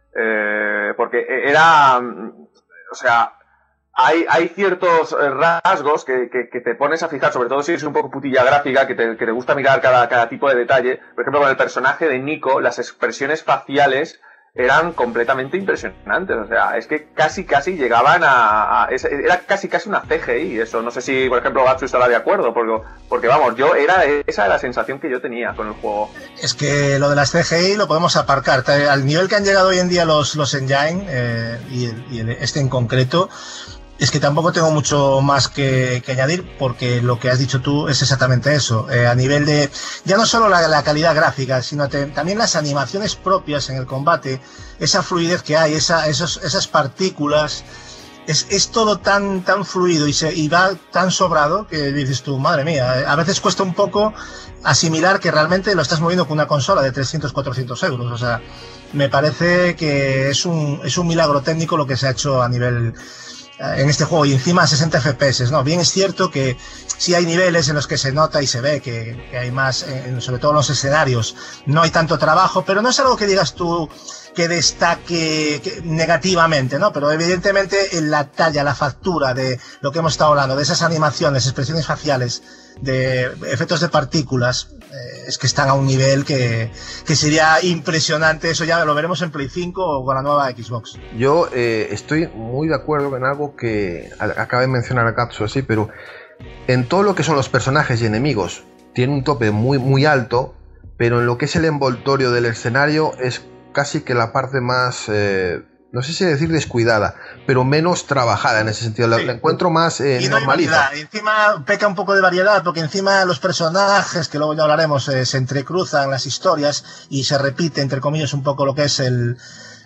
eh, porque era, o sea, hay, hay ciertos rasgos que, que, que te pones a fijar, sobre todo si eres un poco putilla gráfica, que te, que te gusta mirar cada, cada tipo de detalle. Por ejemplo, con el personaje de Nico, las expresiones faciales eran completamente impresionantes, o sea, es que casi casi llegaban a, a era casi casi una C G I, eso, no sé si por ejemplo Gatsu estará de acuerdo, porque, porque vamos, yo era esa la sensación que yo tenía con el juego. Es que lo de las C G I lo podemos aparcar, al nivel que han llegado hoy en día los, los engine, eh, y, el, y el, este en concreto, es que tampoco tengo mucho más que, que añadir, porque lo que has dicho tú es exactamente eso. Eh, a nivel de, ya no solo la, la calidad gráfica, sino te, también las animaciones propias en el combate, esa fluidez que hay, esa, esos, esas partículas, es, es todo tan, tan fluido y, se, y va tan sobrado que dices tú, madre mía, a veces cuesta un poco asimilar que realmente lo estás moviendo con una consola de trescientos, cuatrocientos euros. O sea, me parece que es un, es un milagro técnico lo que se ha hecho a nivel en este juego, y encima sesenta F P S, ¿no? Bien es cierto que sí hay niveles en los que se nota y se ve que, que hay más, en, sobre todo en los escenarios, no hay tanto trabajo, pero no es algo que digas tú que destaque que, negativamente, ¿no? Pero evidentemente en la talla, la factura de lo que hemos estado hablando, de esas animaciones, expresiones faciales, de efectos de partículas, eh, es que están a un nivel que, que sería impresionante. Eso ya lo veremos en Play cinco o con la nueva Xbox. Yo eh, estoy muy de acuerdo en algo que acaba de mencionar a Katsu, así, pero en todo lo que son los personajes y enemigos tiene un tope muy, muy alto, pero en lo que es el envoltorio del escenario es casi que la parte más, eh, no sé si decir descuidada, pero menos trabajada en ese sentido. La, sí. la encuentro más eh, y no normalita. Encima peca un poco de variedad, porque encima los personajes, que luego ya hablaremos, eh, se entrecruzan las historias y se repite, entre comillas, un poco lo que es el,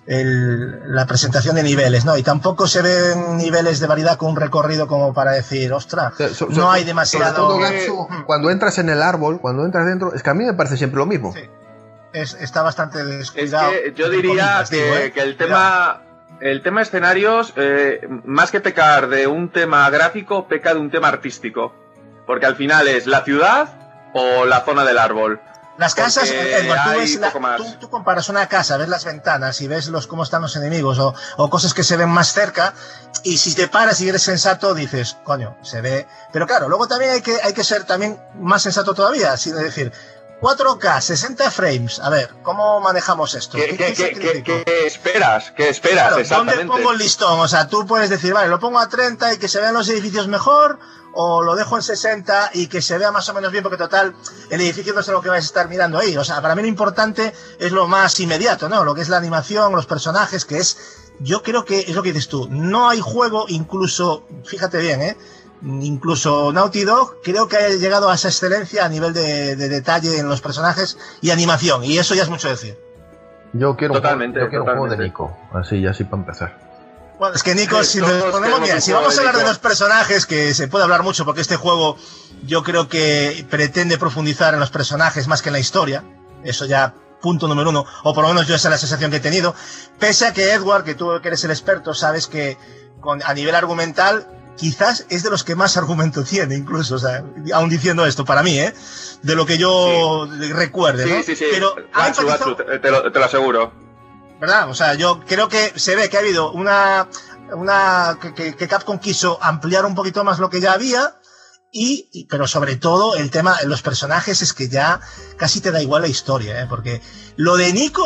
el, la presentación de niveles, ¿no? Y tampoco se ven niveles de variedad con un recorrido como para decir, ostras, so, so, no hay demasiado... Todo, Gatsu, cuando entras en el árbol, cuando entras dentro, es que a mí me parece siempre lo mismo. Sí. Es, está bastante descuidado. Es que yo diría que, digo, ¿eh? que el tema el tema escenarios, eh, más que pecar de un tema gráfico, peca de un tema artístico, porque al final es la ciudad o la zona del árbol. Las casas, Edward, tú, ves la, tú, tú comparas una casa, ves las ventanas y ves los cómo están los enemigos o, o cosas que se ven más cerca, y si te paras y eres sensato dices, coño, se ve. Pero claro, luego también hay que hay que ser también más sensato todavía, es decir, cuatro K, sesenta frames. A ver, ¿cómo manejamos esto? ¿Qué, ¿Qué, qué, qué, qué, qué esperas? ¿Qué esperas claro, exactamente? ¿Dónde pongo el listón? O sea, tú puedes decir, vale, lo pongo a treinta y que se vean los edificios mejor, o lo dejo en sesenta y que se vea más o menos bien, porque total, el edificio no es lo que vais a estar mirando ahí. O sea, para mí lo importante es lo más inmediato, ¿no? Lo que es la animación, los personajes, que es, yo creo que es lo que dices tú. No hay juego, incluso, fíjate bien, ¿eh? Incluso Naughty Dog creo que ha llegado a esa excelencia a nivel de, de detalle en los personajes y animación, y eso ya es mucho decir. Yo quiero, totalmente, un, yo quiero totalmente. un juego de Nico, así así para empezar. Bueno, es que Nico, si nos ponemos bien, si vamos a hablar de los personajes, que se puede hablar mucho, porque este juego yo creo que pretende profundizar en los personajes más que en la historia, eso ya punto número uno, o por lo menos yo esa es la sensación que he tenido, pese a que Edward, que tú que eres el experto, sabes que con, a nivel argumental quizás es de los que más argumento tiene, incluso, o sea, aún diciendo esto, para mí, ¿eh? De lo que yo sí. recuerde, ¿no? Sí, sí, sí. Pero Gatsu, Gatsu, te, te, lo, te lo aseguro. ¿Verdad? O sea, yo creo que se ve que ha habido una... una que, que Capcom quiso ampliar un poquito más lo que ya había, y, y pero sobre todo el tema, los personajes, es que ya casi te da igual la historia, ¿eh? Porque lo de Nico,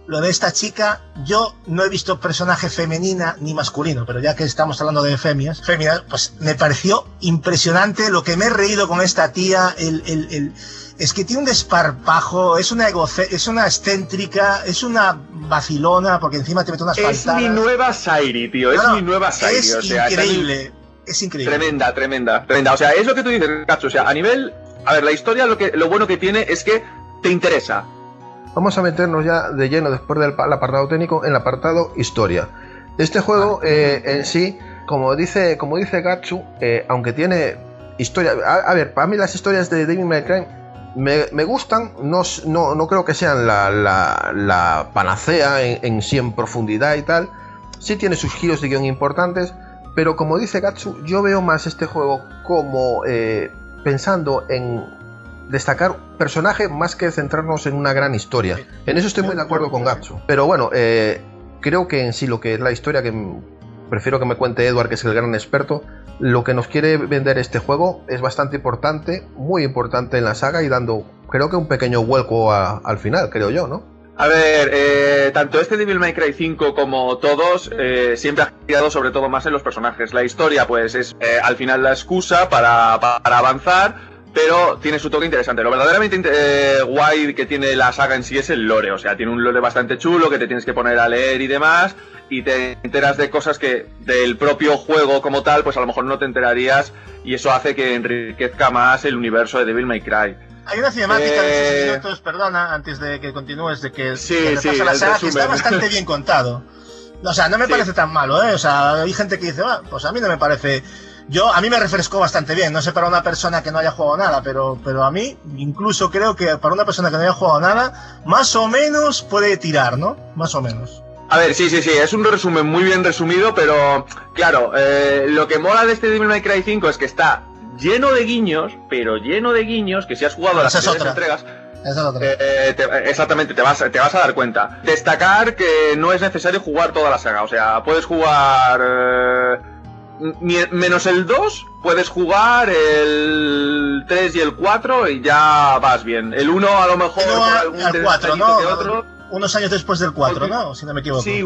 lo de esta chica, yo no he visto personaje femenina ni masculino, pero ya que estamos hablando de femias, féminas, pues me pareció impresionante lo que me he reído con esta tía, el, el, el, es que tiene un desparpajo, es una egoce, es una excéntrica, es una vacilona, porque encima te mete unas Es fantasmas. mi nueva Sairi, tío, es no, no, mi nueva Sairi. Es o sea, increíble, es increíble. Tremenda, tremenda, tremenda. O sea, es lo que tú dices, Cacho, o sea, a nivel... A ver, la historia lo, que, lo bueno que tiene es que te interesa. Vamos a meternos ya de lleno, después del apartado técnico, en el apartado historia. Este juego eh, en sí, como dice, como dice Gatsu, eh, aunque tiene historia... A, a ver, para mí las historias de Devil May Cry me, me gustan, no, no, no creo que sean la, la, la panacea en, en sí en profundidad y tal. Sí tiene sus giros de guión importantes, pero como dice Gatsu, yo veo más este juego como eh, pensando en destacar personaje más que centrarnos en una gran historia. En eso estoy muy de acuerdo con Gatsu. Pero bueno, eh, creo que en sí lo que es la historia, que prefiero que me cuente Edward, que es el gran experto, lo que nos quiere vender este juego es bastante importante, muy importante en la saga y dando, creo que un pequeño vuelco a, al final, creo yo, ¿no? A ver, eh, tanto este Devil May Cry cinco como todos eh, siempre ha girado sobre todo más en los personajes. La historia pues es eh, al final la excusa para, para avanzar, pero tiene su toque interesante. Lo verdaderamente eh, guay que tiene la saga en sí es el lore. O sea, tiene un lore bastante chulo que te tienes que poner a leer y demás, y te enteras de cosas que del propio juego como tal, pues a lo mejor no te enterarías, y eso hace que enriquezca más el universo de Devil May Cry. Hay una cinemática eh... de seis minutos, perdona, antes de que continúes, de que, sí, que sí, la saga, que resumen. está bastante bien contado. O sea, no me sí. parece tan malo, ¿eh? O sea, hay gente que dice, ah, pues a mí no me parece... Yo, a mí me refrescó bastante bien, no sé para una persona que no haya jugado nada, pero, pero a mí, incluso creo que para una persona que no haya jugado nada, más o menos puede tirar, ¿no? Más o menos. A ver, sí, sí, sí, es un resumen muy bien resumido, pero claro, eh, lo que mola de este Devil May Cry cinco es que está lleno de guiños, pero lleno de guiños, que si has jugado a las Esa es anteriores otra. entregas... Esa es otra. Eh, te, exactamente, te vas, te vas a dar cuenta. Destacar que no es necesario jugar toda la saga, o sea, puedes jugar... Eh, menos el dos, puedes jugar el tres y el cuatro y ya vas bien. El uno a lo mejor... Pero al cuatro, ¿no? Que otro. Unos años después del cuatro, Porque, ¿no? Si no me equivoco. Sí,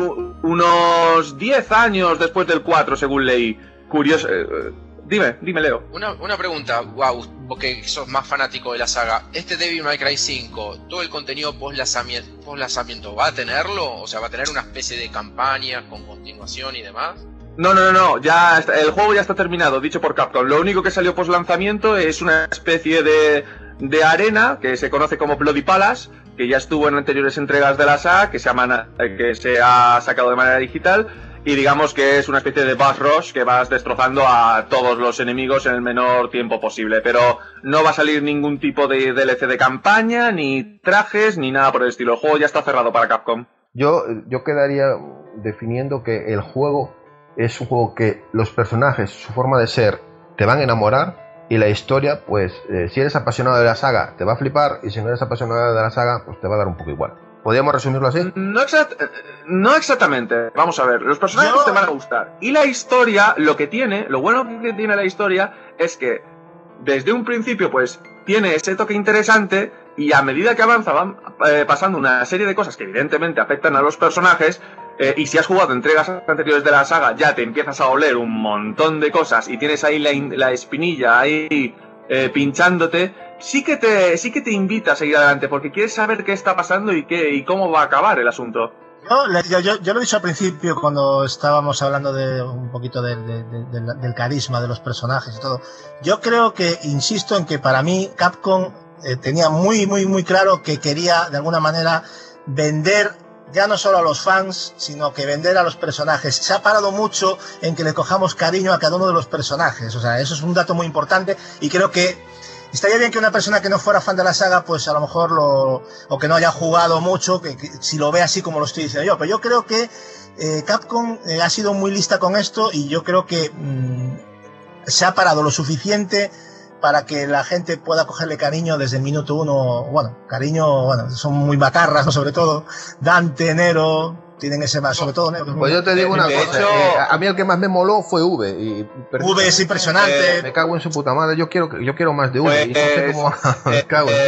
unos diez años después del cuatro, según leí. Curioso... Eh, dime, dime, Leo. Una, una pregunta, wow, porque sos más fanático de la saga. ¿Este Devil May Cry cinco, todo el contenido post-lanzamiento, post-lanzamiento, va a tenerlo? O sea, ¿va a tener una especie de campaña con continuación y demás? No, no, no, no, ya está, el juego ya está terminado, dicho por Capcom. Lo único que salió post lanzamiento es una especie de, de arena que se conoce como Bloody Palace, que ya estuvo en anteriores entregas de la saga, que se, llama, que se ha sacado de manera digital, y digamos que es una especie de boss rush que vas destrozando a todos los enemigos en el menor tiempo posible. Pero no va a salir ningún tipo de D L C de campaña, ni trajes, ni nada por el estilo. El juego ya está cerrado para Capcom. Yo, yo quedaría definiendo que el juego es un juego que los personajes, su forma de ser, te van a enamorar, y la historia, pues, eh, si eres apasionado de la saga, te va a flipar, y si no eres apasionado de la saga, pues te va a dar un poco igual. ¿Podríamos resumirlo así? No, exact no exactamente. Vamos a ver, los personajes Yo... te van a gustar. Y la historia, lo que tiene, lo bueno que tiene la historia, es que desde un principio, pues, tiene ese toque interesante, y a medida que avanza van eh, pasando una serie de cosas que evidentemente afectan a los personajes. Eh, y si has jugado entregas anteriores de la saga, ya te empiezas a oler un montón de cosas y tienes ahí la, la espinilla ahí eh, pinchándote, sí que te sí que te invita a seguir adelante porque quieres saber qué está pasando y qué y cómo va a acabar el asunto. Yo, yo, yo, yo lo he dicho al principio cuando estábamos hablando de un poquito de, de, de, de, del carisma de los personajes y todo. Yo creo que, insisto en que para mí Capcom eh, tenía muy, muy, muy claro que quería de alguna manera vender ya no solo a los fans, sino que vender a los personajes. Se ha parado mucho en que le cojamos cariño a cada uno de los personajes. O sea, eso es un dato muy importante y creo que estaría bien que una persona que no fuera fan de la saga, pues a lo mejor lo... o que no haya jugado mucho, que, que si lo ve así como lo estoy diciendo yo. Pero yo creo que eh, Capcom eh, ha sido muy lista con esto y yo creo que mmm, se ha parado lo suficiente para que la gente pueda cogerle cariño desde el minuto uno. Bueno, cariño, bueno, son muy macarras, ¿no? Sobre todo Dante, Nero, tienen ese más, sobre todo Nero. Pues yo te digo una de cosa, hecho, eh, a mí el que más me moló fue V. Y V es impresionante. Me cago en su puta madre, yo quiero, yo quiero más de V. Pues, y no sé cómo... me cago en... eh,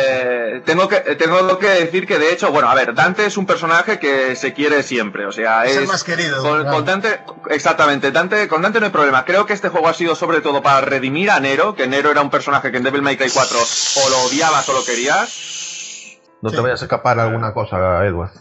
Eh, tengo que tengo que decir que de hecho, bueno, a ver, Dante es un personaje que se quiere siempre, o sea, es, es el más querido. Con, claro. con Dante, exactamente, Dante, con Dante no hay problema. Creo que este juego ha sido sobre todo para redimir a Nero, que Nero era un personaje que en Devil May Cry cuatro o lo odiabas o lo querías. No Sí. te vayas a escapar alguna cosa, Edward.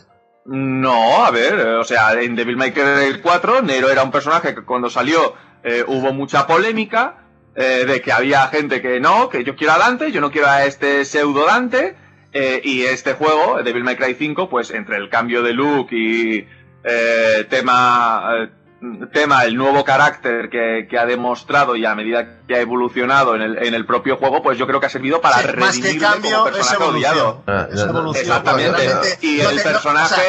No, a ver, o sea, en Devil May Cry cuatro Nero era un personaje que cuando salió eh, hubo mucha polémica. Eh, de que había gente que no, que yo quiero a Dante, yo no quiero a este pseudo Dante, eh, y este juego, Devil May Cry cinco, pues entre el cambio de look y eh, tema, eh, tema, el nuevo carácter que, que ha demostrado y a medida que ha evolucionado en el, en el propio juego, pues yo creo que ha servido para Sí, más que redimirle cambio, como es personaje evolución. odiado. Ah, Es evolución. Exactamente. Realmente, Y no el te- no, personaje...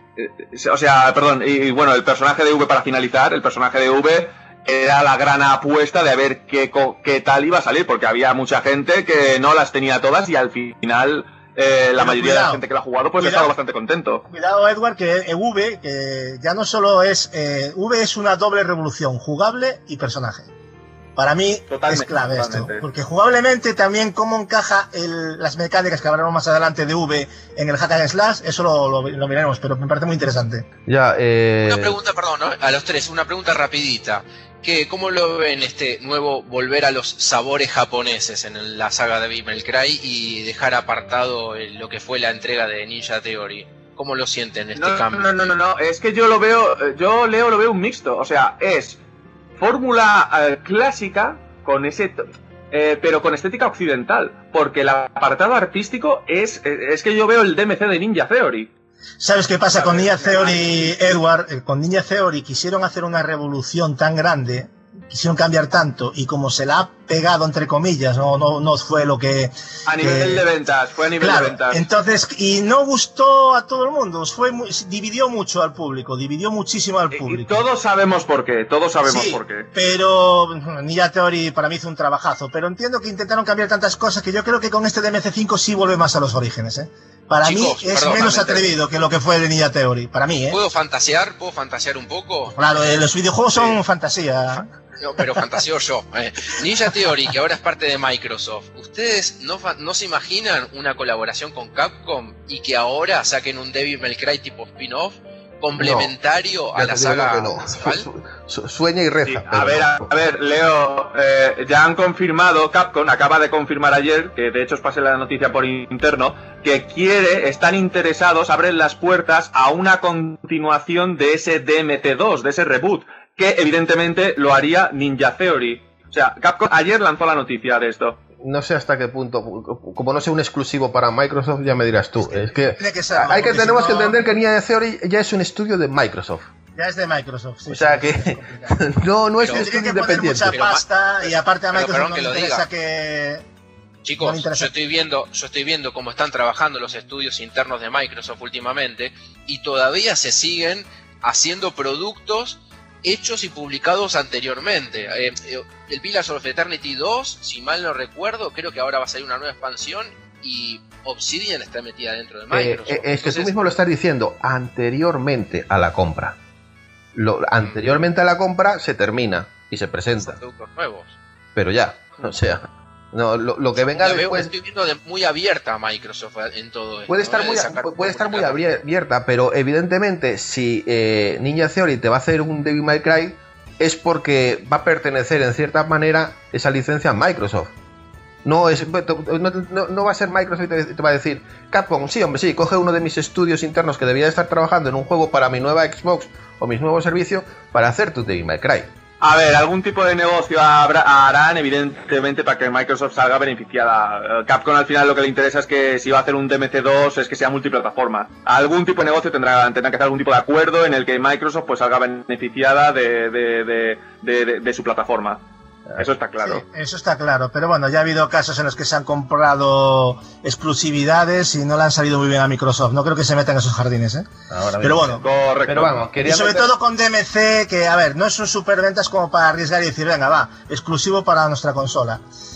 o sea, eh, O sea, perdón, y, y bueno, el personaje de V, para finalizar, el personaje de V era la gran apuesta de a ver qué, co- qué tal iba a salir, porque había mucha gente que no las tenía todas y al final eh, la Pero mayoría de cuidado, la gente que la ha jugado pues ha cuidado. estado bastante contento. Cuidado, Edward, que eh, V, que ya no solo es... Eh, V es una doble revolución, jugable y personaje. Para mí Totalmente, es clave totalmente. esto, porque jugablemente también cómo encaja el, las mecánicas que hablaremos más adelante de V en el Hack and Slash, eso lo, lo, lo miraremos, pero me parece muy interesante. Ya, eh... Una pregunta, perdón, ¿no? A los tres, una pregunta rapidita. ¿Qué, ¿Cómo lo ven este nuevo volver a los sabores japoneses en la saga de Devil May Cry y dejar apartado el- lo que fue la entrega de Ninja Theory? ¿Cómo lo sienten este No, cambio? no, no, no, no, es que yo lo veo, yo Leo lo veo un mixto, o sea, es fórmula eh, clásica con ese, to- eh, pero con estética occidental, porque el apartado artístico es, es que yo veo el D M C de Ninja Theory. ¿Sabes qué pasa con Ninja Theory, Edward? Eh, Con Ninja Theory quisieron hacer una revolución tan grande, quisieron cambiar tanto, y como se la ha pegado, entre comillas, no, no, no fue lo que... A nivel que- de ventas, fue a nivel Claro, de ventas. entonces, y no gustó a todo el mundo, fue muy- dividió mucho al público, dividió muchísimo al Y público. todos sabemos por qué, todos sabemos Sí, por qué. pero Ninja Theory para mí hizo un trabajazo, pero entiendo que intentaron cambiar tantas cosas que yo creo que con este D M C cinco sí vuelve más a los orígenes, ¿eh? Para Chicos, mí es perdón, menos realmente. atrevido que lo que fue de Ninja Theory, para mí, ¿eh? ¿Puedo fantasear? ¿Puedo fantasear un poco? Claro, eh, los videojuegos son fantasía. No, pero fantaseo yo. Eh, Ninja Theory, que ahora es parte de Microsoft, ¿ustedes no, fa- no se imaginan una colaboración con Capcom y que ahora saquen un Devil May Cry tipo spin-off complementario Ya a te la digo saga que no. principal? Su- su- Sueña y reza. Sí, pero a ver, a, no. a ver, Leo, eh, ya han confirmado, Capcom acaba de confirmar ayer, que de hecho os pasé la noticia por interno, que quiere, están interesados, abren las puertas a una continuación de ese D M C dos, de ese reboot, que evidentemente lo haría Ninja Theory. O sea, Capcom ayer lanzó la noticia de esto. No sé hasta qué punto, como no sea un exclusivo para Microsoft, ya me dirás tú. Es que Tiene que serlo, hay que porque tenemos si que no- entender que Ninja Theory ya es un estudio de Microsoft. Ya es de Microsoft. Sí, O sea sí, que es complicado. no, no es Pero- un Tiene estudio que poner independiente. mucha Pero ma- pasta y aparte a pero Microsoft perdón no que le lo interesa diga. que... No le Chicos, interesa. yo estoy viendo, yo estoy viendo cómo están trabajando los estudios internos de Microsoft últimamente y todavía se siguen haciendo productos hechos y publicados anteriormente. Eh, eh, el Pillars of Eternity dos, si mal no recuerdo, creo que ahora va a salir una nueva expansión y Obsidian está metida dentro de Eh, Microsoft. eh, es que tú Entonces, mismo lo estás diciendo, anteriormente a la compra. Lo, anteriormente a la compra se termina y se presenta, productos nuevos. pero ya, o sea, no, lo, lo que venga La veo- después estoy viendo de- muy abierta a Microsoft en todo esto. puede estar ¿no? muy, De sacar puede estar muy comunicación. abierta, pero evidentemente si eh, Ninja Theory te va a hacer un Devil May Cry es porque va a pertenecer en cierta manera esa licencia a Microsoft. No, es, no, no- no va a ser Microsoft y te, te va a decir Capcom, sí, hombre, sí, coge uno de mis estudios internos que debería estar trabajando en un juego para mi nueva Xbox o mis nuevos servicios para hacer tu Devil May Cry. A ver, algún tipo de negocio habrá- harán, evidentemente, para que Microsoft salga beneficiada. Eh, Capcom al final lo que le interesa es que si va a hacer un D M C dos es que sea multiplataforma. Algún tipo de negocio tendrá, tendrá que hacer algún tipo de acuerdo en el que Microsoft pues salga beneficiada de, de, de, de, de- de su plataforma. Eso está claro. Sí, eso está claro, pero bueno, ya ha habido casos en los que se han comprado exclusividades y no le han salido muy bien a Microsoft. No creo que se metan en esos jardines, ¿eh? Ahora Pero mismo. bueno, Correcto. Pero vamos, y quería sobre meter- todo con D M C, que a ver, no es un superventas como para arriesgar y decir, venga, va, exclusivo para nuestra consola.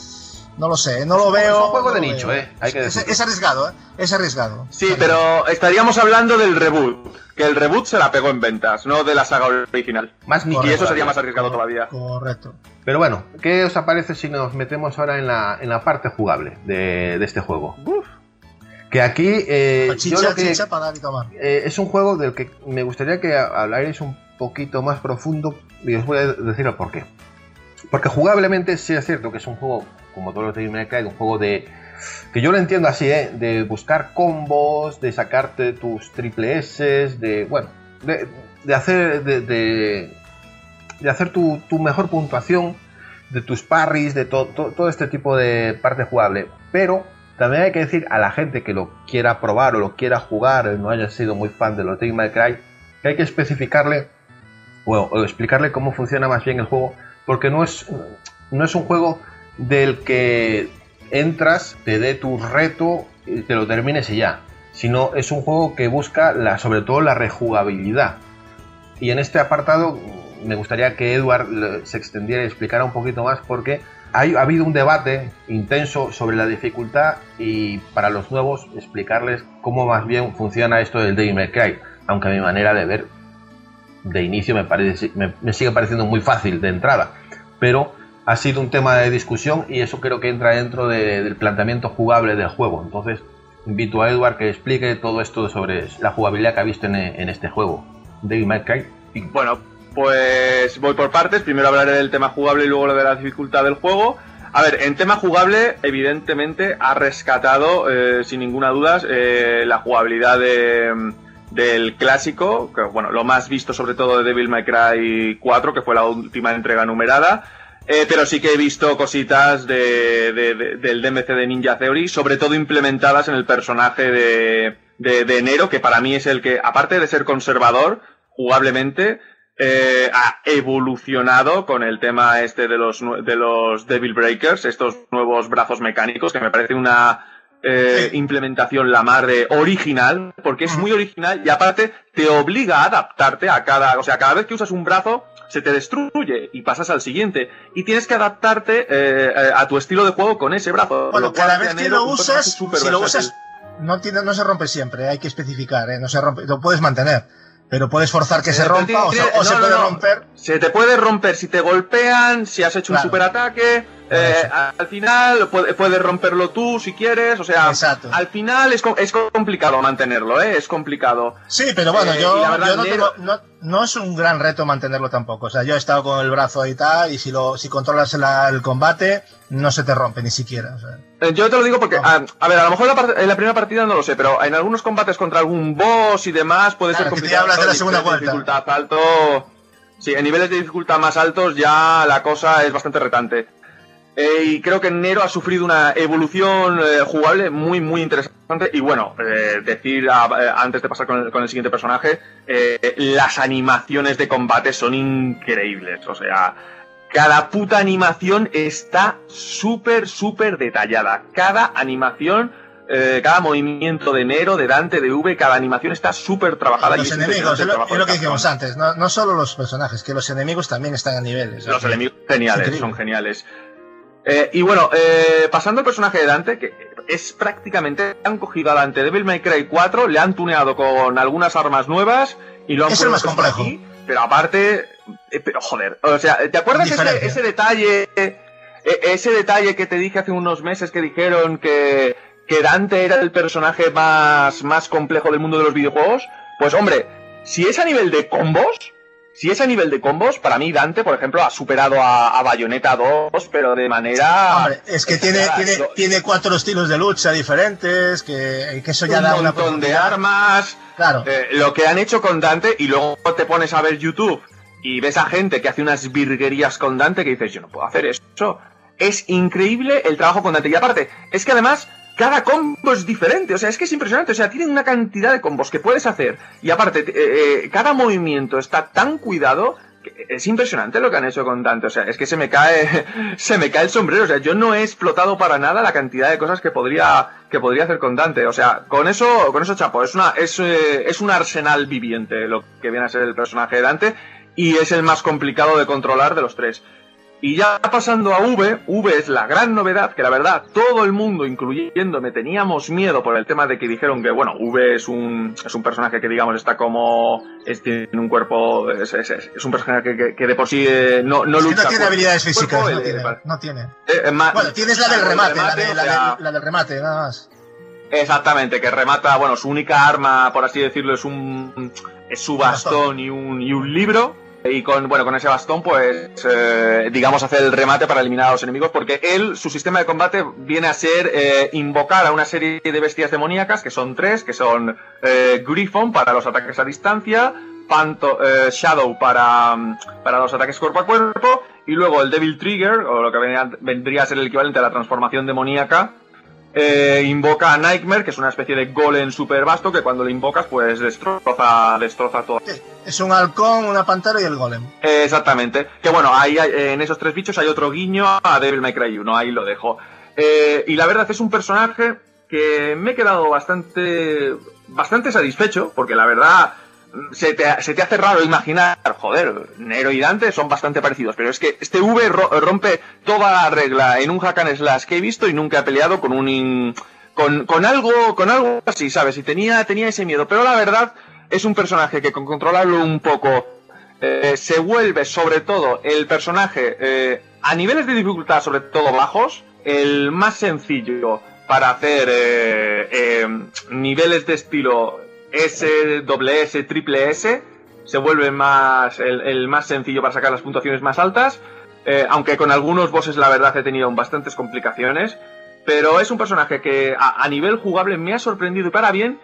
No lo sé, no lo Es un veo. juego de no lo nicho, veo. eh, hay que es, decirlo. es arriesgado, ¿eh? Es arriesgado. Sí, pero estaríamos hablando del reboot. Que el reboot se la pegó en ventas, no de la saga original. Más nicho. Y eso Correcto. sería más arriesgado todavía. Correcto. Pero bueno, ¿qué os aparece si nos metemos ahora en la, en la parte jugable de, de este juego? Que aquí eh, chicha, yo lo que, chicha para dar y tomar. Eh, es un juego del que me gustaría que hablarais un poquito más profundo y os voy a decir el por qué. Porque jugablemente sí es cierto que es un juego, como todos los de Devil May Cry, un juego de... que yo lo entiendo así, ¿eh? De buscar combos, de sacarte tus triple S, de... bueno, de, de hacer... de, de, de hacer tu, tu mejor puntuación, de tus parries, de to, to, todo este tipo de parte jugable. Pero también hay que decir a la gente que lo quiera probar o lo quiera jugar, no haya sido muy fan de los Devil May Cry, que hay que especificarle o, o explicarle cómo funciona más bien el juego, porque no es, no es un juego del que entras, te dé tu reto, te lo termines y ya, sino es un juego que busca la, sobre todo la rejugabilidad. Y en este apartado me gustaría que Edward se extendiera y explicara un poquito más, porque hay, ha habido un debate intenso sobre la dificultad y para los nuevos explicarles cómo más bien funciona esto del Devil May Cry, aunque a mi manera de ver de inicio me, parece, me, me sigue pareciendo muy fácil de entrada, pero ha sido un tema de discusión y eso creo que entra dentro de, del planteamiento jugable del juego. Entonces invito a Edward que explique todo esto sobre la jugabilidad que ha visto en, en este juego, Devil May Cry. Bueno, pues voy por partes. Primero hablaré del tema jugable y luego lo de la dificultad del juego. A ver, en tema jugable, evidentemente ha rescatado, eh, sin ninguna duda, eh, la jugabilidad de, del clásico, que bueno, lo más visto sobre todo de Devil May Cry cuatro, que fue la última entrega numerada. Eh, pero sí que he visto cositas de, de, de, del D M C de Ninja Theory, sobre todo implementadas en el personaje de, de, de Nero, que para mí es el que, aparte de ser conservador, jugablemente, eh, ha evolucionado con el tema este de los, de los Devil Breakers, estos nuevos brazos mecánicos, que me parece una eh, sí. implementación la mar de original, porque es muy original y aparte te obliga a adaptarte a cada, o sea, cada vez que usas un brazo, se te destruye y pasas al siguiente y tienes que adaptarte eh, a tu estilo de juego con ese brazo. Bueno, cada vez que lo usas, si lo usas, no, tiene, no se rompe siempre, hay que especificar, ¿eh? No se rompe, lo puedes mantener, pero puedes forzar que se, se rompa o, se, o no, se puede no, no. romper. Se te puede romper si te golpean, si has hecho claro. un superataque. Eh, al final puedes puede romperlo tú si quieres, o sea, Exacto. al final es, es complicado mantenerlo, ¿eh? Es complicado. Sí, pero bueno, eh, yo, verdad, yo no, tengo, no, no es un gran reto mantenerlo tampoco, o sea, yo he estado con el brazo ahí y tal, y si lo si controlas la, el combate, no se te rompe ni siquiera. O sea. eh, yo te lo digo porque, a, a ver, a lo mejor la en la primera partida no lo sé, pero en algunos combates contra algún boss y demás puede claro, ser complicado. Que te hablas de la segunda vuelta. Dificultad alto, sí, en niveles de dificultad más altos ya la cosa es bastante retante. Eh, y creo que Nero ha sufrido una evolución eh, jugable muy, muy interesante. Y bueno, eh, decir, a, eh, antes de pasar con el, con el siguiente personaje, eh, las animaciones de combate son increíbles. O sea, cada puta animación está súper, súper detallada. Cada animación, eh, cada movimiento de Nero, de Dante, de V, cada animación está súper trabajada. Los y enemigos, es lo, es lo que dijimos antes, no, no solo los personajes, que los enemigos también están a niveles. Los enemigos geniales, son geniales. Eh, y bueno, eh, pasando al personaje de Dante, que es prácticamente, han cogido a Dante Devil May Cry cuatro, le han tuneado con algunas armas nuevas y lo han puesto más complejo. Aquí, pero aparte, eh, pero joder, o sea, ¿te acuerdas ese, ese detalle, eh, ese detalle que te dije hace unos meses que dijeron que, que Dante era el personaje más, más complejo del mundo de los videojuegos? Pues hombre, si es a nivel de combos, Si es a nivel de combos, para mí Dante, por ejemplo, ha superado a, a Bayonetta dos, pero de manera... Hombre, es que tiene, tiene, tiene cuatro estilos de lucha diferentes, que, que eso ya da una... Un montón de armas... Claro. Eh, lo que han hecho con Dante, y luego te pones a ver YouTube y ves a gente que hace unas virguerías con Dante que dices, yo no puedo hacer eso. Es increíble el trabajo con Dante. Y aparte, es que además... cada combo es diferente, o sea, es que es impresionante, o sea, tienen una cantidad de combos que puedes hacer y aparte, eh, eh, cada movimiento está tan cuidado que es impresionante lo que han hecho con Dante, o sea, es que se me cae, se me cae el sombrero, o sea, yo no he explotado para nada la cantidad de cosas que podría, que podría hacer con Dante, o sea, con eso, con eso chapo, es una, es, eh, es un arsenal viviente lo que viene a ser el personaje de Dante y es el más complicado de controlar de los tres. Y ya pasando a V, V es la gran novedad, que la verdad todo el mundo, incluyéndome, teníamos miedo por el tema de que dijeron que, bueno, V es un es un personaje que, digamos, está como... Es, tiene un cuerpo... Es, es, es un personaje que, que de por sí eh, no, no es lucha... Que no tiene habilidades físicas, cuerpo, no, eh, tiene, no tiene. Eh, eh, ma, bueno, tienes la del remate, remate la, de, o sea, la, del, la del remate, nada más. Exactamente, que remata, bueno, su única arma, por así decirlo, es un es su bastón y un, y un libro. Y con, bueno, con ese bastón, pues, eh, digamos, hacer el remate para eliminar a los enemigos, porque él, su sistema de combate viene a ser eh, invocar a una serie de bestias demoníacas, que son tres, que son eh, Griffon para los ataques a distancia, Phanto, eh, Shadow para, para los ataques cuerpo a cuerpo, y luego el Devil Trigger, o lo que vendría, vendría a ser el equivalente a la transformación demoníaca, eh, invoca a Nightmare, que es una especie de golem super vasto que cuando lo invocas pues destroza, destroza todo. Es un halcón, una pantera y el golem. Eh, exactamente. Que bueno, ahí hay, en esos tres bichos hay otro guiño a Devil May Cry uno, ahí lo dejo. Eh, y la verdad es un personaje que me he quedado bastante, bastante satisfecho, porque la verdad se te, se te hace raro imaginar, joder, Nero y Dante son bastante parecidos, pero es que este V rompe toda la regla en un hack and slash que he visto y nunca he peleado con un in, con, con algo con algo así, ¿sabes? Y tenía, tenía ese miedo, pero la verdad es un personaje que con controlarlo un poco eh, se vuelve sobre todo el personaje eh, a niveles de dificultad sobre todo bajos, el más sencillo para hacer eh, eh, niveles de estilo S, doble S, triple S, se vuelve más el, el más sencillo para sacar las puntuaciones más altas, eh, aunque con algunos bosses la verdad he tenido bastantes complicaciones, pero es un personaje que a, a nivel jugable me ha sorprendido y para bien,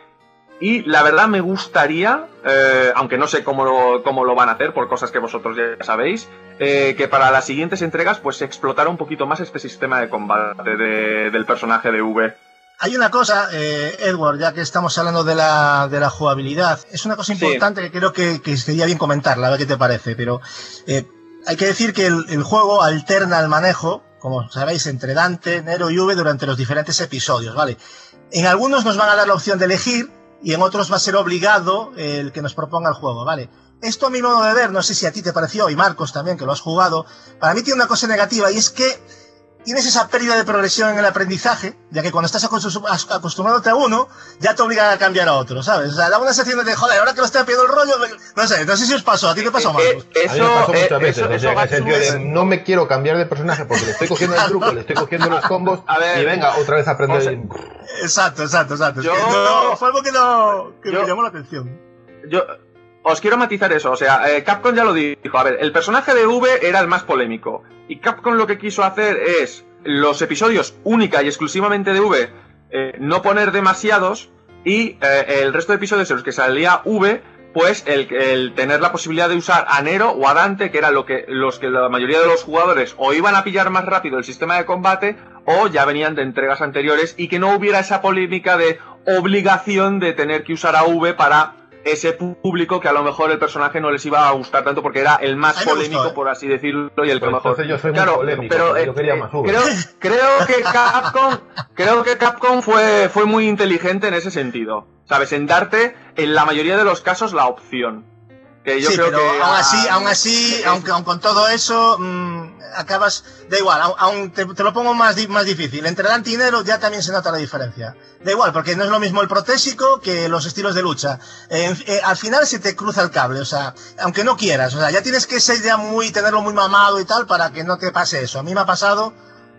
y la verdad me gustaría, eh, aunque no sé cómo lo, cómo lo van a hacer por cosas que vosotros ya sabéis, eh, que para las siguientes entregas pues se explotara un poquito más este sistema de combate de, del personaje de V. Hay una cosa, eh, Edward, ya que estamos hablando de la, de la jugabilidad, es una cosa importante sí. que creo que, que sería bien comentarla, a ver qué te parece, pero eh, hay que decir que el, el juego alterna el manejo, como sabéis, entre Dante, Nero y V durante los diferentes episodios, ¿vale? En algunos nos van a dar la opción de elegir y en otros va a ser obligado el que nos proponga el juego, ¿vale? Esto a mi modo de ver, no sé si a ti te pareció, y Marcos también, que lo has jugado, para mí tiene una cosa negativa y es que tienes esa pérdida de progresión en el aprendizaje, ya que cuando estás acostumbrándote a uno, ya te obligan a cambiar a otro, ¿sabes? O sea, da una sensación de, joder, ahora que lo estoy pidiendo el rollo, no sé, no sé si os pasó, ¿a ti qué pasó, Marcos? Eh, eso, a mí me pasó muchas eh, veces, eso, o sea, en el sentido de no me quiero cambiar de personaje porque le estoy cogiendo el truco, le estoy cogiendo los combos, a ver, y venga, otra vez a aprender. O sea, exacto, exacto, exacto. Yo, no, fue algo que, no, que yo, me llamó la atención. Yo... Os quiero matizar eso, o sea, eh, Capcom ya lo dijo, a ver, el personaje de V era el más polémico, y Capcom lo que quiso hacer es los episodios única y exclusivamente de V, eh, no poner demasiados, y eh, el resto de episodios en los que salía V, pues el, el tener la posibilidad de usar a Nero o a Dante, que eran lo que, los que la mayoría de los jugadores o iban a pillar más rápido el sistema de combate, o ya venían de entregas anteriores, y que no hubiera esa polémica de obligación de tener que usar a V para ese público que a lo mejor el personaje no les iba a gustar tanto porque era el más polémico, gustó, ¿eh? Por así decirlo, y el que pues mejor. Yo soy claro, muy polémico, pero eh, yo quería más V. creo, creo que Capcom, creo que Capcom fue, fue muy inteligente en ese sentido, ¿sabes? En darte, en la mayoría de los casos, la opción. Que yo sí, creo pero que aún así, aún así, aunque aun con todo eso, mmm, acabas, da igual, aún te, te lo pongo más, más difícil. Entre Dante y Nero ya también se nota la diferencia. Da igual, porque no es lo mismo el protésico que los estilos de lucha. Eh, eh, al final se te cruza el cable, o sea, aunque no quieras, o sea, ya tienes que ser ya muy, tenerlo muy mamado y tal para que no te pase eso. A mí me ha pasado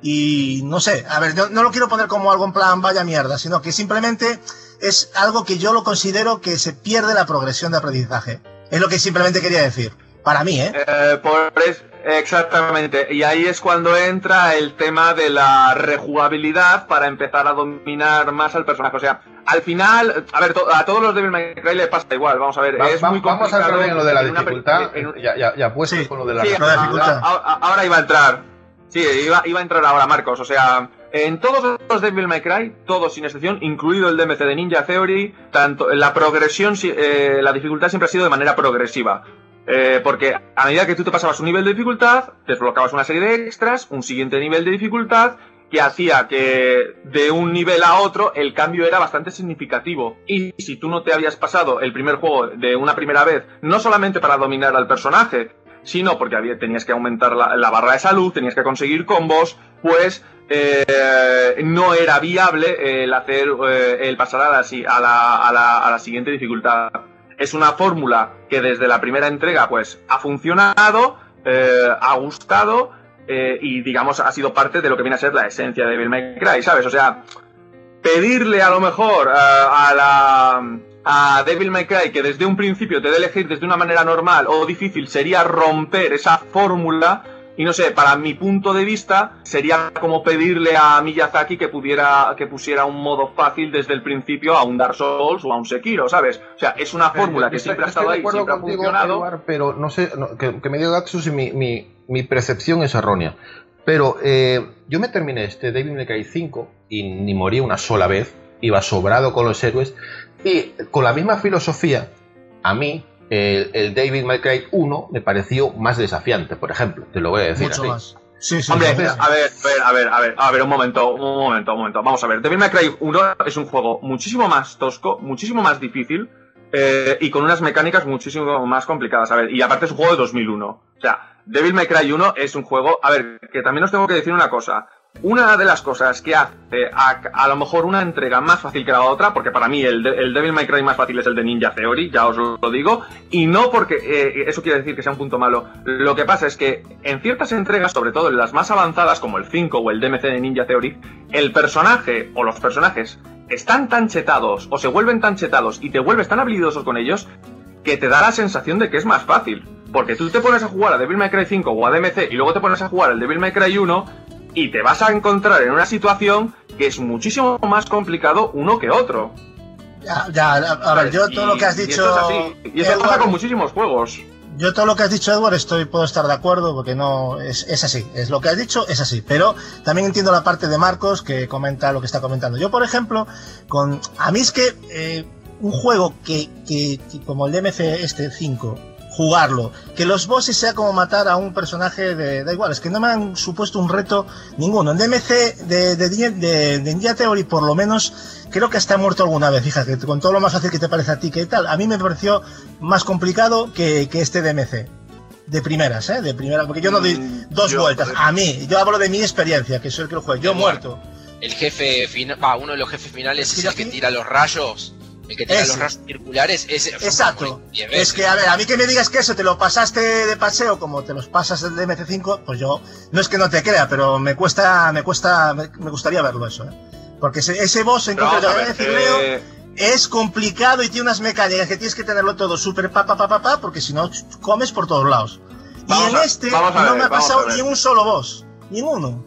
y no sé, a ver, no, no lo quiero poner como algo en plan vaya mierda, sino que simplemente es algo que yo lo considero que se pierde la progresión de aprendizaje. Es lo que simplemente quería decir. Para mí, ¿eh? eh por es, exactamente. Y ahí es cuando entra el tema de la rejugabilidad para empezar a dominar más al personaje. O sea, al final, a ver, to, a todos los Devil May Cry le pasa igual. Vamos a ver, va, es va, muy complicado. Vamos a entrar en lo de la dificultad. En, ya, ya, ya puestos sí, con lo de la, sí, la dificultad. Ahora, ahora iba a entrar. Sí, iba, iba a entrar ahora, Marcos. O sea, en todos los Devil May Cry, todos sin excepción, incluido el D M C de Ninja Theory, tanto la progresión, eh, la dificultad siempre ha sido de manera progresiva. Eh, porque a medida que tú te pasabas un nivel de dificultad, desbloqueabas una serie de extras, un siguiente nivel de dificultad, que hacía que de un nivel a otro el cambio era bastante significativo. Y si tú no te habías pasado el primer juego de una primera vez, no solamente para dominar al personaje, sino porque había, tenías que aumentar la, la barra de salud, tenías que conseguir combos, pues eh, no era viable el hacer eh, el pasar a la, a, la, a, la, a la siguiente dificultad. Es una fórmula que desde la primera entrega pues ha funcionado, eh, ha gustado eh, y digamos ha sido parte de lo que viene a ser la esencia de Devil May Cry, ¿sabes? O sea, pedirle a lo mejor a, a la... a Devil May Cry que desde un principio te dé elegir desde una manera normal o difícil sería romper esa fórmula. Y no sé, para mi punto de vista, sería como pedirle a Miyazaki que pudiera, que pusiera un modo fácil desde el principio a un Dark Souls o a un Sekiro, ¿sabes? O sea, es una fórmula que siempre ha estado ahí, siempre ha funcionado. Eduard, pero no sé, no, que, que me diga Gatsu si mi, mi, mi percepción es errónea. Pero eh, yo me terminé este Devil May Cry cinco y ni morí una sola vez, iba sobrado con los héroes, y con la misma filosofía, a mí, El, el Devil May Cry uno me pareció más desafiante, por ejemplo, te lo voy a decir mucho así. Más. Sí, sí, Hombre, sí, sí. a ver, a ver, a ver, a ver, un momento, un momento, un momento. Vamos a ver, Devil May Cry uno es un juego muchísimo más tosco, muchísimo más difícil eh, y con unas mecánicas muchísimo más complicadas. A ver, y aparte es un juego de dos mil uno. O sea, Devil May Cry uno es un juego... A ver, que también os tengo que decir una cosa. Una de las cosas que hace a, a lo mejor una entrega más fácil que la otra, porque para mí el, de, el Devil May Cry más fácil es el de Ninja Theory, ya os lo digo, y no porque eh, eso quiere decir que sea un punto malo. Lo que pasa es que en ciertas entregas, sobre todo en las más avanzadas como el cinco o el D M C de Ninja Theory, el personaje o los personajes están tan chetados o se vuelven tan chetados y te vuelves tan habilidoso con ellos que te da la sensación de que es más fácil. Porque tú te pones a jugar a Devil May Cry cinco o a D M C y luego te pones a jugar al Devil May Cry uno y te vas a encontrar en una situación que es muchísimo más complicado uno que otro. Ya, ya, a, a ver, yo todo y, lo que has dicho... Y esto es así. Y esto Edward, pasa con muchísimos juegos. Yo todo lo que has dicho, Edward, estoy, puedo estar de acuerdo, porque no, es, es así. Es lo que has dicho, es así. Pero también entiendo la parte de Marcos, que comenta lo que está comentando. Yo, por ejemplo, con a mí es que eh, un juego que, que, que como el D M C este cinco... jugarlo, que los bosses sea como matar a un personaje de, da igual, es que no me han supuesto un reto ninguno. En D M C de, de, de, de, de Ninja Theory por lo menos creo que hasta he muerto alguna vez, fíjate, con todo lo más fácil que te parece a ti que tal, a mí me pareció más complicado que, que este D M C de primeras, ¿eh? De primera, porque yo no doy dos yo, vueltas, a mí, yo hablo de mi experiencia, que soy el que lo juego, yo he muerto. El jefe final, va, uno de los jefes finales es es el que tira los rayos. El que tira ese. Los rayos circulares, ese. Exacto. Es que, a ver, a mí que me digas que eso te lo pasaste de paseo como te los pasas del D M C cinco, pues yo, no es que no te crea, pero me cuesta, me cuesta, me, me gustaría verlo eso, ¿eh? Porque ese, ese boss en concreto de D M C eh... es complicado y tiene unas mecánicas que tienes que tenerlo todo súper pa pa pa pa pa, porque si no comes por todos lados. Vamos y en a, este no ver, me ha pasado ni un solo boss, ni uno.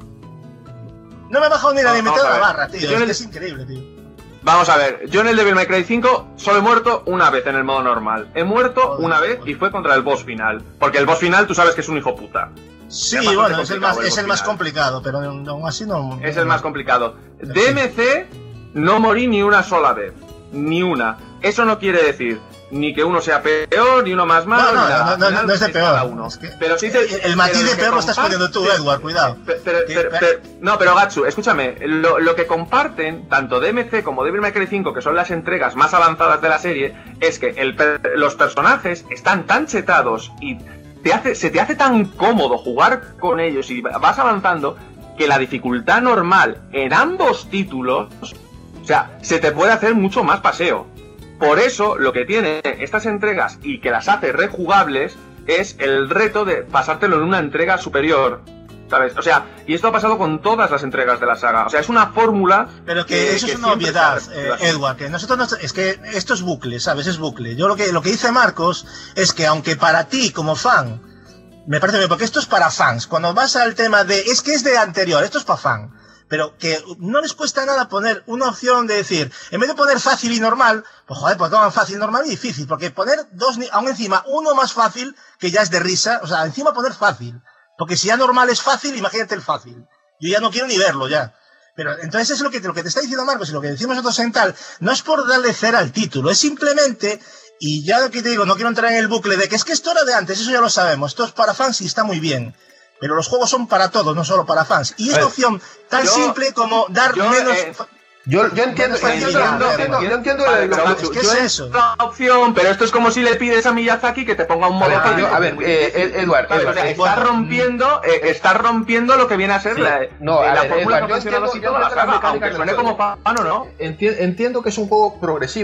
No me ha bajado ni la mitad de la barra, tío, es, el... es increíble, tío. Vamos a ver, yo en el Devil May Cry cinco solo he muerto una vez en el modo normal. He muerto joder, una vez y fue contra el boss final. Porque el boss final tú sabes que es un hijo puta. Sí, bueno, es el más, es el más complicado, pero aún así no... Es el más complicado. D M C no morí ni una sola vez. Ni una. Eso no quiere decir ni que uno sea peor, ni uno más malo. No, no, ni nada. no, no, no es de peor. Uno. Es que pero sí te, el, el matiz de peor lo estás poniendo tú, Edward, cuidado. Pero, pero, pero, pero, no, pero Gatsu, escúchame. Lo, lo que comparten tanto D M C como Devil May Cry cinco, que son las entregas más avanzadas de la serie, es que el, los personajes están tan chetados y te hace, se te hace tan cómodo jugar con ellos y vas avanzando que la dificultad normal en ambos títulos, o sea, se te puede hacer mucho más paseo. Por eso, lo que tiene estas entregas y que las hace rejugables es el reto de pasártelo en una entrega superior, ¿sabes? O sea, y esto ha pasado con todas las entregas de la saga. O sea, es una fórmula... Pero que, que eso que es una obviedad, eh, Edward, que nosotros... No, es que esto es bucle, ¿sabes? Es bucle. Yo lo que, lo que dice Marcos es que aunque para ti, como fan, me parece bien, porque esto es para fans. Cuando vas al tema de... Es que es de anterior, esto es para fan. Pero que no les cuesta nada poner una opción de decir, en vez de poner fácil y normal, pues joder, pues toman fácil, normal y difícil, porque poner dos, aún encima, uno más fácil, que ya es de risa, o sea, encima poner fácil, porque si ya normal es fácil, imagínate el fácil. Yo ya no quiero ni verlo ya. Pero entonces es lo que, lo que te está diciendo Marcos y lo que decimos nosotros en tal, no es por darle cera al título, es simplemente, y ya lo que te digo, no quiero entrar en el bucle de que es que esto era de antes, eso ya lo sabemos, esto es para fans y está muy bien. Pero los juegos son para todos, no solo para fans. Y esta opción tan yo, simple como dar yo, menos... Eh, yo, yo entiendo, yo entiendo, yo entiendo, yo entiendo vale, lo, pero, es que es eso. La opción, pero esto es como si le pides a Miyazaki que te ponga un modo... A ver, a ver eh, Edward, Edward, o sea, está rompiendo, eh, está rompiendo lo que viene a ser sí. la, no, eh, a la ver, fórmula Edward, que ha funcionado así toda la saga, aunque suene como pan o no. Entiendo, entiendo que es un juego progresivo,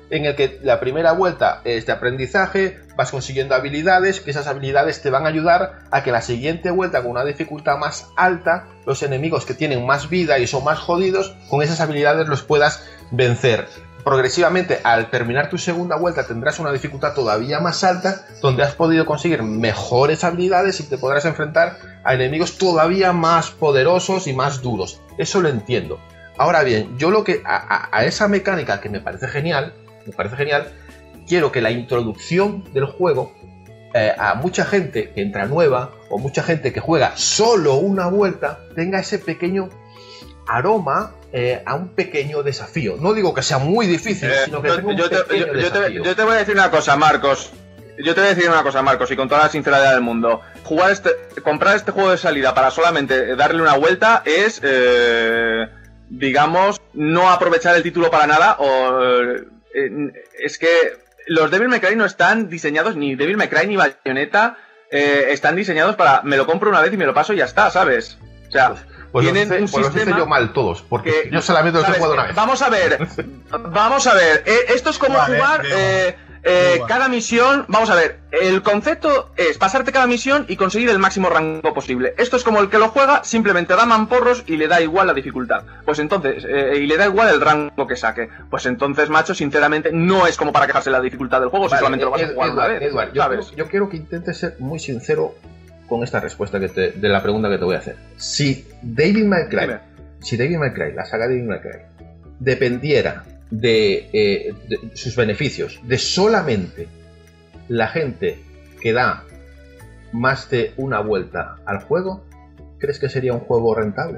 en el que la primera vuelta es de aprendizaje, vas consiguiendo habilidades, que esas habilidades te van a ayudar a que la siguiente vuelta, con una dificultad más alta, los enemigos que tienen más vida y son más jodidos, con esas habilidades los puedas vencer. Progresivamente, al terminar tu segunda vuelta, tendrás una dificultad todavía más alta, donde has podido conseguir mejores habilidades y te podrás enfrentar a enemigos todavía más poderosos y más duros. Eso lo entiendo. Ahora bien, yo lo que a, a, a esa mecánica que me parece genial, me parece genial, quiero que la introducción del juego eh, a mucha gente que entra nueva o mucha gente que juega solo una vuelta tenga ese pequeño aroma eh, a un pequeño desafío. No digo que sea muy difícil, eh, sino que tenga un yo, te, pequeño yo, yo, desafío. Te, yo te voy a decir una cosa, Marcos. Yo te voy a decir una cosa, Marcos, y con toda la sinceridad del mundo. Jugar este, comprar este juego de salida para solamente darle una vuelta es, eh, digamos, no aprovechar el título para nada. O eh, es que los Devil May Cry no están diseñados, ni Devil May Cry ni Bayonetta eh, están diseñados para me lo compro una vez y me lo paso y ya está, ¿sabes? O sea, pues, pues tienen hice, un pues sistema hice yo mal todos, porque que, yo solamente los he jugado una vez. Vamos a ver, vamos a ver. Eh, esto es como Vale, jugar eh, eh, cada misión. Vamos a ver, el concepto es pasarte cada misión y conseguir el máximo rango posible. Esto es como el que lo juega, simplemente da mamporros y le da igual la dificultad. Pues entonces, eh, y le da igual el rango que saque. Pues entonces, macho, sinceramente, no es como para quejarse de la dificultad del juego, vale, si solamente Ed, lo vas a jugar Edward, una vez. Edward, yo, quiero, yo quiero que intentes ser muy sincero con esta respuesta que te, de la pregunta que te voy a hacer. Si Devil May Cry, Dime. si Devil May Cry, la saga de Devil May Cry, dependiera de, eh, de sus beneficios, de solamente la gente que da más de una vuelta al juego, ¿crees que sería un juego rentable?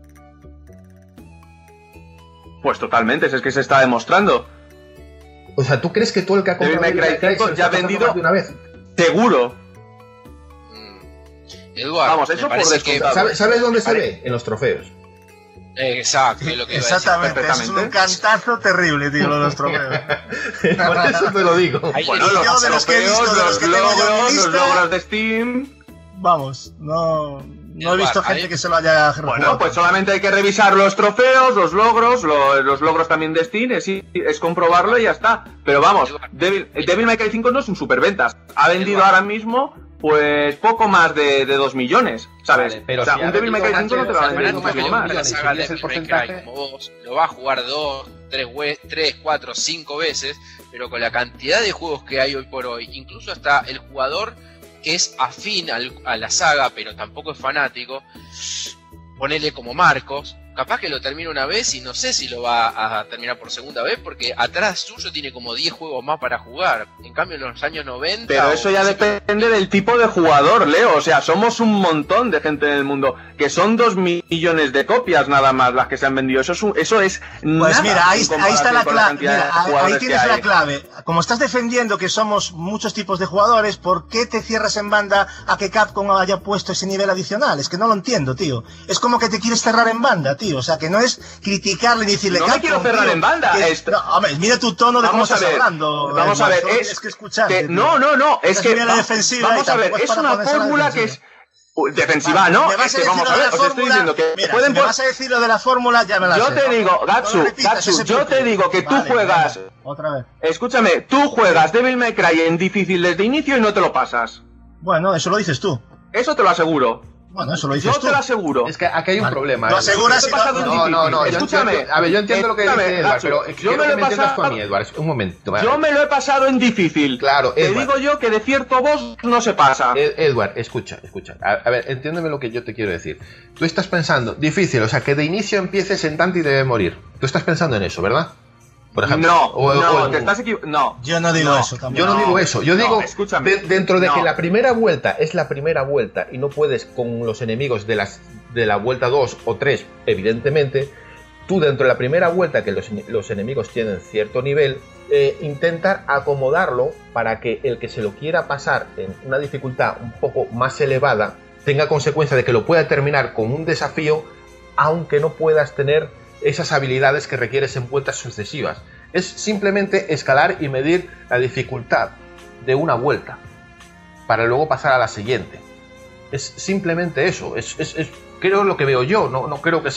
Pues totalmente, es que se está demostrando. O sea, ¿tú crees que todo el que ha comprado Devil May Cry cinco ya ha vendido de una vez? Seguro. Eduardo, vamos, eso por descontado. ¿Sabes, ¿Sabes dónde se ve? En los trofeos. Exacto, es lo que iba Exactamente, a decir. es un cantazo terrible, tío, lo de los trofeos. Por eso te lo digo. Bueno, los yo de los que he visto, trofeos, de los los que tengo yo en mi logros, los lista, logros de Steam. Vamos, no, no he Eduard, visto gente ahí- que se lo haya Bueno, jugado. pues solamente hay que revisar los trofeos, los logros, lo- los logros también de Steam, es, es comprobarlo y ya está. Pero vamos, Devil, Devil May Cry cinco no es un superventas. Ha vendido Eduard. ahora mismo, pues, poco más de, de dos millones, ¿sabes? Vale, pero o sea, si un ha Devil May Cry cinco no te va a vender vendido muchísimo más más. de la millones, saga y es de el Devil May porcentaje. Cry, como vos, lo va a jugar dos, tres, we- tres, cuatro, cinco veces, pero con la cantidad de juegos que hay hoy por hoy, incluso hasta el jugador que es afín al- a la saga, pero tampoco es fanático, ponele como Marcos, capaz que lo termina una vez y no sé si lo va a terminar por segunda vez, porque atrás suyo tiene como diez juegos más para jugar. En cambio, en los años noventa... Pero o eso ya principios- depende del tipo de jugador, Leo. O sea, somos un montón de gente en el mundo. Que son dos millones de copias nada más las que se han vendido. Eso es, un- eso es Pues nada mira, ahí, en ahí está la comparación con la clave. cantidad de Mira, ahí, jugadores ahí tienes que la hay. clave. Como estás defendiendo que somos muchos tipos de jugadores, ¿por qué te cierras en banda a que Capcom haya puesto ese nivel adicional? Es que no lo entiendo, tío. Es como que te quieres cerrar en banda, tío. O sea, que no es criticarle ni decirle No me Capcom, quiero cerrar tío, en banda, que- esto- no, hombre, mira tu tono de Vamos cómo a estás ver, hablando. vamos a ver, Eduardo, es tienes que escuchar. que- no, no, no, es Estás que muy a la va- defensiva vamos y a ver, tampoco es es para una ponerse a la fórmula que defensiva. es Uy, defensiva, Vale, ¿no? me vas Es a que decir vamos lo a de ver, la os estoy fórmula. diciendo que Mira, pueden si me pon- vas a decir lo de la fórmula, ya me la Yo sé, te ¿no? digo, No lo Gatsu, repitas, Gatsu, ese yo te punto. digo que tú Vale, juegas- venga, otra vez. Escúchame, tú juegas Devil May Cry en difícil desde inicio y no te lo pasas. Bueno, eso lo dices tú. Eso te lo aseguro. Bueno, eso lo dices Yo tú. te lo aseguro. Es que aquí hay un Vale. problema. Lo ¿eh? aseguras Yo y te he pasado no- en No, difícil. no, no. Yo Escúchame. entiendo- a ver, yo entiendo lo que escúchame, dice Edward, Gatsu, pero yo quiero me que lo he me entiendas tú a pasado- mí, Edward. Un momento. vale. Yo me lo he pasado en difícil. Claro, Te Edward. digo yo que de cierto boss no se pasa. Ed- Edward, escucha, escucha. A, a ver, entiéndeme lo que yo te quiero decir. Tú estás pensando, difícil, o sea, que de inicio empieces en Dante y debe morir. Tú estás pensando en eso, ¿verdad? Por ejemplo. No, O- no, o- te estás equivocando. No. Yo no digo No, eso tampoco. Yo no, No, digo eso, yo no, digo escúchame. de- dentro de No. que la primera vuelta es la primera vuelta y no puedes con los enemigos de, las, de la vuelta dos o tres, evidentemente, tú dentro de la primera vuelta que los, los enemigos tienen cierto nivel, eh, intentar acomodarlo para que el que se lo quiera pasar en una dificultad un poco más elevada tenga consecuencia de que lo pueda terminar con un desafío, aunque no puedas tener esas habilidades que requieres en vueltas sucesivas. Es simplemente escalar y medir la dificultad de una vuelta para luego pasar a la siguiente. Es simplemente eso, es, es, es creo lo que veo yo, no, no creo que sea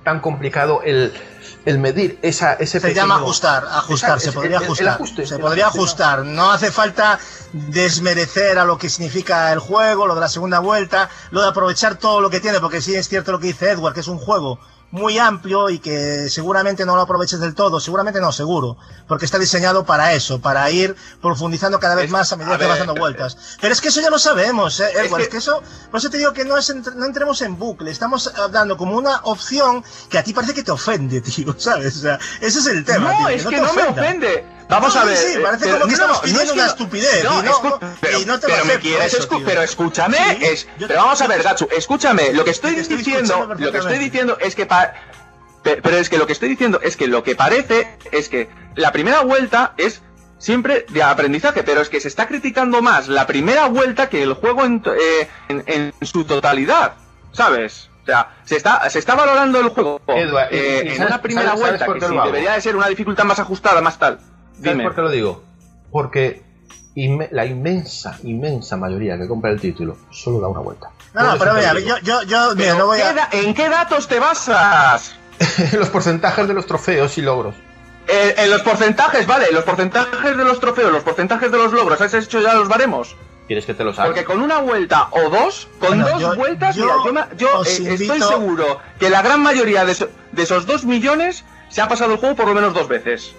tan complicado el, el medir esa, ese Se pequeño... llama ajustar, ajustar, se podría el, el, ajustar. el ajuste, se el podría ajuste, ajustar. No hace falta desmerecer a lo que significa el juego, lo de la segunda vuelta, lo de aprovechar todo lo que tiene, porque sí es cierto lo que dice Edward, que es un juego muy amplio y que seguramente no lo aproveches del todo, seguramente no, seguro, porque está diseñado para eso, para ir profundizando cada vez es, más a medida a que ver, vas dando vueltas. Pero es que eso ya lo sabemos, ¿eh, Edward? Es que, es que eso, por eso te digo que no, es entre, no entremos en bucle, estamos dando como una opción que a ti parece que te ofende, tío, ¿sabes? O sea, ese es el tema. No, tío, es no que te no me ofenda. ofende. Vamos No, a sí, ver. sí, parece eh, como que no, estamos no, pidiendo es que una no- estupidez, No, y no- escu- no- pero, y no te lo pero me acepto quieres eso, escu- tío. pero escúchame, Sí, es, yo- pero vamos a yo- ver, Gatsu, escúchame, lo que estoy te estoy diciendo, escuchando lo que estoy perfectamente. diciendo es que pa- pe- pero es que lo que estoy diciendo es que lo que parece es que la primera vuelta es siempre de aprendizaje, pero es que se está criticando más la primera vuelta que el juego en, to- eh, en, en su totalidad, ¿sabes? O sea, se está, se está valorando el juego Edward, eh, ¿y en sabes- una primera sabes- sabes vuelta por que qué sí lo hago? debería de ser una dificultad más ajustada, más tal. ¿Sabes Dime. por qué lo digo? Porque inme- la inmensa, inmensa mayoría que compra el título solo da una vuelta. No, Por no, eso pero te mira, lo digo. yo, yo, yo, mira, Pero no voy ¿qué a... da- ¿en qué datos te basas? Los porcentajes de los trofeos y logros. Eh, en los porcentajes, vale, los porcentajes de los trofeos, los porcentajes de los logros, ¿has hecho ya los baremos? ¿Quieres que te lo saque? Porque con una vuelta o dos, con Bueno, dos yo- vueltas, yo mira, yo, me- yo, os eh, estoy invito- seguro que la gran mayoría de, eso- de esos dos millones se ha pasado el juego por lo menos dos veces.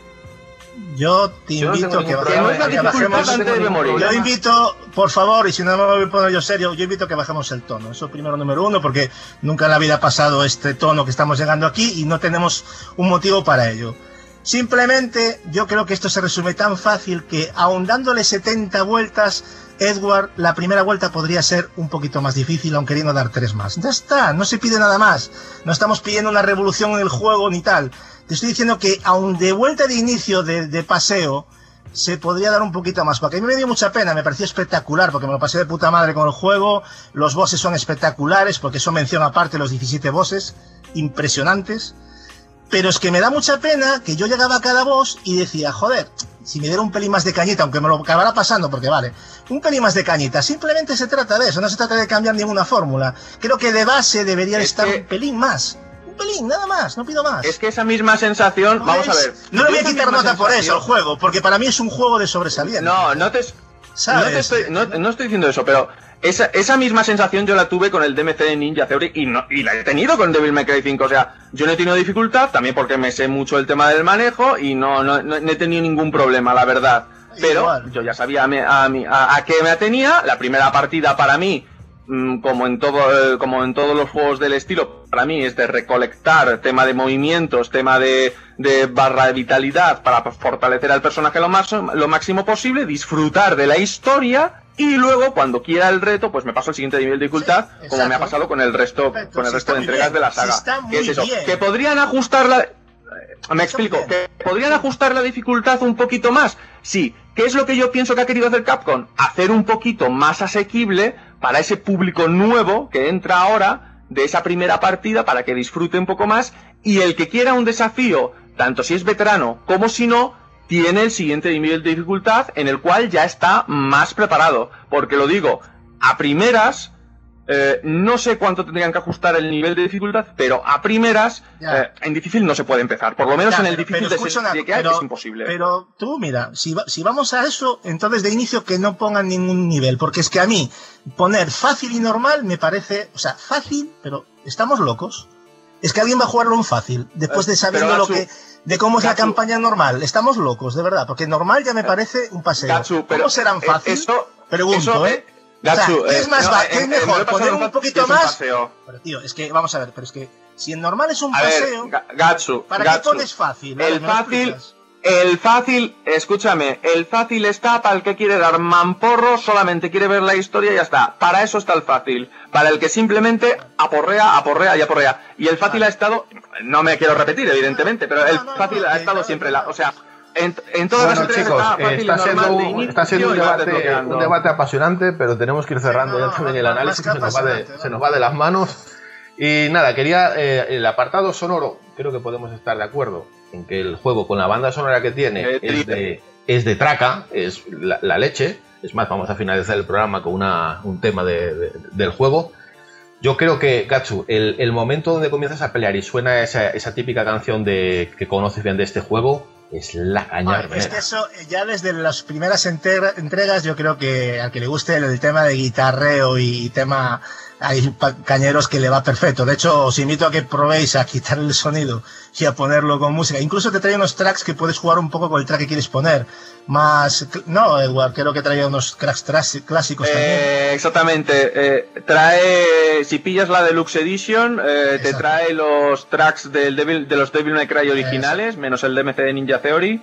Yo te Yo no invito tengo a que ningún Que no problema, es la bajemos, que dificultad bajemos- antes de morir. Yo invito, por favor, y si no me voy a poner yo serio, yo invito a que bajemos el tono. Eso primero número uno, porque nunca en la vida ha pasado este tono que estamos llegando aquí y no tenemos un motivo para ello. Simplemente, yo creo que esto se resume tan fácil que, aun dándole setenta vueltas, Edward, la primera vuelta podría ser un poquito más difícil, aun queriendo dar tres más. Ya está, no se pide nada más. No estamos pidiendo una revolución en el juego ni tal. Te estoy diciendo que, aun de vuelta de inicio de, de paseo, se podría dar un poquito más. Porque a mí me dio mucha pena, me pareció espectacular, porque me lo pasé de puta madre con el juego. Los bosses son espectaculares, porque eso menciona aparte los diecisiete bosses, impresionantes. Pero es que me da mucha pena que yo llegaba a cada boss y decía, joder, si me diera un pelín más de cañita, aunque me lo acabará pasando, porque vale, un pelín más de cañita, simplemente se trata de eso, no se trata de cambiar ninguna fórmula. Creo que de base debería Es estar que- un pelín más. Un pelín, nada más, no pido más. Es que esa misma sensación, No vamos a es- ver. No le voy a esa quitar misma nota por eso sensación- al juego, porque para mí es un juego de sobresaliente. No, no te, ¿Sabes? no, te estoy, no, no estoy diciendo eso, pero esa, esa misma sensación yo la tuve con el D M C de Ninja Theory y, no, y la he tenido con Devil May Cry cinco. O sea, yo no he tenido dificultad, también porque me sé mucho el tema del manejo y no, no, no, no he tenido ningún problema, la verdad. Pero Igual. yo ya sabía a, mi- a, mi- a, a qué me atenía. La primera partida para mí, mm, como en todo eh, como en todos los juegos del estilo, para mí es de recolectar tema de movimientos, tema de, de barra de vitalidad para fortalecer al personaje lo, más, lo máximo posible, disfrutar de la historia y luego cuando quiera el reto pues me paso al siguiente nivel de dificultad, Sí, como me ha exacto. pasado con el resto Perfecto, con el sí, resto está de muy entregas bien, de la sí, saga. está muy ¿Qué es eso? bien. Que podrían ajustarla. Me explico, bien. que podrían ajustar la dificultad un poquito más. Sí, ¿qué es lo que yo pienso que ha querido hacer Capcom? Hacer un poquito más asequible para ese público nuevo que entra ahora de esa primera partida para que disfrute un poco más y el que quiera un desafío, tanto si es veterano como si no, tiene el siguiente nivel de dificultad en el cual ya está más preparado. Porque lo digo, a primeras, eh, no sé cuánto tendrían que ajustar el nivel de dificultad, pero a primeras, Ya. eh, en difícil no se puede empezar. Por lo menos Ya, en el pero- difícil pero de, escucha se- una- de que hay pero- es imposible. Pero tú, mira, si, va- si vamos a eso, entonces de inicio que no pongan ningún nivel, porque es que a mí poner fácil y normal me parece, o sea, fácil, pero estamos locos. Es que alguien va a jugarlo en fácil, después de Eh, sabiendo pero lo Gatsu, que, de cómo es la Gatsu. campaña normal. Estamos locos, de verdad, porque normal ya me parece un paseo. Gatsu, pero, ¿Cómo serán eh, fácil? eso- Pregunto, eso, ¿eh? Gatsu, O sea, ¿qué eh, es más no, va- eh, qué es eh, me lo he mejor? pasado ¿Poner en un fácil, poquito es un más? paseo. Pero tío, es que, vamos a ver, pero es que si en normal es un A ver, paseo, Ga- Gatsu, ¿para Gatsu, qué pones fácil? A ver, El ¿me lo fácil, explicas? el fácil, escúchame, el fácil está para el que quiere dar mamporro, solamente quiere ver la historia y ya está. Para eso está el fácil. Para el que simplemente aporrea, aporrea y aporrea. Y el fácil ha estado, no me quiero repetir, evidentemente, pero el No, no, fácil no, ha que estado no, siempre, que la, no. o sea, en, en todas Bueno, las entregas chicos, está eh, fácil está, y normal siendo de un, inicio está siendo un y vas debate, desbloqueando. un debate apasionante, pero tenemos que ir cerrando Sí, no, ya también no, el no, análisis, más se que nos, va de, apasionante, se ¿no? nos va de las manos. Y nada, quería eh, el apartado sonoro, creo que podemos estar de acuerdo en que el juego con la banda sonora que tiene Eh, es de, es de traca, es la, la leche. Es más, vamos a finalizar el programa con una, un tema de, de- del juego. Yo creo que, Gatsu, el, el momento donde comienzas a pelear y suena esa, esa típica canción de que conoces bien de este juego, es la caña. Ah, es que eso, ya desde las primeras entrega, entregas, yo creo que al que le guste el, el tema de guitarreo y tema... Hay cañeros que le va perfecto. De hecho, os invito a que probéis a quitar el sonido y a ponerlo con música. Incluso te trae unos tracks que puedes jugar un poco con el track que quieres poner. Más... No, Edward, creo que traía unos tracks clásicos eh, también. Exactamente. Eh, trae... Si pillas la Deluxe Edition, eh, te trae los tracks del Devil, de los Devil May Cry originales, Exacto. menos el D M C de Ninja Theory.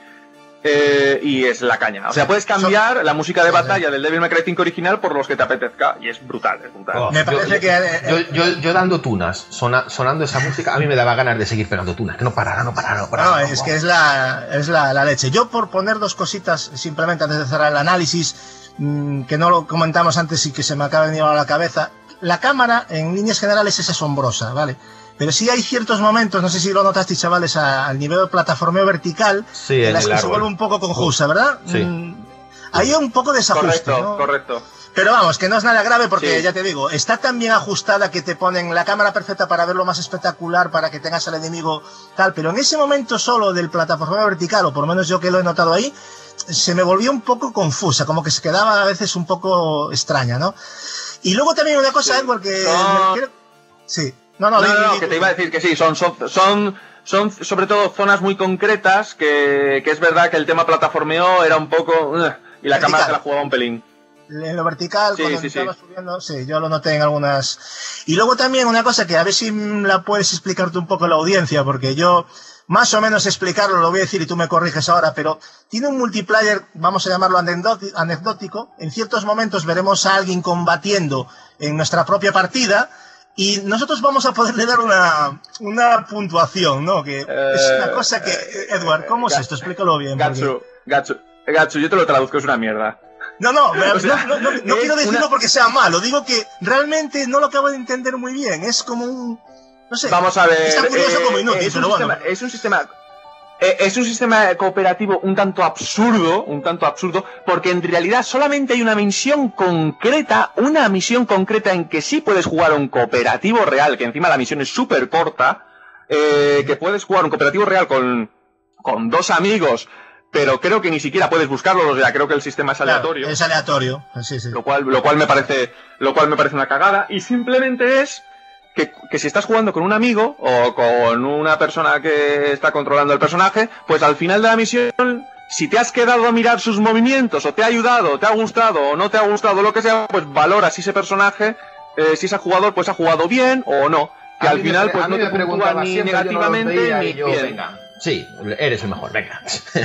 Eh, y es la caña. O sea, puedes cambiar la música de batalla del Devil May Cry cinco original por los que te apetezca. Y es brutal, es brutal. Oh, me parece yo, que... Eh, yo, yo, yo dando tunas, sona, sonando esa música, a mí me daba ganas de seguir pegando tunas. Que no parara, no parara, no parara. No, no, es wow. que es la, es la, la leche. Yo, por poner dos cositas, simplemente antes de cerrar el análisis, mmm, que no lo comentamos antes y que se me acaba de venir a la cabeza. La cámara, en líneas generales, es asombrosa, ¿vale? Pero sí hay ciertos momentos, no sé si lo notasteis, chavales, al nivel de plataformeo vertical, sí, en, en las que árbol. se vuelve un poco confusa, ¿verdad? Sí. Mm, hay un poco de desajuste, correcto, ¿no? Correcto. Pero vamos, que no es nada grave porque, sí. ya te digo, está tan bien ajustada que te ponen la cámara perfecta para verlo más espectacular, para que tengas al enemigo tal, pero en ese momento solo del plataformeo vertical, o por lo menos yo que lo he notado ahí, se me volvió un poco confusa, como que se quedaba a veces un poco extraña, ¿no? Y luego también una cosa, sí. Edward, que... No. Me... Sí. No, no, no, no, no, que te iba a decir que sí, son, son, son, son sobre todo zonas muy concretas, que, que es verdad que el tema plataformeo era un poco... Uh, y la vertical. Cámara se la jugaba un pelín. En lo vertical, sí, cuando sí, estaba sí. subiendo, sí, yo lo noté en algunas... Y luego también una cosa que a ver si la puedes explicarte un poco a la audiencia, porque yo... Más o menos explicarlo, lo voy a decir y tú me corriges ahora, pero tiene un multiplayer, vamos a llamarlo anecdótico. En ciertos momentos veremos a alguien combatiendo en nuestra propia partida y nosotros vamos a poderle dar una, una puntuación, ¿no? Que eh, es una cosa que... Edward, ¿cómo es esto? Explícalo bien. Gatsu, Gatsu, Gatsu, yo te lo traduzco, es una mierda. No, no, o sea, no, no, no, no quiero decirlo una... porque sea malo, digo que realmente no lo acabo de entender muy bien, es como un... No sé, vamos a ver. Está curioso eh, como inútil, es pero sistema, bueno. Es un sistema. Eh, es un sistema cooperativo un tanto absurdo, un tanto absurdo, porque en realidad solamente hay una misión concreta, una misión concreta en que sí puedes jugar un cooperativo real, que encima la misión es súper corta, eh, que puedes jugar un cooperativo real con, con dos amigos, pero creo que ni siquiera puedes buscarlo, o sea, creo que el sistema es aleatorio. Claro, es aleatorio, sí, sí. Lo cual, lo cual me parece, lo cual me parece una cagada, y simplemente es Que, que si estás jugando con un amigo o con una persona que está controlando el personaje, pues al final de la misión, si te has quedado a mirar sus movimientos, o te ha ayudado, o te ha gustado, o no te ha gustado, lo que sea, pues valoras si ese personaje, eh, si ese jugador, pues ha jugado bien o no. Que a al final, pues no te puntúa ni negativamente no ni yo, bien. Venga. Sí, eres el mejor, venga.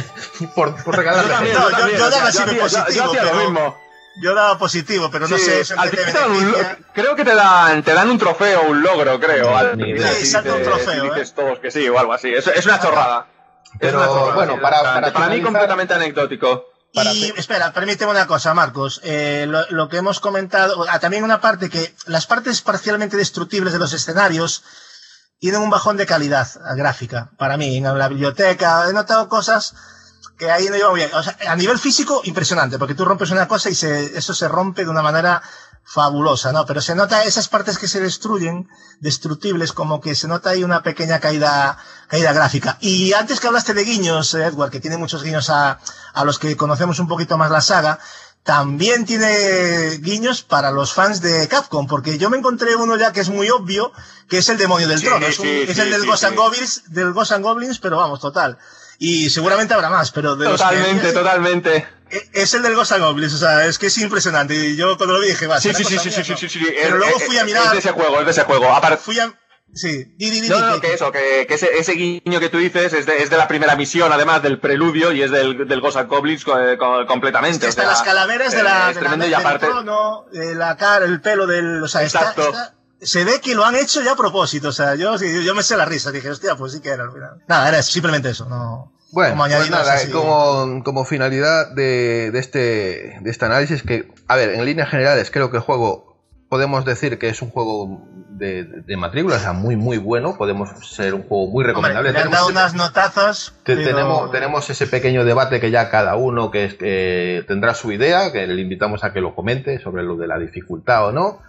por por regalarle. Yo, yo, yo, yo daba siempre positivo, yo, yo pero... lo mismo. Yo daba positivo, pero no sí, sé eso al que te final un, creo que te dan te dan un trofeo, un logro, creo. Al final, sí, salta un trofeo, si dices ¿eh? todos que sí o algo así. Es, es una chorrada. Pero es una chorrada, bueno, sí, para, para, para, para mí completamente anecdótico. Para y espera, permíteme una cosa, Marcos. Eh, lo, lo que hemos comentado, ah, también una parte que las partes parcialmente destructibles de los escenarios tienen un bajón de calidad gráfica. Para mí, en la biblioteca he notado cosas que ahí no lleva bien. O sea, a nivel físico, impresionante, porque tú rompes una cosa y se, eso se rompe de una manera fabulosa, ¿no? Pero se nota esas partes que se destruyen, destructibles, como que se nota ahí una pequeña caída, caída gráfica. Y antes que hablaste de guiños, Edward, que tiene muchos guiños a, a los que conocemos un poquito más la saga, también tiene guiños para los fans de Capcom, porque yo me encontré uno ya que es muy obvio, que es el demonio del sí, trono. Es, un, sí, es sí, el del sí, Ghost sí. and Goblins, del Ghost and Goblins, pero vamos, total. Y seguramente habrá más, pero de Totalmente, los que... totalmente. Es el del Ghost and Goblins, o sea, es que es impresionante. Y yo cuando lo vi dije, va, sí, sí, sí, sí, sí, sí, sí, sí. Pero es, luego es, fui a mirar... Es de ese juego, es de ese juego. Aparte... Fui a... Sí, di, di, di, no, di, no, que, que eso, que, que ese, ese guiño que tú dices es de, es de la primera misión, además del preludio, y es del, del Ghost and Goblins eh, completamente. Es que están o sea, las calaveras de la, es de tremendo la, y aparte... del trono, eh, la cara, el pelo del... O sea, está, está, se ve que lo han hecho ya a propósito, o sea, yo, yo, yo me sé la risa, dije, hostia, pues sí que era al final. Nada, era eso, simplemente eso, no... Bueno, como pues nada, así. como, como finalidad de, de, este, de este análisis, que, a ver, en líneas generales creo que el juego, podemos decir que es un juego de, de matrícula, o sea, muy muy bueno, podemos ser un juego muy recomendable. Hombre, le han dado unas notazas. Te, pero... tenemos, tenemos ese pequeño debate que ya cada uno que, es, que tendrá su idea, que le invitamos a que lo comente sobre lo de la dificultad o no.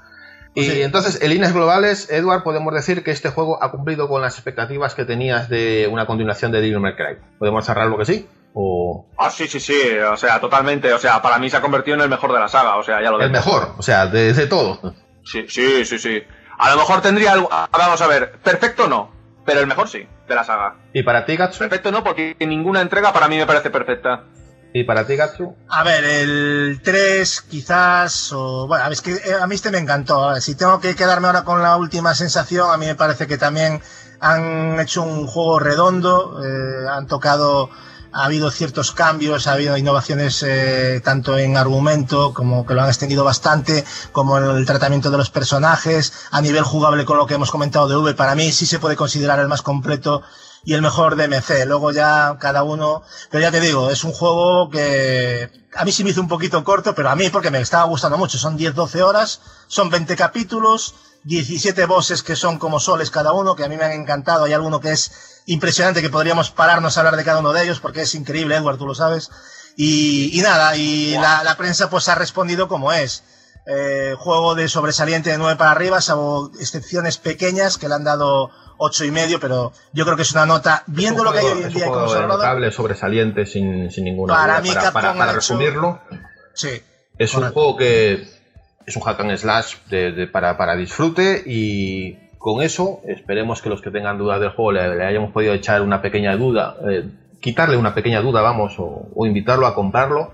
Y Sí. entonces, en líneas globales, Edward, podemos decir que este juego ha cumplido con las expectativas que tenías de una continuación de Devil May Cry. ¿Podemos cerrarlo que sí? O... Ah, sí, sí, sí, o sea, totalmente, o sea, para mí se ha convertido en el mejor de la saga, o sea, ya lo El ves. mejor, o sea, de, de todo. Sí, sí, sí, sí. A lo mejor tendría algo, vamos a ver, perfecto no, pero el mejor sí, de la saga. ¿Y para ti, Gatsu? Perfecto no, porque ninguna entrega para mí me parece perfecta. ¿Y para ti, Gatsu? A ver, el tres quizás, o bueno, es que a mí este me encantó. A ver, si tengo que quedarme ahora con la última sensación, a mí me parece que también han hecho un juego redondo, eh, han tocado, ha habido ciertos cambios, ha habido innovaciones eh, tanto en argumento, como que lo han extendido bastante, como en el tratamiento de los personajes, a nivel jugable con lo que hemos comentado de V, para mí sí se puede considerar el más completo y el mejor D M C. Luego ya cada uno, pero ya te digo, es un juego que a mí sí me hizo un poquito corto, pero a mí porque me estaba gustando mucho. Son diez doce horas, son veinte capítulos, diecisiete bosses que son como soles cada uno, que a mí me han encantado. Hay alguno que es impresionante, que podríamos pararnos a hablar de cada uno de ellos, porque es increíble, Edward, tú lo sabes. Y, y nada, y wow. la, la prensa pues ha respondido como es. Eh, juego de sobresaliente de nueve para arriba, salvo excepciones pequeñas que le han dado ocho y medio, pero yo creo que es una nota, viendo lo que hay hoy en día como notable, sobresaliente, sin, sin ninguna para duda. Mí, para, para, para resumirlo, sí, es correcto. Un juego que es un hack and slash de, de, para, para disfrute, y con eso esperemos que los que tengan dudas del juego le, le hayamos podido echar una pequeña duda, eh, quitarle una pequeña duda, vamos, o, o invitarlo a comprarlo.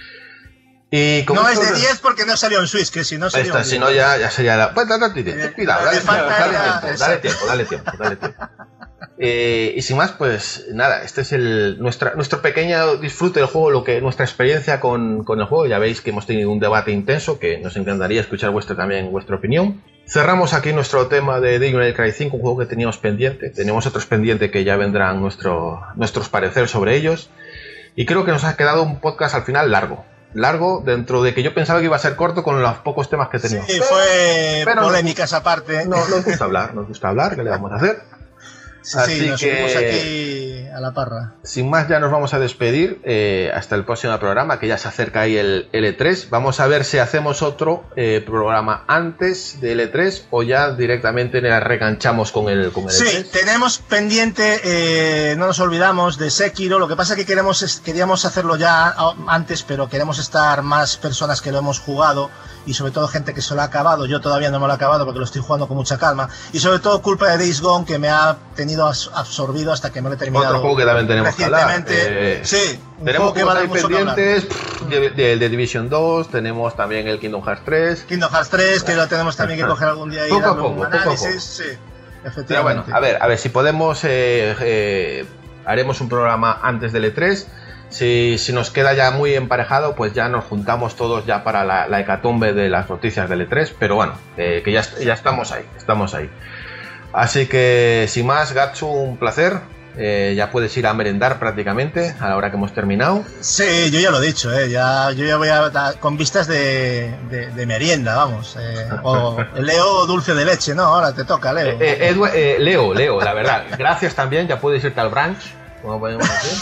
Y no es de diez porque no salió en Switch, que si no sería esta, si no ya, ya sería la... Pues, dale, dale, dale, dale, dale, dale tiempo, dale tiempo, dale tiempo. Eh, y sin más, pues nada, este es el nuestra, nuestro pequeño disfrute del juego, lo que nuestra experiencia con, con el juego. Ya veis que hemos tenido un debate intenso, que nos encantaría escuchar vuestra, también vuestra opinión. Cerramos aquí nuestro tema de Devil May Cry cinco, un juego que teníamos pendiente. Tenemos otros pendientes que ya vendrán nuestro, nuestros pareceres sobre ellos. Y creo que nos ha quedado un podcast al final largo. Largo, dentro de que yo pensaba que iba a ser corto con los pocos temas que teníamos. Sí, fue pero polémica esa parte. No, nos gusta hablar, nos gusta hablar, ¿qué le vamos a hacer? Sí, Así sí, nos que, subimos aquí a la parra. Sin más, ya nos vamos a despedir eh, hasta el próximo programa, que ya se acerca ahí el L tres. Vamos a ver si hacemos otro eh, programa antes del L tres o ya directamente nos reganchamos con el, con el sí, L tres. Sí, tenemos pendiente, eh, no nos olvidamos de Sekiro. Lo que pasa es que queremos, queríamos hacerlo ya antes, pero queremos estar más personas que lo hemos jugado y sobre todo gente que se lo ha acabado. Yo todavía no me lo he acabado porque lo estoy jugando con mucha calma, y sobre todo culpa de Days Gone, que me ha tenido absorbido hasta que me lo he terminado. Otro juego que también tenemos que hablar. Eh, sí, un tenemos juego que va a dar mucho pendientes de, de, de Division dos, tenemos también el Kingdom Hearts tres. Kingdom Hearts tres, que lo tenemos también que coger algún día y poco darle a poco, un análisis. Poco a poco. Sí, efectivamente. Pero bueno, a ver, a ver si podemos, eh, eh, haremos un programa antes del E tres. Si, si nos queda ya muy emparejado, pues ya nos juntamos todos ya para la, la hecatombe de las noticias del E tres. Pero bueno, eh, que ya, ya estamos ahí, estamos ahí. Así que, sin más, Gatsu, un placer. Eh, ya puedes ir a merendar prácticamente a la hora que hemos terminado. Sí, yo ya lo he dicho, eh, ya, yo ya voy a con vistas de, de, de merienda, vamos. Eh, o Leo dulce de leche, ¿no? Ahora te toca, Leo. Eh, eh, Edu, eh, Leo, Leo, la verdad. Gracias también, ya puedes irte al brunch, como podemos decir.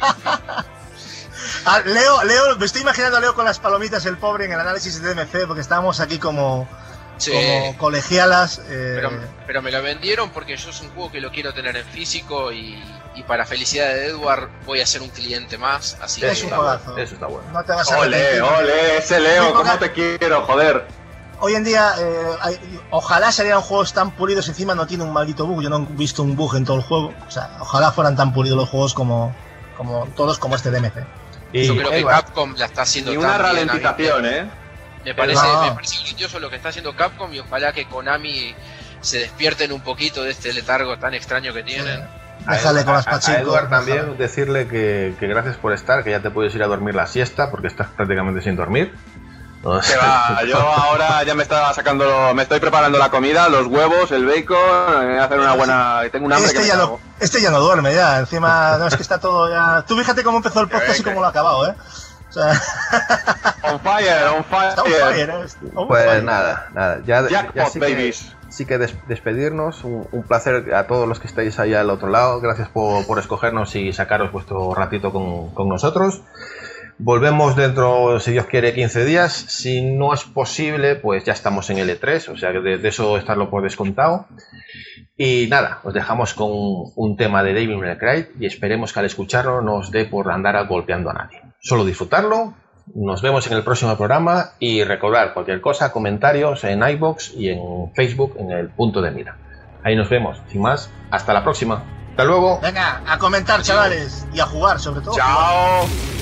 Ah, Leo, Leo, me estoy imaginando a Leo con las palomitas, el pobre, en el análisis de D M C, porque estábamos aquí como... Sí. Como colegialas. Eh... Pero, pero me lo vendieron porque yo es un juego que lo quiero tener en físico y, y para felicidad de Edward voy a ser un cliente más. Así es que un juegazo. Eso está bueno. No te vas a ole, ole, ese Leo, ¿cómo te quiero, joder? Hoy en día, eh, hay, ojalá salieran juegos tan pulidos, encima no tiene un maldito bug. Yo no he visto un bug en todo el juego. O sea, ojalá fueran tan pulidos los juegos como, como todos como este D M C. Y yo creo que Capcom la está haciendo y tan una bien, ralentización, ¿eh? Me parece, no. me parece grandioso lo que está haciendo Capcom y ojalá que Konami se despierten un poquito de este letargo tan extraño que tienen. Sí. Déjale con las pachincos. A Edward también déjale. Decirle que, que gracias por estar, que ya te puedes ir a dormir la siesta porque estás prácticamente sin dormir. No sé. Va, yo ahora ya me estaba sacando, me estoy preparando la comida, los huevos, el bacon, voy a hacer una buena, tengo un hambre este que ya me no, este ya no duerme ya, encima no es que está todo ya. Tú fíjate cómo empezó el podcast y cómo lo ha acabado, ¿eh? O sea... on fire, on fire. Está on fire, ¿eh? On pues fire. nada, nada, ya, Jackpot, ya sí babies. Que, sí que des, despedirnos, un, un placer a todos los que estáis ahí al otro lado, gracias por, por escogernos y sacaros vuestro ratito con, con nosotros. Volvemos dentro, si Dios quiere, quince días. Si no es posible, pues ya estamos en el E tres, o sea que de, de eso estarlo por descontado. Y nada, os dejamos con un tema de Devil May Cry y esperemos que al escucharlo no os dé por andar golpeando a nadie. Solo disfrutarlo. Nos vemos en el próximo programa y recordar cualquier cosa, comentarios en iVoox y en Facebook en el punto de mira. Ahí nos vemos. Sin más, hasta la próxima. Hasta luego. Venga, a comentar, chavales, y a jugar sobre todo. Chao.